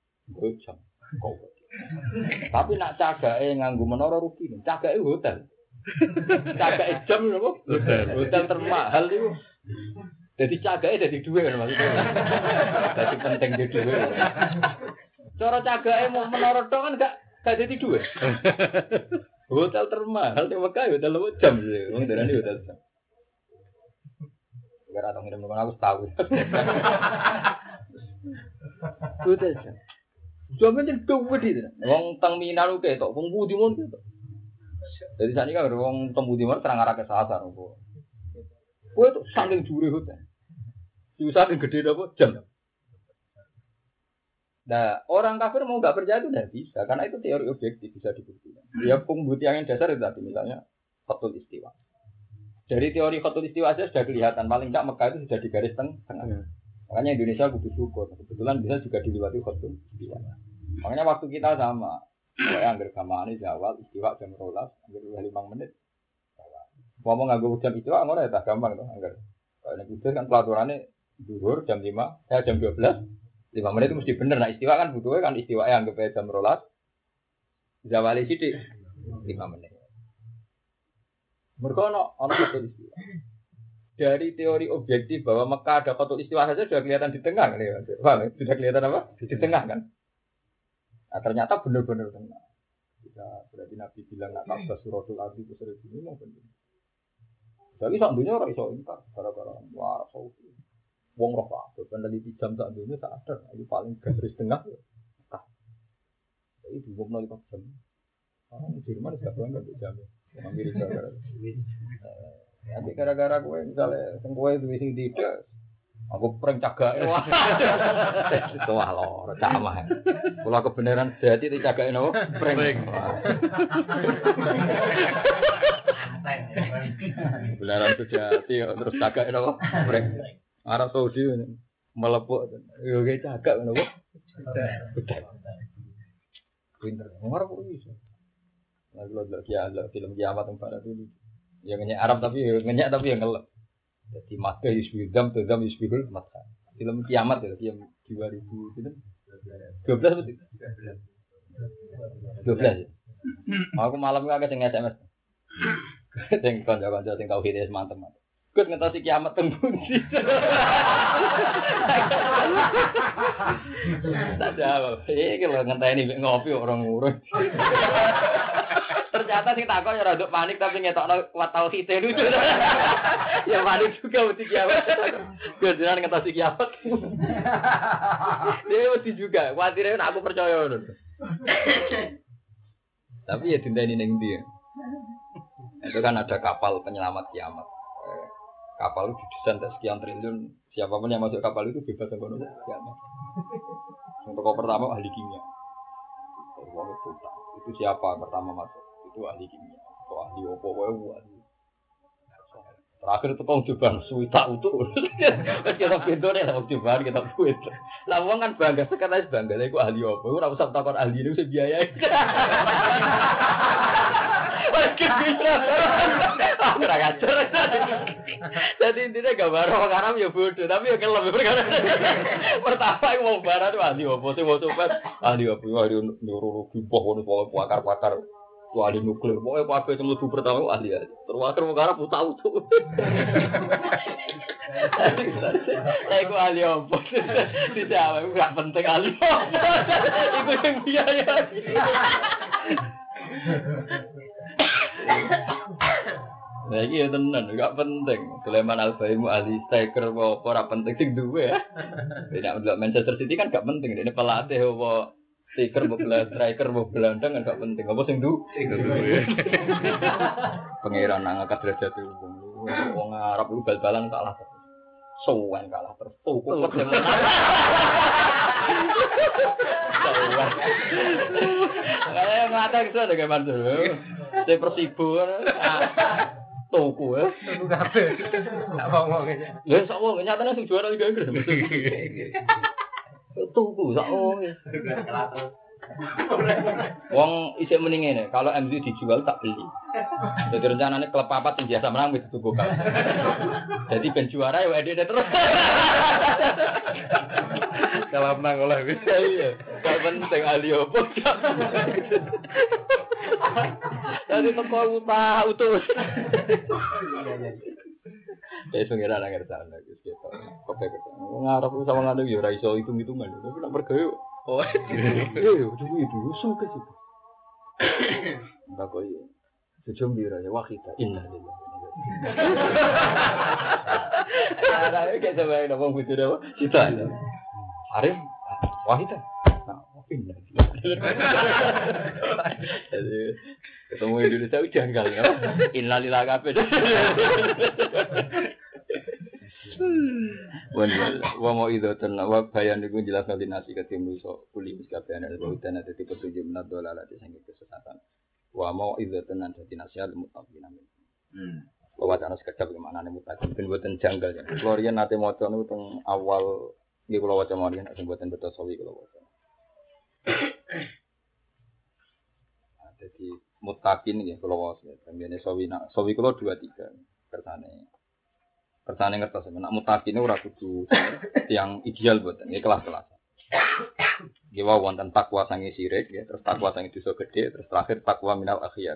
Jam kau. Tapi nak cagake nganggo menara rugi, cagake hotel. Cagake jam napa? Hotel. Hotel termahal itu. Jadi cagake dadi dhuwit kan maksudnya. Dadi penting di dhuwit. Cara cagake mau menara tok kan gak gak dadi dhuwit. Hotel termahal di Mekah hotel lima jam sih. Wong darani hotel jam. Gara atau ngirim aku tahu. Hotel jam. Jaman jadi duit itu. Wong teng Minang oke tok, wong Budi mon gitu. Jadi sakniki kan wong teng Budi mon terang arah ke sasar kok. Kowe tuh saking jure hotel. Diusahakan gede apa jam. Nah, orang kafir mau enggak percaya itu tidak bisa karena itu teori objektif bisa dibuktikan. Ya pembuktian yang dasar itu tadi misalnya khatul istiwa. Dari teori khatul istiwa saja sudah kelihatan paling enggak Mekah itu sudah di garis tengah. Makanya Indonesia butuh syukur. Kebetulan bisa juga dilewati khatul istiwa. Makanya waktu kita sama, saya anggar gamane jawab istiwa jam rolas, anggar lima menit. Ngomong nganggo jam istiwa ngono ya tak gampang to, anggar. Kalau nek udah kan pelaturannya zuhur jam lima, ya jam dua belas. lima menit itu mesti bener. Nah, istiwa kan butuhnya kan istiwa yang anggap jam rolas. Zawali sithik lima menit. Mergo ono ono khatul istiwa. Dari teori objektif bahwa Mekah ada khatul istiwa saja sudah kelihatan di tengah kan ya. Paham? Sudah kelihatan apa? Di tengah kan. Nah, ternyata benar-benar tengah. Bisa berarti Nabi bilang nak kabeh suratul ardi itu seribu ini mungkin. Jadi sak dunya ora iso ingkar gara-gara wah saudi. Wong roh kabeh peneliti jam sak dunya tak ada. Itu paling garis tengah. Mekah. Jadi dua puluh lima jam. Orang Jerman enggak bangga dengan jam. Amerika gara-gara. Nanti gara-gara gue misalnya sing kowe duwe sing tidak aku prank cagake wah. Itu wah lho, camah. Kula kebenaran dadi dicagake nopo? Prank. Kebenaran sejati terus cagake nopo? Prank. Arab Saudi melepuk yo ge cagak nopo? Pinter. Ora kok iso. Lalu lagi ada film kiamat tempat itu. Ya ngenyak Arab tapi ngenyak tapi yang ngelak. Jadi maka yusbidam tadam yusbihul mata. Film kiamat ya film dua ribu itu dua belas betul. dua belas. Aku malam itu agak sing S M S. Sing kanca-kanca sing tau hidayah mantep-mantep. Gus ngetosi kiamat teng pundi. Tak jawab. Iki lho ngenteni ngopi orang ngurus. Ternyata sing takon ya rada panik tapi ngetokno kuat tauhid lucu. Ya panik juga mesti kiamat. Gedean ngetosi kiamat. Dia mesti juga, kuatire nek aku percaya ngono. Tapi ya dinteni ning ndi. Itu kan ada kapal penyelamat kiamat. Kapal itu didesain sekian triliun. Siapapun yang masuk kapal itu bebas ekonomi kiamat. Untuk pertama ahli kimia. Itu siapa pertama masuk? Itu ahli kimia. Itu ahli opo wae ahli. Terakhir itu kong cobaan suwita utuh. Wes kita bendone lah cobaan kita buat. Lah wong kan bangga sekarang bangga iku ahli opo. Ora usah takon ahli niku sing biayai. Wes kita. Ora ngajar. Jadi intinya gambar orang Arab ya bodoh, tapi ya kelem perkara. Pertama iku wong barat itu ahli opo sing mau coba ahli opo ahli neurologi pokoke pakar-pakar. Tuh ahli nuklir, pokoknya apa yang lebih pertama ahli ahli. Terus akhir mengarah putar utuh. Saya itu ahli apa? Tidak, itu nggak penting ahli apa. Itu yang biaya. Nah ini ya tenan, nggak penting. Sulaiman Al-Baimu ahli striker, apa ora penting sing duwe ya. Tidak untuk Manchester City kan nggak penting. Ini pelatih apa? Striker bola, striker bola gelandang kan gak penting. Apa sing du? Pangeran ngangkat derajat wong. Wong Arab lu bal-balan kalah. Sowan kalah terus. Tuku kok menang. Sowan. Kayak ngatek iso de gaman dulu. Saya Persibo. Tuku ya. Tuku kabeh. Tak ngomong aja. Lah sok wong nyatane sing juara Liga Inggris. Tunggu, sak wong. Wong isih mending ngene, kalau M Z dijual tak beli. Jadi rencananya klub papat yang biasa menang wis tuku kan. Jadi ben juara ya edit terus. Kalau menang oleh wis iya. Gak penting ahli opo. Dari teko utah utus. Ya pengira nang ngerti ana Gus gitu. Kope kope. Ngarep sama ngene yo ora iso hitung-hitungan. Tapi nek pergawe oh. Eh, itu usul ke situ. Enggak kok iya. Sejum bira ya wakita inna lillahi. Ada kayak sampai ngomong gitu dah. Kita. Arif wakita. Inna lillahi. Ketemu Indonesia udah janggal ya. Inna lillahi kabeh. Wa mau itu tenang wa bayan iku jelas nasi ketemu so kuli miskabean ada udan ada tipe tujuh menat dolar ada sing kesesatan. Wa mau itu tenang dadi nasihat mutaqin amin. Hmm. Wa wacana sekedap gimana nih mutaqin ben boten janggal ya. Florian nate maca niku teng awal nggih kula waca mawon nek sing boten beto sawi kula waca. Jadi mutaqin nggih kula waca. Tembene sawi nak sawi kula dua tiga kersane. Kersane ngertos nek mutaqin ora kudu yang ideal boten nggih kelas-kelas. Nggih wae wonten takwa sange sirik ya, terus takwa sange dosa gedhe, terus terakhir takwa minal akhyar.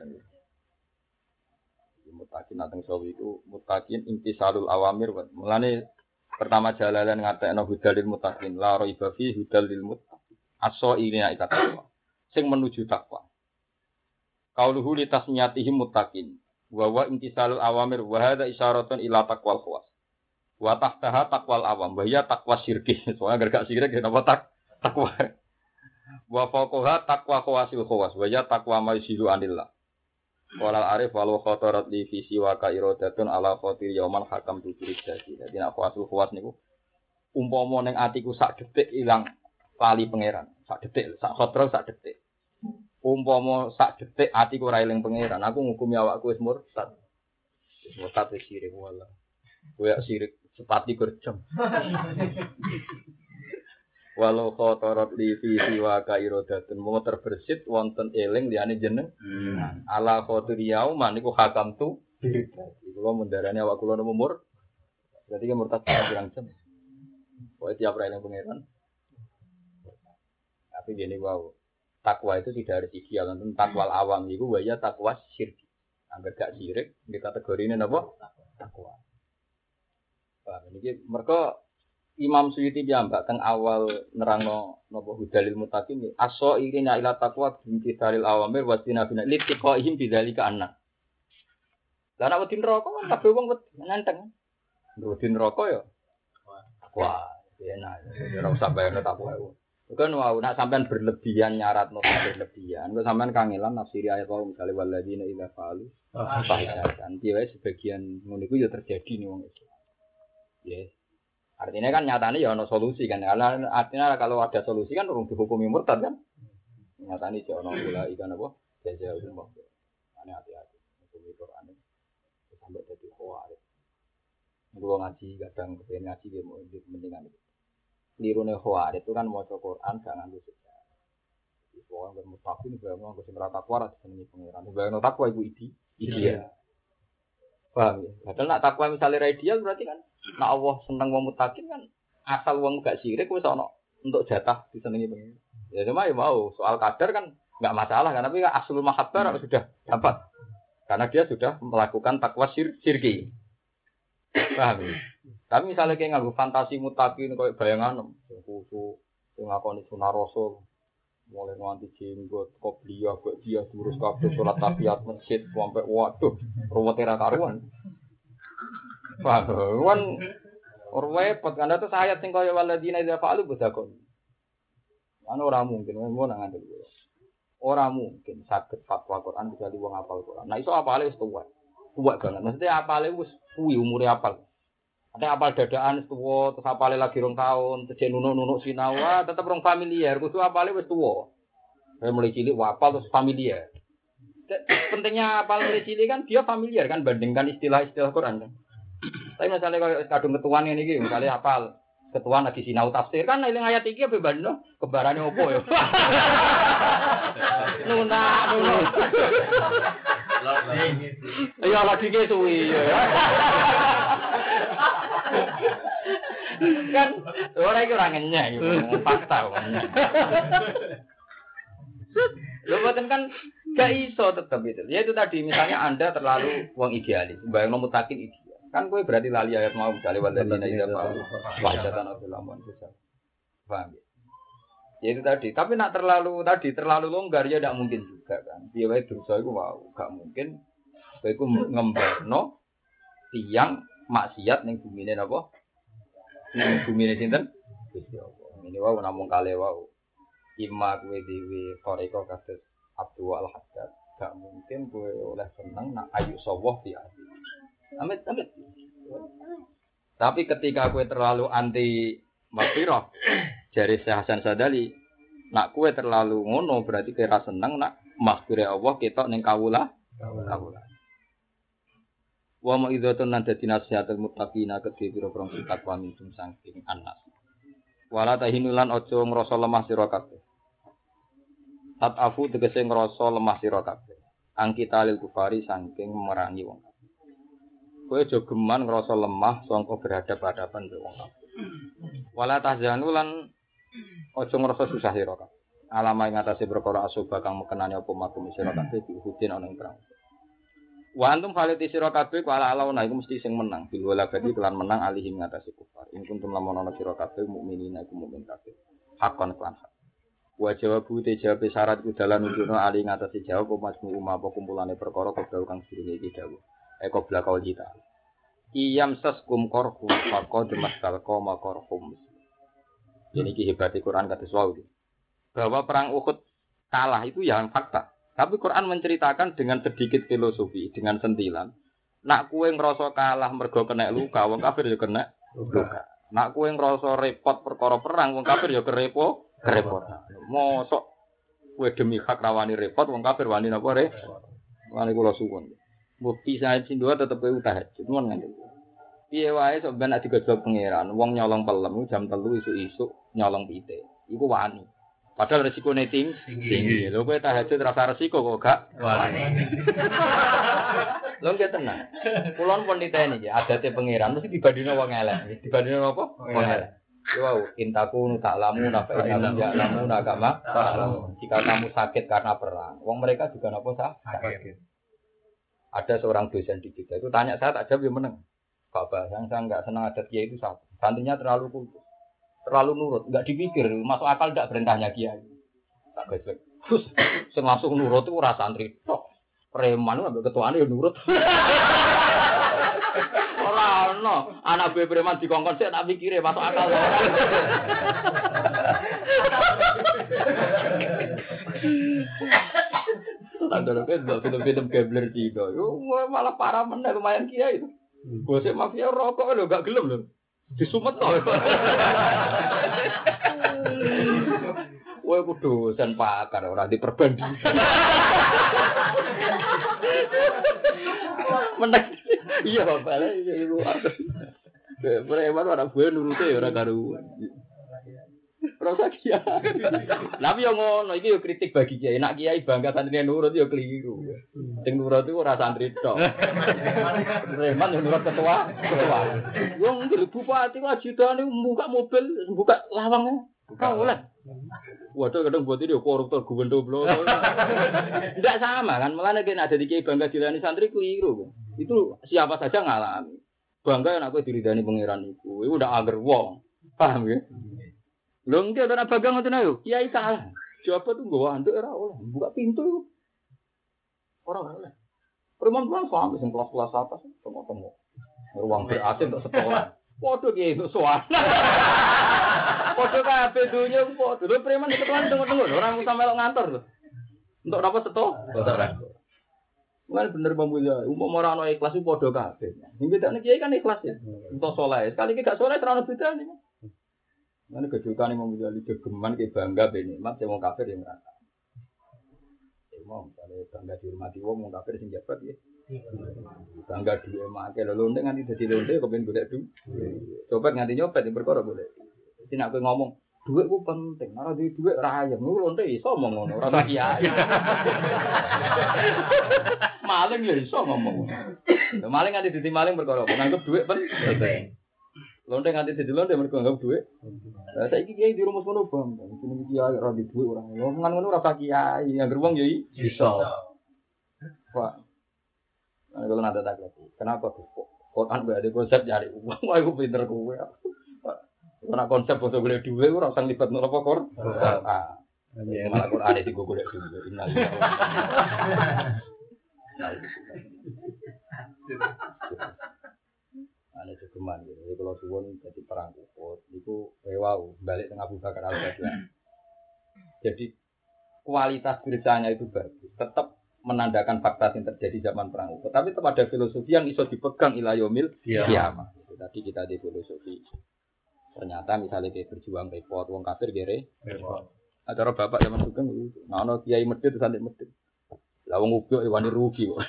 Mutaqin nateng sawi iku mutaqin intisalul awamir. Mulane pertama jalalan ngatekno hudalil mutaqin, la raiba fi hudalil muttaqin. Aso ilina ika takwa. Sing menuju takwa. Qauluhu li tasmiyatihim muttaqin. Wa wa intisalul awamir wa hadza isyaratun ila taqwal khawas. Wa tahtaha taqwal awam, wa ya taqwa syirki. Soalnya gak syirik napa tak takwa. Wa fawqaha taqwa khawasil khawas, wa ya taqwa maysilu anillah. Qala arif wal khatarat li fi siwa ka iradatun ala khatir yauman hakam tu jadi. Dadi nek khawasul khawas niku umpama ning atiku sak detik ilang lali pangeran, sak detik, sak khotrol sak detik. Umpama sak detik atiku ora eling pangeran, aku ngukumi awakku wis murtad. Wis murtad wis sirik wala. Kowe sirik sepati gerjem. Walau khotorot li fi siwa ka iradatun mau terbersit wonten eling liyane jeneng. Hmm. Ala khotiriyau maniku hakam tu dirida. Iku lho mendarani awak kula nomor. Berarti ki murtad pirang jam. Kowe tiap ra eling pangeran. Tapi gini wow. Takwa itu tidak harus ideal, tentang takwal awam itu waya takwa syirik. Angger gak syirik, di kategori ini apa? Takwa. Wah, ini mereka Imam Suyuti jambak teng awal nerangno napa hudalil mutaqin aso irina ila takwa binti dalil awamir wa tinabina litiqaihim bidzalika anna. Lah nek wedi neraka kan kabeh wong nenteng. Wedi neraka ya. Takwa, enak. Ora usah bayarno takwa. Bukan wow, nak sampean berlebihan nyarat no berlebihan. Kalau sampean kangelan nafsiri ayat wau misalnya waladina ila falu fahisatan. Dia sebagian ngono iku ya terjadi nih wong itu. Ya. Artinya kan nyatanya ya ono solusi kan. Karena artinya kalau ada solusi kan urung dihukumi murtad kan. Nyatanya ya ono pula ikan apa? Jaza umum. Ane hati-hati. Hukumi Quran sampai jadi khawarij. Kulo ngaji kadang kepen ngaji ge mau mendingan itu. Lirune khawarij itu kan maca Quran gak nganggo sejarah. Iku wong mustaqim bae wong sing ora takwa ra disenengi pangeran. Bae takwa iku idi, ideal. Paham ya? Padahal nak takwa misale ra ideal berarti kan nak Allah seneng wong mustaqim kan asal wong gak syirik wis ana untuk jatah disenengi pangeran. Ya cuma ya mau soal kadar kan enggak masalah kan tapi kan aslul mahabbah sudah dapat. Karena dia sudah melakukan takwa syir syirki. Paham ya? Tapi misalnya kayak nganggo fantasi mutakin kayak bayangan, kusu, ngakoni sunah rasul, mulai nganti jenggot, kopiah, buat dia terus kabeh sholat tahiyat masjid, sampai waduh, rumah tera karuan. Paham? Kan repot kan itu ayat sing kaya waladina idza fa'alu badakon. Ana ora mungkin mau nang ngandel. Ora mungkin saged fatwa Quran kecuali wong hafal Quran. Nah iso apale wis tuwa. Tuwa banget. Maksudnya apale wis kuwi umure apal. Ada apal dadaan tuwa, terus apale lagi rong tahun, terus nunuk-nunuk sinau, ah tetep rong familiar, kudu apale wis tuwa. Saya mulai cilik apal terus familiar. Pentingnya apal mulai cilik kan dia familiar kan bandingkan istilah-istilah Quran kan. Tapi misalnya kalau kadung ketuaan ini iki, misalnya apal ketuaan lagi sinau tafsir kan eling ayat iki apa bandno kebarane opo ya. Nuna, nuna. Ya lagi ke suwi ya. Kan orang itu orang ngenyek gitu, fakta kan. Lho boten kan Gak iso tetap itu. Ya itu tadi misalnya Anda terlalu wong idealis, bayang nomor takin ideal. Kan gue berarti lali ayat mau misalnya waladina ida mau wajatan atau lamun susah. Paham ya? Ya itu tadi. Tapi nak terlalu tadi terlalu longgar ya tidak mungkin juga kan. Dia wae dosa iku wow, gak mungkin. Kowe iku ngembarno tiyang maksiat ning bumine napa? Ning bumine sinten? Gusti Allah. Ini wae namung kale wae. Ima kowe dhewe koreko kados Abdul Al-Haddad, gak mungkin kowe oleh seneng nak ayu sawah di ati. Amit amit. Tapi ketika kowe terlalu anti maghfirah, jari Syekh Hasan Sadali, nak kowe terlalu ngono berarti kowe ra seneng nak maghfirah Allah ketok ning kawula, kawula. Wa ma idzatun nan dadi nasihatul muttaqina kedhe pira-pira sitat wa minum saking anas. Wala tahinulan aja ngrasa lemah sira kabeh. Tat afu tegese ngrasa lemah sira kabeh. Angkita lil kufari saking merangi wong kabeh. Kowe aja geman ngrasa lemah sangka berhadap-hadapan karo wong kabeh. Wala tahzanu lan aja ngrasa susah sira kabeh. Alama ing atase perkara asoba kang mekenane apa makum sira kabeh diuhudin ana ing perang. Wa antum faliti sira kabeh kala alauna iku mesti sing menang. Bil wala badi kelan menang alihim ngatasi kufar. In kuntum lamun ana sira kabeh mukminin iku mukmin kabeh. Hakon kelan hak. Wa jawabu te jawab syarat ku dalan nunjukno ali ngatasi jawab apa majmu umma apa kumpulane perkara kobra kang sirine iki dawuh. Eko blakau kita. Iyam saskum korhum faqad mastalqa makorhum. Ini ki hebate Quran kados wae. Bahwa perang Uhud kalah itu yang fakta. Tapi Quran menceritakan dengan sedikit filosofi, dengan sentilan. Nak kue ngerasa kalah mergo kena luka, wong kafir ya kena luka. Nak kue ngerasa repot perkara perang, wong kafir ya kerepo, kerepotan. Mosok kue demi hak rawani repot, wong kafir wani napa re? Wani kula suwun. Bukti saya cindua tetep kue tahajud, nuwun ngene. Piye wae sok ben nek digojlok pangeran, wong nyolong pelem jam telu isuk-isuk nyolong pite. Iku wani. Padahal resikonya ting tinggi. Lho kowe tahajud rasa resiko kok gak wani. Lho nggih tenan. Kulon pun niteni iki adate pangeran mesti dibandingno wong elek. Dibandingno apa? Wong elek. Yo wow, intaku tak lamu nafa ilamu ya lamu agama. Jika kamu sakit karena perang, wong mereka juga napa sakit. Ada seorang dosen di kita itu tanya saya tak jawab yang meneng. Bapak yang saya enggak senang adat kiai itu satu. Santrinya terlalu kultus. Terlalu nurut, enggak dipikir, masuk akal enggak perintahnya kiai. Tak gesek. Terus sing langsung nurut itu ora santri tok. Preman ambek ketuane yo nurut. Ora ono, anak buah preman dikongkon sik tak pikire masuk akal. Tandane kan film-film gambler Cina. Yo malah parah meneh lumayan kiai itu. Bose mafia rokok lho enggak gelem lho. Disumet to. Kowe kudu dosen pakar ora diperbanding. Meneng. Iya Bapak, iku. Preman ora buah nurute ya ora karuan. Rasa kiai. Tapi yo ngono iki yo kritik bagi kiai. Nek kiai bangga santrine nurut yo keliru. Sing nurut iku ora santri tok. Preman yo nurut ketua, ketua. Wong bupati wajidane buka mobil, buka lawang. Buka oleh. Waduh kadang buat ini koruptor gubernur blok. Tidak sama kan, malah nek ada di kiai bangga dilani santri keliru. Itu siapa saja ngalami. Bangga nek aku diridani pangeran iku. Iku udah ager wong. Paham ya? Lho nggih ana bangga ngoten ayo. Kiai salah. Jawab tuh nggawa anduk ora oleh. Buka pintu iku. Ora oleh. Perempuan sampe sing kelas-kelas atas tengok-tengok. Ruang berasin untuk sekolah. Padha ki itu soal. Padha kabeh dunya padha. Lho preman ketuan tengok-tengok ora usah melok ngantor lho. Untuk apa seto? Ora. Mulai bener pembuja, umum ora ana ikhlas iku padha kabeh. Sing bedane kiai kan ikhlas ya. Entuk saleh. Sekali iki gak saleh ora ono bedane. Mana kejutan yang memiliki gegeman ke bangga benikmat, saya mau kafir yang merata. Saya mau misalnya bangga dihormati wong, mau kafir sing jabat ya. Bangga dua emak, kalau lonte nganti jadi lonte, kepengen boleh du. Coba nganti nyopet yang berkorok boleh. Jadi nak ngomong, duit itu penting, karena di duit rayam, lu lonte iso ngomong, rasa kiai. Maling ya iso ngomong. Maling nganti jadi maling berkorok, menganggap duit penting. Lonte nganti dadi lonte mergo anggap duit. Lah saiki kiai di rumus ngono bang. Jenenge kiai ora di duit ora. Omongan ngono ora sak kiai, anggere wong yo iso. Pak. Nah, kalau nanti tak lagi, kenapa tuh? Quran gak ada konsep cari uang, wah aku pinter kowe. Karena konsep untuk boleh duit, aku rasa libat nol pokor. Ah, malah Quran itu gue boleh duit. Innalillahi. Ane cegeman gitu. Jadi kalau suwon jadi perang Uhud, itu wow balik tengah Abu Bakar Al-Baghdadi. Jadi kualitas bersanya itu bagus, tetap menandakan fakta yang terjadi zaman perang Uhud. Tapi tetap ada filosofi yang iso dipegang ila yaumil qiyamah. Itu tadi kita di filosofi. Ternyata misalnya kayak berjuang repot, wong kafir gere repot. Acara bapak zaman sugeng itu, nah ono kiai medhit sampe medhit. Lah wong ubyuk wani rugi kok.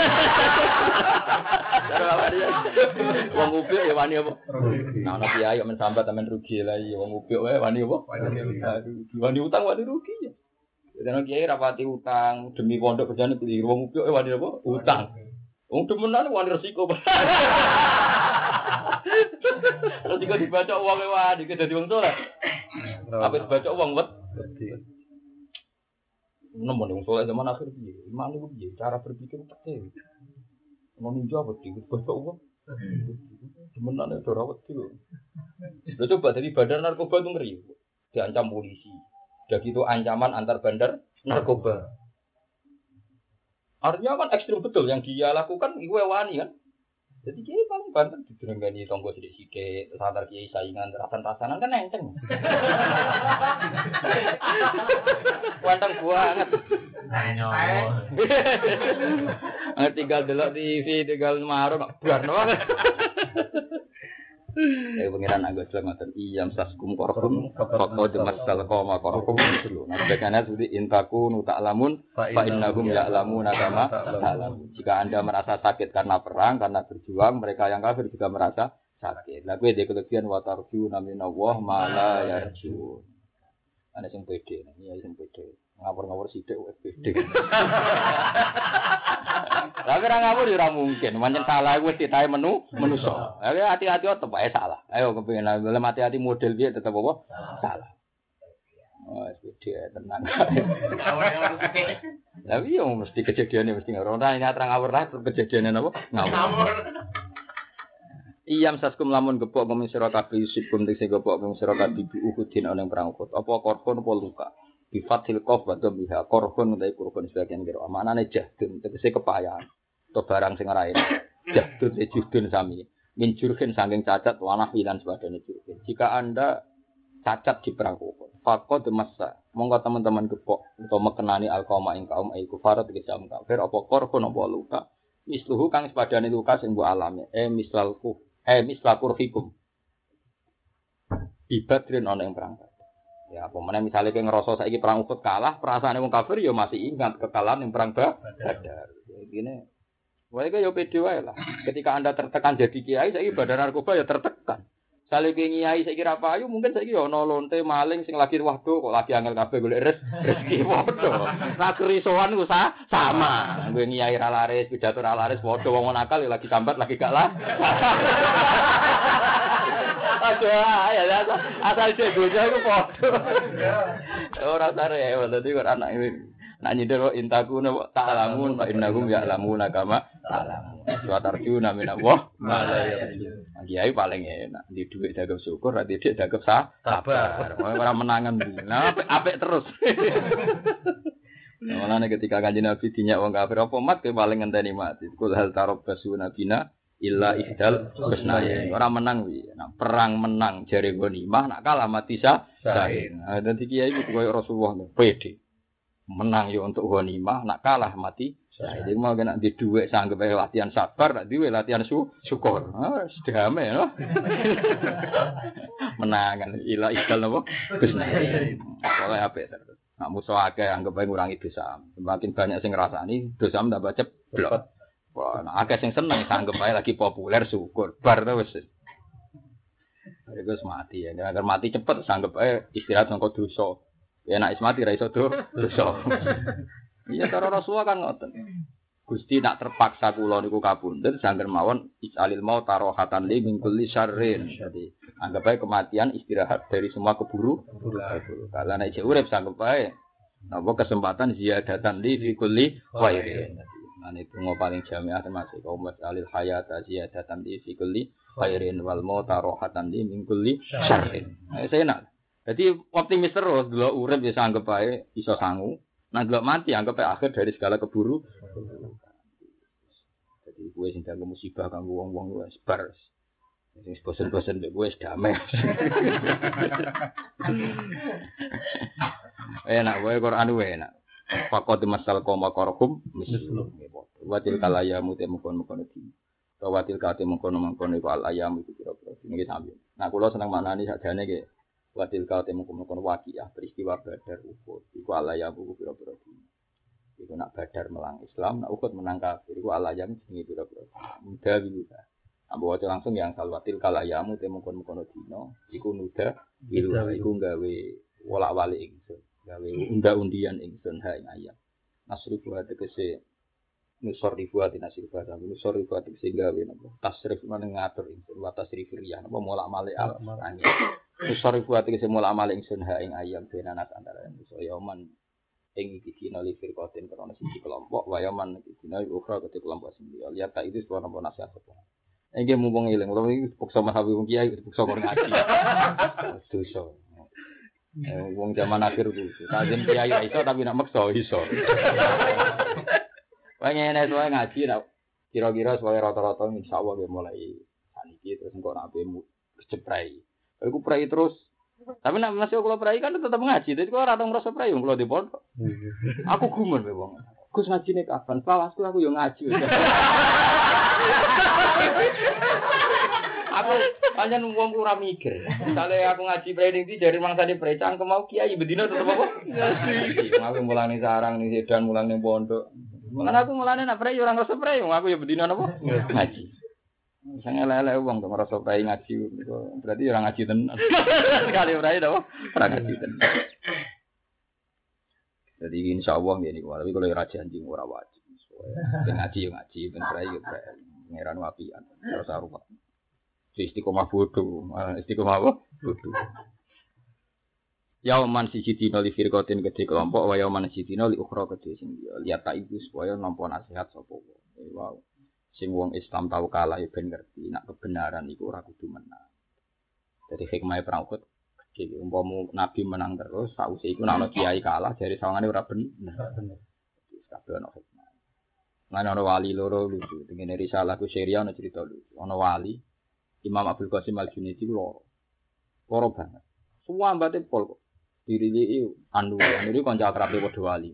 Wong ubyuk ya wani apa? Nah ono kiai men sambat men rugi lah iya wong ubyuk wae wani apa? Wani utang wani rugi ya. Dene kiai rapati utang demi pondok kerjane keliru wong ubyuk wani apa? Utang. Wong demenan wani resiko. Terus juga dibaca uang wani iki dadi wong saleh. Apa dibaca uang wet? Nomor wong saleh zaman akhir piye? Iman iku piye? Cara berpikir tekeh. Mau ninja apa iki? Baca uang. Demenan ora wedi lho. Lha coba dari bandar narkoba itu ngeri. Diancam polisi. Udah gitu ancaman antar bandar narkoba. Artinya kan ekstrim betul yang dia lakukan iku wani kan. Jadi kiai paling banter didenggani tonggo sithik-sithik, terus antar kiai saingan rasan-rasanan kan enteng. Wanteng banget. Nggak tinggal delok T V, tinggal marung bar banget. Eh pengiran Agus ngoten iyam saskum korkum faqad masal qoma korkum dulu. Nah bekane sudi intaku nu ta'lamun fa innahum ya'lamuna kama ta'lamun. Jika Anda merasa sakit karena perang, karena berjuang, mereka yang kafir juga merasa sakit. Lah kowe dhek kelebihan wa tarju naminallah ma la yarju. Ana sing pede, iya sing pede. Ngawur-ngawur sithik wis pede. Tapi ora ngawur ya ora mungkin. Pancen salah wis ditahe menu menusa. Ayo hati-hati tetep wae salah. Ayo kepengin lha hati-hati model piye tetep apa? Salah. Oh, pede tenang. Lah iya mesti kejadiane mesti ngawur. Ora ini terang ngawur lah kejadiane napa? Ngawur. Iyam saskum lamun gepok ngomong sira kabeh sibum sing gepok ngomong sira kabeh Uhudin ana ing perang Uhud. Apa korban apa luka? Bi fathil qaf wa dhammiha korban utawa korban sebagian kira. Manane jahdun tegese kepayahan. To barang sing ora enak. Jahdun sejudun sami. Min jurhin saking cacat wanah lan sebagainya jurhin. Jika Anda cacat di perang Uhud, faqad massa. Monggo teman-teman gepok utawa mekenani alqauma ing kaum ai kufar tegese am kafir apa korban apa luka. Misluhu kang sepadane luka sing mbok alami. Eh mislalku Eh mislakur hikum. Ibadrin ana ing perang. Ya apa meneh misale kowe ngrasa saiki perang Uhud kalah, perasaane wong kafir ya masih ingat kekalahan ing perang Badar. Begini. Wae kaya pede wae lah. Ketika Anda tertekan jadi kiai, saiki Badar narkoba ya tertekan. Sale kowe kiai saiki ra payu, mungkin saiki ya ana lonte maling sing lagi waduh kok lagi angel kabeh golek rezeki padha. Ra kerisoan ku sama. Kowe kiai ra laris, pidato ra laris padha wong nakal ya lagi sambat lagi gak lah. Aduh, ya asal cegoja iku padha. Ora sare, dadi kok anak iki nak nyindir intaku ta'lamun fa innahum ya'lamuna kama ta'lamun. Wa tarjuna min Allah ma la yarjun. Kiai paling enak di dhuwit dagem syukur, ra didik dagem sabar. Ora menangan. Nah, apik terus. Mulane ketika Kanjeng Nabi dinyak wong kafir apa mat ke paling ngenteni mati. Kul hal tarabbasu nabina illa ihdal husnaya. Ora menang wi. Nah, perang menang jare ghanimah, nak kalah mati syahid. Nah, dadi kiai iki koyo Rasulullah pede. Menang yo untuk ghanimah, nak kalah mati syahid. Iku mau kena di dhuwit sanggep latihan sabar, nak diwe latihan su syukur. Ah, sedame no. Menangan ila ihdal napa? Husnaya. Oleh apik terus. Nak musuh akeh anggap bae ngurangi dosa. Semakin banyak sing ngrasani, dosa tambah ceblok. Wah, nah akeh sing seneng sanggep bae lagi populer syukur. Bar to wis. Iku mati ya. Agar mati cepet sanggep bae istirahat sangko dosa. Ya nek mati ra iso dosa. Iya cara Rasulullah kan ngoten. Gusti nak terpaksa kula niku kabundut sangger mawon isalil mau tarohatan li min kulli syarrin. Jadi anggap ae kematian istirahat dari semua keburu. Kalau nek isih urip sanggup ae napa kesempatan ziyadatan li fi kulli khairin. Nah itu paling jamiah termasuk kaum masalil hayat ziyadatan li fi kulli khairin wal mau tarohatan li min kulli syarrin. Nah, saya nak. Jadi optimis terus delok urip ya sanggup ae iso sangu. Nah delok mati anggap ae akhir dari segala keburu. Jadi gue sing kanggo musibah kanggo wong-wong wis bar. Sing bosen-bosen mek gue wis damai. Enak wae Quran wae enak. Faqad masal qoma qarhum mislu. Watil kalaya mute mukon-mukon iki. Watil kate mukon-mukon iku al ayam iku kira-kira niki sampe. Nah kula seneng manani sakjane iki. Watil kate mukon-mukon waqiah peristiwa Badar Uhud iku al ayam iku kira-kira. Iku nak Badar melang Islam, nak Uhud menang kafir. Iku alayam jenenge pira-pira. Muda bisa. Ambo waca langsung yang salwatil kalayamu temukon-mukono dina, iku nuda bilu iku gawe wolak-walik ingsun. Gawe unda-undian ingsun ha ing ayam. Nasri buat tegese nusor ribuat nasir bahasa. Nusor ribuat tegese gawe napa? Tasrif meneng ngatur ingsun wa tasrif riyah napa molak-malik al angin. Nusor ribuat tegese molak-malik ingsun ha ing ayam benanas antara manusa yaman ing iki dina li firqatin karena siji kelompok wayaman iki dina ukhra ketik kelompok sing liya lihat tak itu sebuah napa nasihat apa iki mumpung eling utawa iki pokso mahawi wong kiai pokso kok ngaji dosa eh wong zaman akhir ku kajeng kiai iso tapi nak maksa iso wae ngene wae ngaji nak kira-kira sesuai rata-rata insyaallah ge mulai saniki terus engko nak bemu keceprai aku prai terus. Tapi nek masih kula prai kan tetep ngaji. Dadi kok ora tau ngrasa prai wong kula di pondok. Aku gumun wae wong. Gus ngajine kapan? Pawasku aku yo ngaji. Aku pancen wong ora mikir. Misale aku ngaji prai ning ndi jare mangsane prai cangkem mau kiai bedino tetep apa? Ngaji. Aku mulane sarang ning sedan mulang ning pondok. Mulane aku mulane nek prai yo ora ngrasa prai wong aku yo bedino napa? Ngaji. Sange lele wong kok ngrasa prai ngaji berarti ora ngaji tenan. Sekali prai to, ora ngaji tenan. Jadi insyaallah ngene iki, tapi kalau ora janji ora wajib. Ben ngaji yo ngaji, ben prai yo prai. Pangeran wapian, ora sarupa. Istiqomah bodoh, istiqomah apa? Bodoh. Yauman siji dina li firqatin gede kelompok, wa yauman siji dina li ukhra gede sing liya. Lihat tak iku supaya nampa nasihat sapa wae. Wow. Sing wong Islam tau kalah ben ngerti nek kebenaran iku ora kudu menang. Jadi hikmah perang Uhud gede umpama nabi menang terus sause iku nek ana kiai kalah jare sawangane ora bener. Wis kabeh ana hikmah. Lan ana wali loro lucu, dene risalah ku Syria ana cerita lucu. Ana wali Imam Abdul Qasim Al-Junaidi loro. Loro banget. Semua mbate pol kok. Diriliki anu, anu iki kanca akrabe padha wali.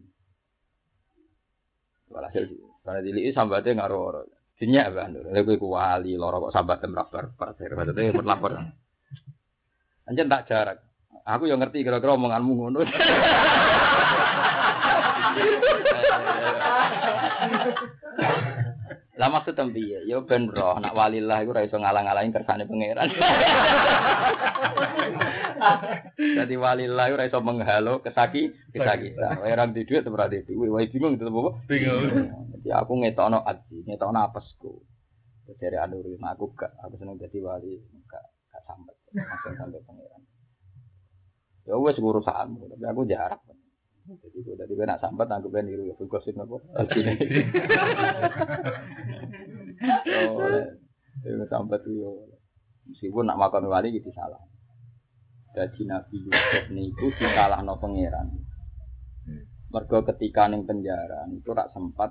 Walhasil karena diliki sambate ngaro-oro. Dinyak Mbak Nur, lha kowe ku wali loro kok sambat temrabar pasir. Maksudnya lapor. Anjen tak jarak. Aku yo ngerti kira-kira omonganmu ngono. Lah maksud piye? Yo ben roh nak walillah iku ora iso ngalang-alangi kersane pangeran. Dadi walillah ora iso menghalo kesaki, kesakitan. Ora di dhuwit ora di dhuwit, wae bingung tetep apa? Bingung. Dadi aku ngetokno ati, ngetokno apesku. Dari anuri aku gak, aku seneng dadi wali, gak gak sambat. Langsung sampai pangeran. Ya wis urusanmu, tapi aku jarak. Jadi kalau dari benak sambat aku ben niru ya gosip apa? Oh, itu sambat yo. Meskipun nak makan wali gitu salah. Jadi Nabi Yusuf niku disalahno pangeran. Mergo ketika ning penjara itu rak sempat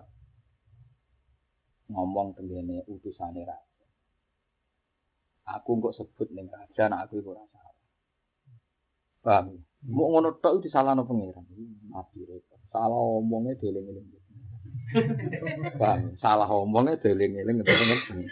ngomong tengene utusane raja. Aku kok sebut ning raja nek aku ora salah. Paham? Mau ngono tok itu disalahno pangeran. Nabi repot. Salah omongnya dieling-eling. Paham? Salah omongnya dieling-eling ngene.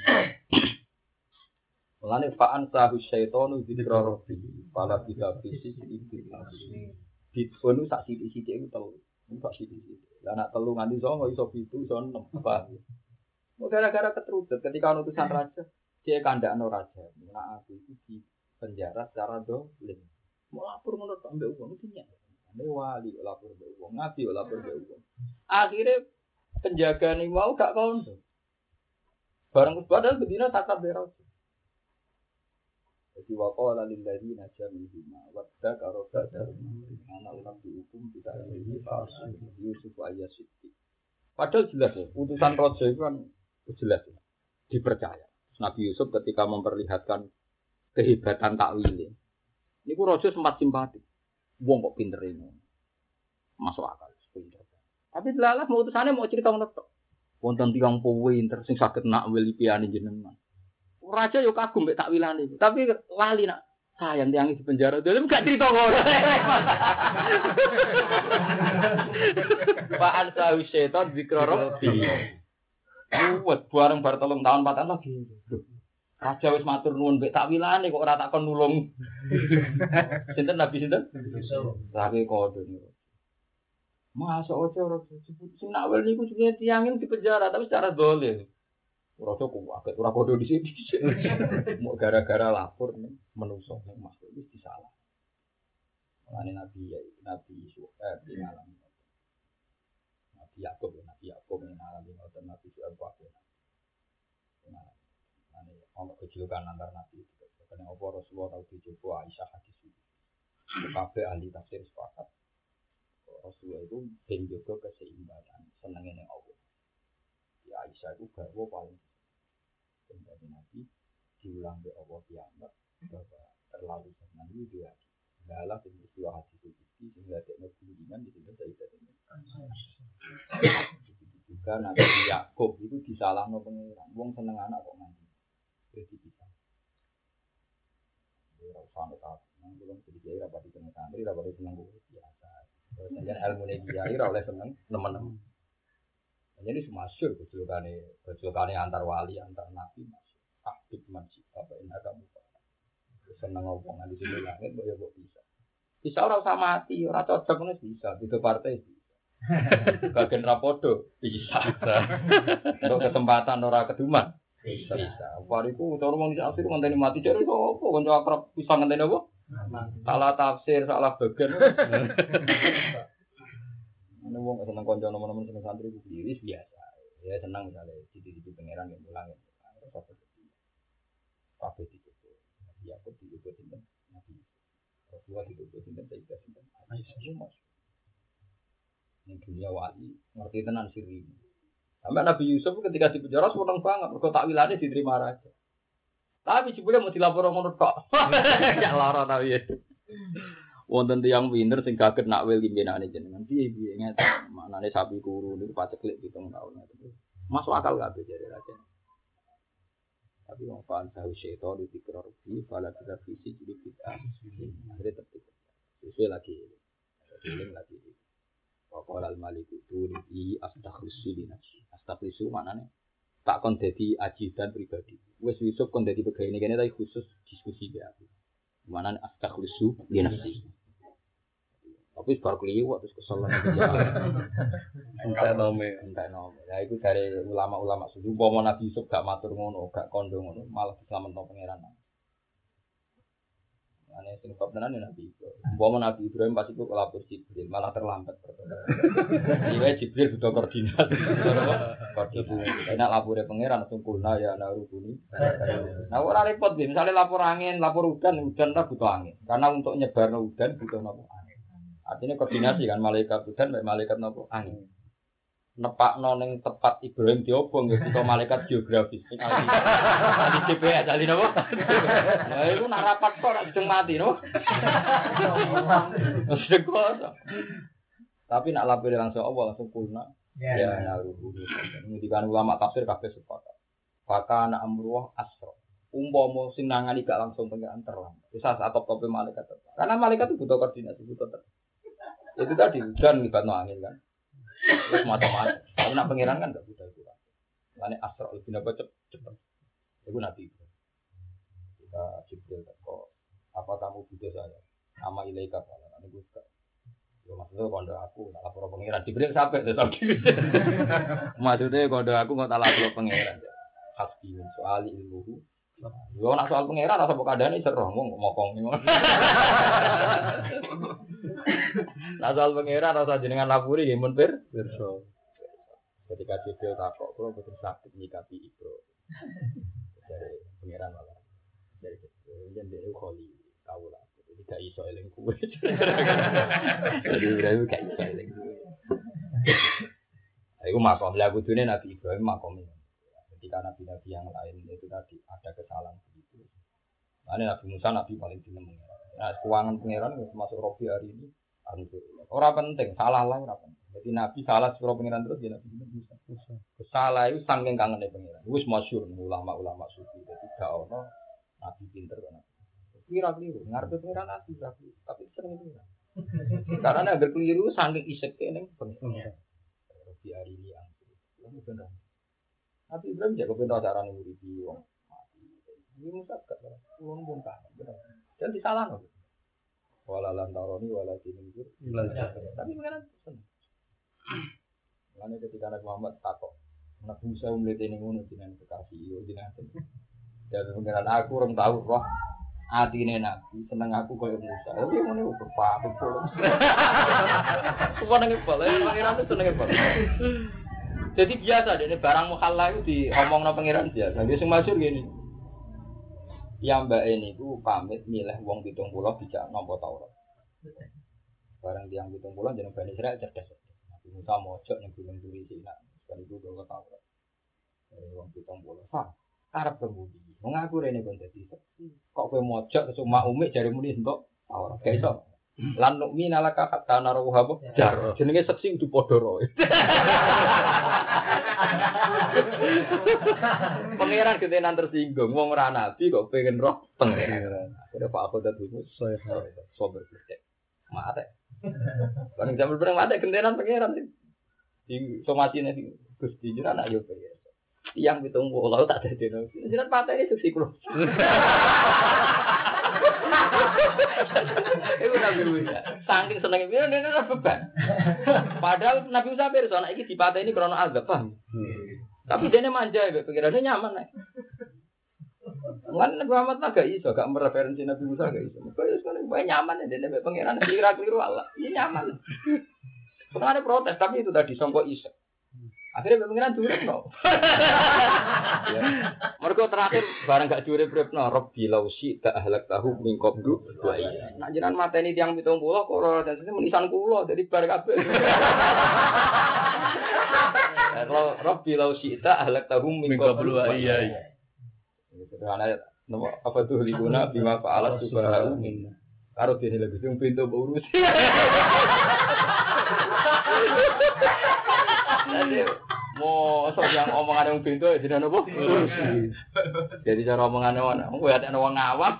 Mulane fa'an sahu syaitanu dzikra rabbi. Pala tidak fisik iki. Ditfonu sak sithik-sithik iku telu. Sak sithik-sithik. Lah nek telu nganti songo iso pitu iso enem. Paham? Gara-gara keterucut ketika utusan raja, dia kandhakno raja. Nek aku iki di penjara secara dolim. Mau lapor menurut ambek uang itu nyak. Ane wali lapor ambek uang, nabi lapor ambek uang. Akhirnya penjaga nih mau gak kondo. Barang padahal bedina takab bero. Jadi waqala lil ladzina jami'u wadda karoba ana ulam dihukum tidak ini palsu Yusuf ayat siti. Padahal jelas ya, utusan raja itu kan jelas ya, dipercaya. Nabi Yusuf ketika memperlihatkan kehebatan takwil. Niku raja sempat simpati. Wong kok pinter ini. Masuk akal pinter. Tapi delalah mau utusane mau cerita ngono tok. Wonten tiyang pinter sing saged nakwil piane jenengan. Raja yo kagum mek takwilane iku. Tapi lali nak sayang tiyang di penjara. Dhewe gak cerita ngono. Pak Ansawi setan zikra rabbi. Kuwat bareng bar telung tahun empat tahun lagi. Raja wis matur nuwun mek takwilane kok ora takon nulung. Sinten Nabi sinten? Tapi kode niku. Masa ojo ora sing nakwil niku jenenge tiyang di penjara tapi secara dolen. Raja ku agak ora kodo di sini. Mau gara-gara lapor menungso ning makhluk wis disalah. Mulane Nabi ya Nabi Yusuf eh di alam. Nabi Yakub Nabi Yakub ning alam ngoten Nabi Yusuf kabeh. Nah, ane ono kejulukan antar Nabi itu. Karena apa Rasulullah tau dicoba Aisyah hadis itu. Kabeh ahli tafsir sepakat. Rasulullah itu ben jaga keseimbangan, senenge ning Allah. Ya Aisyah itu garwa paling dari Nabi diulang oleh Allah Tiamat bahwa terlalu senang itu dia adalah peristiwa hadis itu sehingga tidak kemudian di sini saya tidak juga Nabi Yakub itu disalahkan pengiran wong seneng anak kok nanti jadi bisa rasa tak nang belum sedikit rapat di tengah santri rapat di seneng biasa kemudian ilmu dia ira oleh seneng teman-teman. Jadi semasyur kecilkane kecilkane antar wali antar nabi masuk aktif masjid apa ini agak muka seneng ngomongan di sini langit boleh kok bisa bisa orang usah mati orang cocok nih bisa itu partai bisa bagian rapodo bisa untuk kesempatan orang keduman bisa bisa wariku cara mau disasir ngenteni mati jadi kok apa kanca akrab bisa ngenteni apa salah tafsir salah bagian. Ana wong seneng kanca nomor-nomor seneng santri itu diri biasa. Ya senang misalnya di-di pangeran yang mulang ya. Kabeh itu. Kabeh itu. Ya kok itu sinten Nabi. Rasulullah itu sinten Sayyidah sinten. Aisyah. Ning dunia wali ngerti tenan siri. Sampai Nabi Yusuf ketika di penjara seneng banget mergo takwilane diterima raja. Tapi jebule mau dilapor ngono tok. Ya lara ta piye. Wonten tiyang pinter sing gaget nakwil pimpinane jenengan piye-piye ngeten manane sapi kuru niku paceklik pitung taun ngeten. Masuk akal kabeh jare raja. Tapi wong fan tahu seto di pikir rugi fala kita visi jadi kita. Akhirnya tertib. Sesuai lagi. Sesuai lagi. Waqala al-malik turi astaghfiru li nafsi. Astaghfiru maknane tak kon dadi ajidan pribadi. Wis Yusuf kon dadi pegawai kene tapi khusus diskusi be aku. Maknane astaghfiru li nafsi. Tapi bar kliwat terus kesel nang entek nome, entek nome. Ya iku dari ulama-ulama suci umpama Nabi Yusuf gak matur ngono, gak kondo ngono, malah dislametno pangeran. Ane sing kok tenan Nabi Ibrahim. Umpama Nabi Ibrahim pas iku kelapor Jibril, malah terlambat. Iya Jibril butuh koordinasi. Koordinasi. Nek lapore pangeran langsung kulna ya ana rubuni. Nah ora repot nggih, misale lapor angin, lapor udan, udan ta butuh angin. Karena untuk nyebarno udan butuh napa? Artinya koordinasi kan malaikat udan mek malaikat napa angin. Nepakno ning tepat Ibrahim diobong ya butuh malaikat geografis. Di G P S ali napa? Lah iku nak rapat kok ora dijeng mati no. Tapi nak lapor langsung Allah langsung kulna. Ya naruhu. Ngendikan ulama tafsir kabeh sepakat. Maka ana amruh asra. Umpama sing nangani gak langsung pengen terlambat. Bisa saat top-tope malaikat. Karena malaikat itu butuh koordinasi, butuh ter. Itu tadi hujan libatno angin kan. Terus macam-macam. Tapi nak pengiran kan enggak butuh itu. Lane asra lebih napa cepet. Iku Nabi. Kita Jibril teko. Apa kamu butuh saya? Ama ilaika fala. Niku gak. Yo maksudnya kondo aku tak lapor pengiran. Jibril sampai tetep. Maksudnya kondo aku nggak tak lapor pengiran. Hasbi soal ilmu. Yo nak soal pengiran rasa mbok kandhane seroh mong mokong ngono. Nah soal pengiran rasa jenengan lapuri nggih mun pir pirsa. Ketika Jibril takok, kalau betul sakit nyikapi Ibro dari pangeran malah dari Jibril dan dari Kholi tahu lah, jadi gak iso eling kue. Jadi Ibrahim gak iso eling kue. Aku makom lah kudunya Nabi Ibrahim makom ini. Ketika nabi-nabi yang lain itu tadi ada kesalahan begitu. Nah, ini Nabi Musa Nabi paling dinem mengira. Nah, keuangan pangeran termasuk Robi hari ini orang penting salah lah orang penting. Jadi Nabi salah suruh pangeran terus dia Nabi Musa. Salah itu saking kangen pangeran. Wis masyhur ulama-ulama sufi. Jadi gak ono Nabi pinter kan. Kira keliru ngarepe pangeran Nabi tapi sering itu. Karena agar keliru saking iseke ning pangeran. Robi hari ini yang benar. Nabi Ibrahim jago pintar cara nguripi wong mati. Ini Musa gak salah. Ulun pun kan benar. Dan disalahno. Wala lantaroni wala tinunjur. Tapi mengenai pesan. Mengenai ketika Nabi Muhammad takok. Nabi Musa umlete ning ngono jenengan kekasih yo jenengan. Ya mengenai aku orang tahu roh atine Nabi seneng aku koyo Musa. Tapi ngene kok paham pol. Suwane pol, pangeran itu senenge pol. Jadi biasa dene barang mukhalla itu diomongno pangeran biasa. Dia sing masyhur ngene. Ya mbak ini ku pamit milih wong pitung puluh dijak nampa Taurat. Barang tiang pitung puluh jeneng Bani Israil cerdas. Nabi Musa mojok ning gunung Turi Sina, kan iku gawa Taurat. Dari wong pitung puluh. Hah, arep kemudi. Wong aku rene kon dadi seksi. Kok kowe mojok cuma umik jare muni entuk Taurat. Gak iso. Lan nukmi nalaka hatta naruh apa? Jar. Jenenge seksi kudu padha roe. Pangeran ketenan tersinggung, wong ora nabi kok pengen roh pangeran. Akhire Pak aku dadi saya sober gede. Mate. Kan jaman perang mate kentenan pangeran. Di somasine Gusti jenengan anak yo pengen. Yang pitung puluh tak dadeno. Jenengan patene seksi kulo. Iku Nabi Musa. Saking senenge piye nek ora beban. Padahal Nabi Musa pirsa anak iki dipateni krana azab, paham? Tapi dene manja ya, pikirane nyaman nek. Lan Nabi Muhammad agak iso, gak mereferensi Nabi Musa gak iso. Kok iso nek nyaman dene mek pangeran kira-kira Allah. Iya nyaman. Pernah ada protes tapi itu tadi songko iso. Akhirnya pengiran jurep no. Ya. Mereka terakhir barang gak jurep repno. Rabbi lausi tak ahlak tahu mingkop du. Nah jangan mata ini tiang pitung pulau koro dan sini menisan pulau jadi bar kabel. Kalau Rabbi lausi tak ahlak tahu mingkop du. Iya. Karena apa tuh diguna bima faalat subhanahu min. Karo dene lagi sing pintu urus. Mau sok yang omongan yang pintu jadi nopo. Jadi cara omongan mana? Kowe ada wong awam.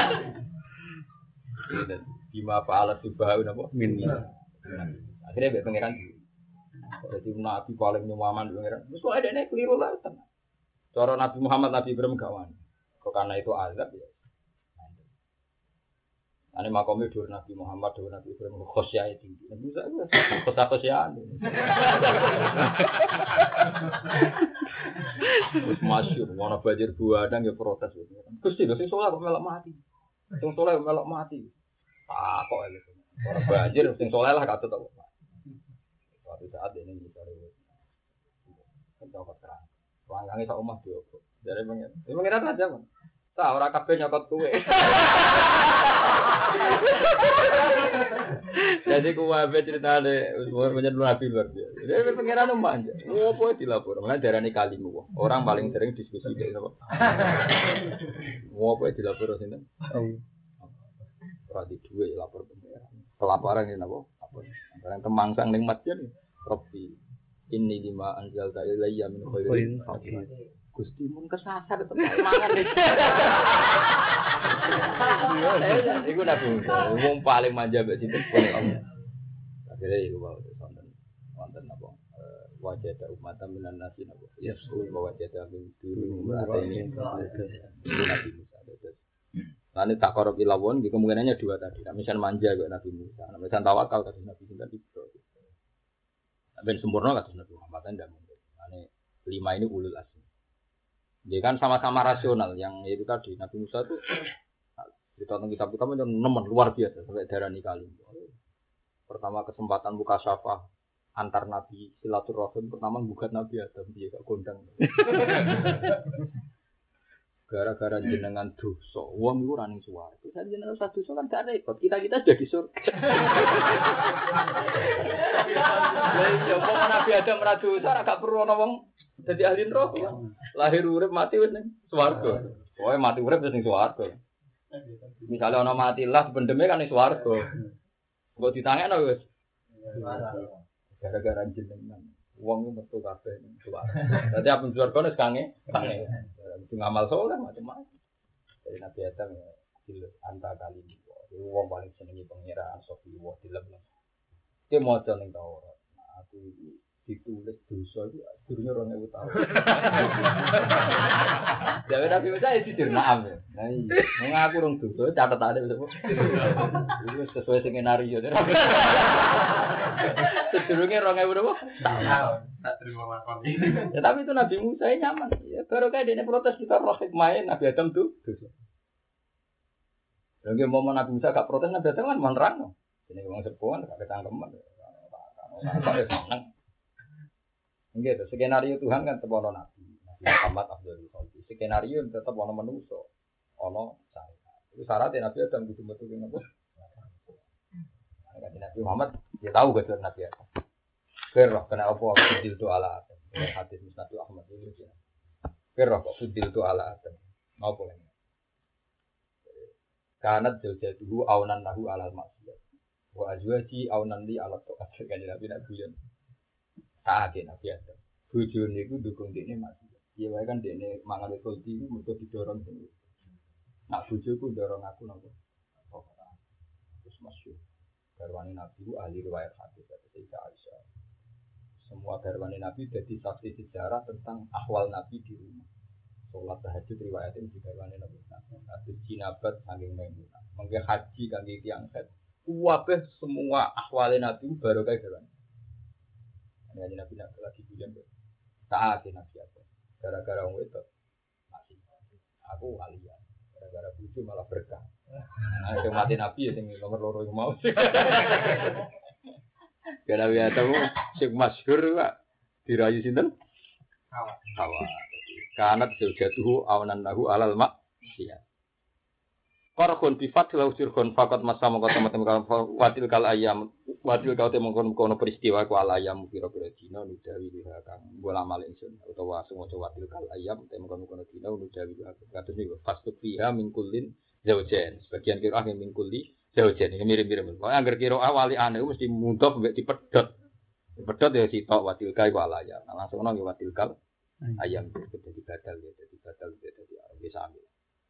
Bima faalat subhanahu napa min. Akhirnya mbek pangeran. Jadi nabi paling nyaman pangeran. Wis kok adene keliru lah. Cara Nabi Muhammad Nabi Ibrahim gak wani. Kok karena itu azab ya. Ane makomnya dur Nabi Muhammad, dur Nabi Ibrahim, khosyah tinggi. Nabi Musa itu khosyah-khosyah. Terus masyur, warna bajir buadang ya protes. Terus tidak, sing soleh kok melok mati. Sing soleh melok mati. Ah kok ya gitu. Warna bajir, sing soleh lah katut kok mati. Suatu saat ini kita rewet. Kita terang. Wangange sak omah diobok. Jare pengen. Iki pengen aja, Mas. Ta ora kabeh nyokot kowe. Jadi kuwabe ceritane umur menyen Nabi luar biasa. Jadi pengiran manja. Opo dilapor? Mana darani kalimu. Orang paling sering diskusi iki sapa? Opo dilapor sinten? Ora di duwe lapor pengiran. Pelaporan ini napa? Apa? Barang kemangsang ning masjid. Robbi ini lima anjal ilayya min khairin fakir. Gusti mun kesasar tetep mangan. Iku Nabi Musa, wong paling manja mbek sinten Allah. Akhire iku wae wonten wonten napa wajah umat minan nasi napa. Yesus wajah min dulu ini Nabi Musa. Lan tak korop ilawon iki kemungkinannya dua tadi. Misal manja kok Nabi Musa, misal tawakal kados Nabi sinten Ibrahim. Ben sempurna kados Nabi Muhammad ndak mungkin. Ane lima ini ulul azmi. Dia kan sama-sama rasional yang itu tadi Nabi Musa itu kita tentang kitab-kitab itu nemen luar biasa sampai darah nikali. Pertama kesempatan buka syafah antar nabi silaturahim pertama bukan Nabi Adam dia gak kondang. Gara-gara jenengan dosa, wong iku ora ning swarga. Sajen jenengan usah dosa kan gak repot. Kita-kita jadi surga. Lah iya, kok Nabi Adam ora dosa ora gak perlu ana wong dadi ahli neraka. Lahir urip mati wis ning swarga. Pokoke mati urip wis ning swarga. Misale ana mati lah bendeme kan ning swarga. Kok ditangekno wis. Gara-gara jenengan wong metu kabeh ning swarga. Dadi apa swarga wis kange, kange. Itu ngamal soleh macam-macam. Dari Nabi Adam ya, dilus anta kali ini. Itu orang paling senengi pengiraan sofi wah dilem. Dia mau jalan Taurat. Nah, aku ditulis dosa itu akhirnya orang yang tahu. Jadi Nabi Musa itu dirnaam ya. Nah, mengaku orang dosa catatan ada betul. Itu sesuai skenario. Sedurungnya orang yang berapa? Tahu. Tak terima makan. Ya tapi itu Nabi Musa nyaman. Ya baru kayak dia protes kita roh main Nabi Adam tuh. Lagi mau Nabi Musa gak protes Nabi Adam kan menerang. Ini orang sepuan gak ketangkeman. Apa seneng. Gitu, skenario Tuhan kan tetap ono Nabi, Nabi Muhammad Abdul Khalid. Skenario tetap ono manusia, ono saya. Itu syaratnya Nabi Adam gitu betul betul. Nah, Nabi Muhammad dia tahu gak Nabi Adam. Kerah kena apa? Fudil tu ala Adam. Hadis Musnad Ahmad itu dia. Kerah kok fudil tu ala Adam. Apa ini? Kanat jauh-jauh aunan lahu ala maksiyat. Wa azwaji aunan li ala to'at. Kan Nabi Nabi yang saat ini Nabi Adam. Bujur niku dukung dia masih. Iya wae kan dia mangan kulti itu mesti didorong sendiri. Nak bujurku dorong aku nopo. Terus masuk. Garwane Nabi itu ahli riwayat hadis dari Aisyah. Semua garwane Nabi jadi saksi sejarah tentang ahwal Nabi di rumah. Sholat tahajud riwayatnya di garwane Nabi. Hadis jinabat saking Maimunah. Mengke haji kangge tiyang set. Kuwabeh semua ahwale Nabi baru kayak garwane. Nabi Nabi lagi bilang saat ini Nabi apa? Gara-gara orang itu masih aku aliyah. Gara-gara bucu malah berkah. Nah itu mati Nabi ya tinggi nomor loro yang mau. Gara-gara biasa mu sing masyhur pak dirayu sinten? Hawa. Hawa. Kanat jatuh awanan lahu alal mak. Iya. Qarqun bi fatil usirkun faqat masama teman-teman watil kal ayam watil kau temongkon kono peristiwa ku al ayam pira-pira dina nudawi liha kang bola malih ingsun utawa semoco watil kal ayam temongkon kono dina nudawi kados niku fastuk fiha min kullin zaujain sebagian kira ah min kulli zaujain ini mirip-mirip kok angger kira awali ane mesti mundhaf mbek dipedhot dipedhot ya sitok watil kal ku al ayam nah langsung nang watil kal ayam dadi badal ya dadi badal dadi bisa ambil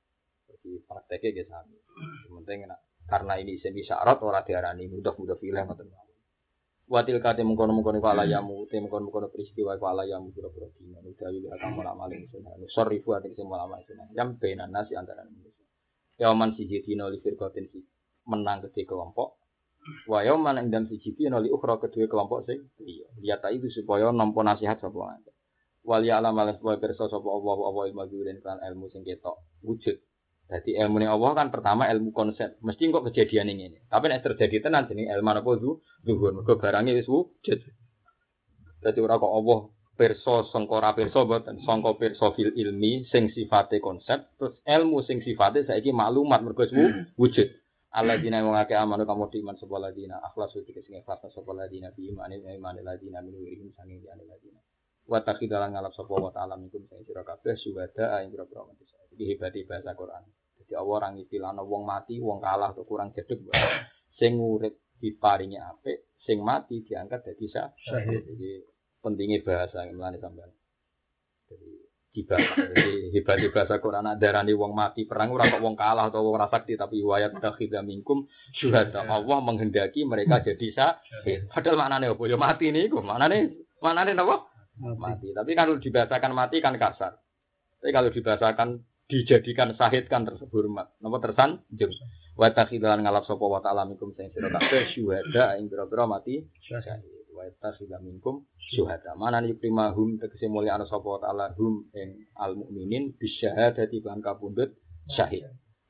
di prakteknya dia sami. Sementing karena ini semi syarat orang diarani mudah-mudah film atau apa. Watil kate mengkono-mengkono kala yamu, te mengkono-mengkono peristiwa kala yamu pura-pura dina. Udah wili akan malam-malam sunah. Sorry fu ati sing malam-malam sunah. Jam benan nasi antara manusia. Yaman siji dina li firqatin si menang kedhe kelompok. Wa yaman ing dan siji dina li ukhra kedhe kelompok sing iya. Lihat itu supaya nampa nasihat sapa wae. Wal ya alam alas wa pirsa sapa Allah apa ilmu guren kan ilmu sing ketok wujud. Jadi ilmu ini Allah kan pertama ilmu konsep. Mesti kok kejadian ini. Tapi nek terjadi tenan jeneng ilmu apa zu zuhur. Mergo barange wis wujud. Dadi ora kok Allah pirsa sangka pirsa boten sangka pirsa fil ilmi sing sifate konsep terus ilmu sing sifate saiki maklumat mergo wujud. Alladzina wong akeh amanu kamu diman sapa ladina akhlasu iki sing ikhlas sapa ladina bi imane imane ladina min wirim sanging diane ladina. Wa takhidalan ngalap sapa wa ta'ala minkum sing sira kabeh syuhada ing pira-pira mati. Iki hebate bahasa Quran. Jadi Allah orang istilahna wong mati, wong kalah atau kurang jedeg. Sing urip diparingi apik, sing mati diangkat dadi syahid. Jadi pentingnya bahasa mulane sampean. Jadi dibahas. Jadi hebate bahasa Quran darani wong mati perang ora kok wong kalah atau wong rasakti tapi wayat takhidha minkum syuhada. Allah menghendaki mereka jadi syahid. Padahal maknane apa? Ya mati niku. Maknane maknane napa? Mati. Tapi kalau dibahasakan mati kan kasar. Tapi kalau dibahasakan dijadikan syahid kan terhormat. Napa tersanjung. Wa takhidalan ngalap sapa wa ta'ala minkum sing sira kabeh syuhada ing pira-pira mati syahid. Wa takhidha minkum syuhada. Manane primahum tegese mulya ana sapa wa ta'ala hum ing al mukminin bisyahadati lan kapundhut syahid.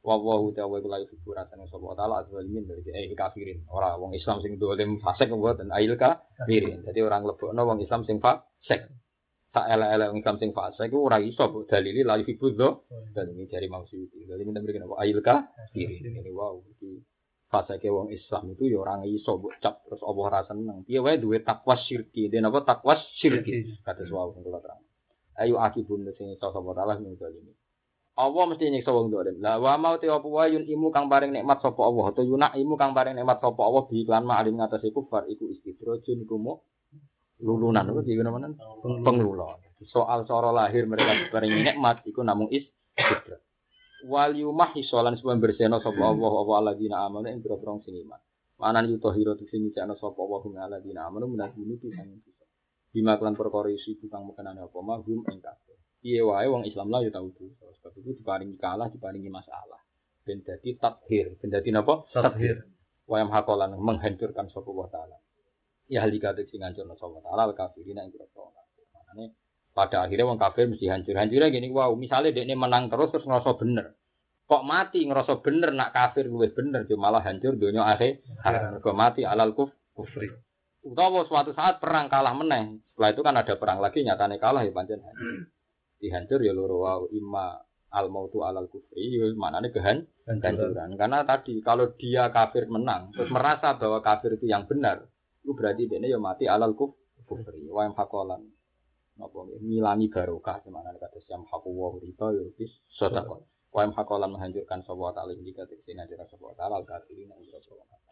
Wa wa ta'ala iku la yuhibburatan sapa taala azwalimin dari eh kafirin. Ora wong Islam sing dolim fasik mboten ail kafirin. Dadi orang lebokno wong Islam sing fasik. Sak elek-elek wong Islam sing fasik iku ora iso mbok dalili la yuhibbudzo. Dan ini dari maksud. Jadi minta berikan apa ail kafirin. Ini wow iki fasike wong Islam itu ya ora iso mbok cap terus Allah ora seneng. Piye wae duwe takwa syirki. Den apa takwa syirki. Kados wow sing kula terang. Ayo akibun sing iso sapa taala ning dalem. Allah mesti nyiksa wong dolim. Lah wa mau te apa wae yun imu kang paring nikmat sapa Allah atau yunak imu kang paring nikmat sapa Allah bi iklan ma'alim ngatasi kufar iku istidrojun iku mu lulunan iku iki menawa penglulon. Soal cara lahir mereka paring nikmat iku namung istidroj. Wal yumah isolan sebab bersihna sapa Allah apa alladzina amanu ing pira-pira sing iman. Manan yutahira sing nyicakna sapa Allah hum alladzina amanu menasuni pisan. Bima kelan perkara isi kang mekenane apa mahum ing kabeh. Piye wae wong Islam lah ya tau dosa. Sebab itu diparingi kalah, diparingi masalah. Ben dadi tathir, ben dadi napa? Tathir. Wa yam hakolan menghancurkan sapa wa taala. Ya halika sing ngancurna sapa taala kafirina ing kira Makane pada akhirnya wong kafir mesti hancur-hancurnya gini, wow, misalnya dekne menang terus terus ngerasa bener. Kok mati ngerasa bener nak kafir luwih bener, cuma malah hancur donya akhir. Mergo mati alal kuf, kufri. Utawa suatu saat perang kalah meneh. Setelah itu kan ada perang lagi nyatane kalah ya pancen hancur. Dihancur ya loro wae imma al mautu alal kufri ya maknane kehancuran karena tadi kalau dia kafir menang terus merasa bahwa kafir itu yang benar itu berarti dia ya mati alal kufri wa yang hakolan napa ngilangi barokah semanane kata siam haku wa riba ya wis sedekah wa yang hakolan menghancurkan sapa taala iki kate sing ngajar sapa taala kafirin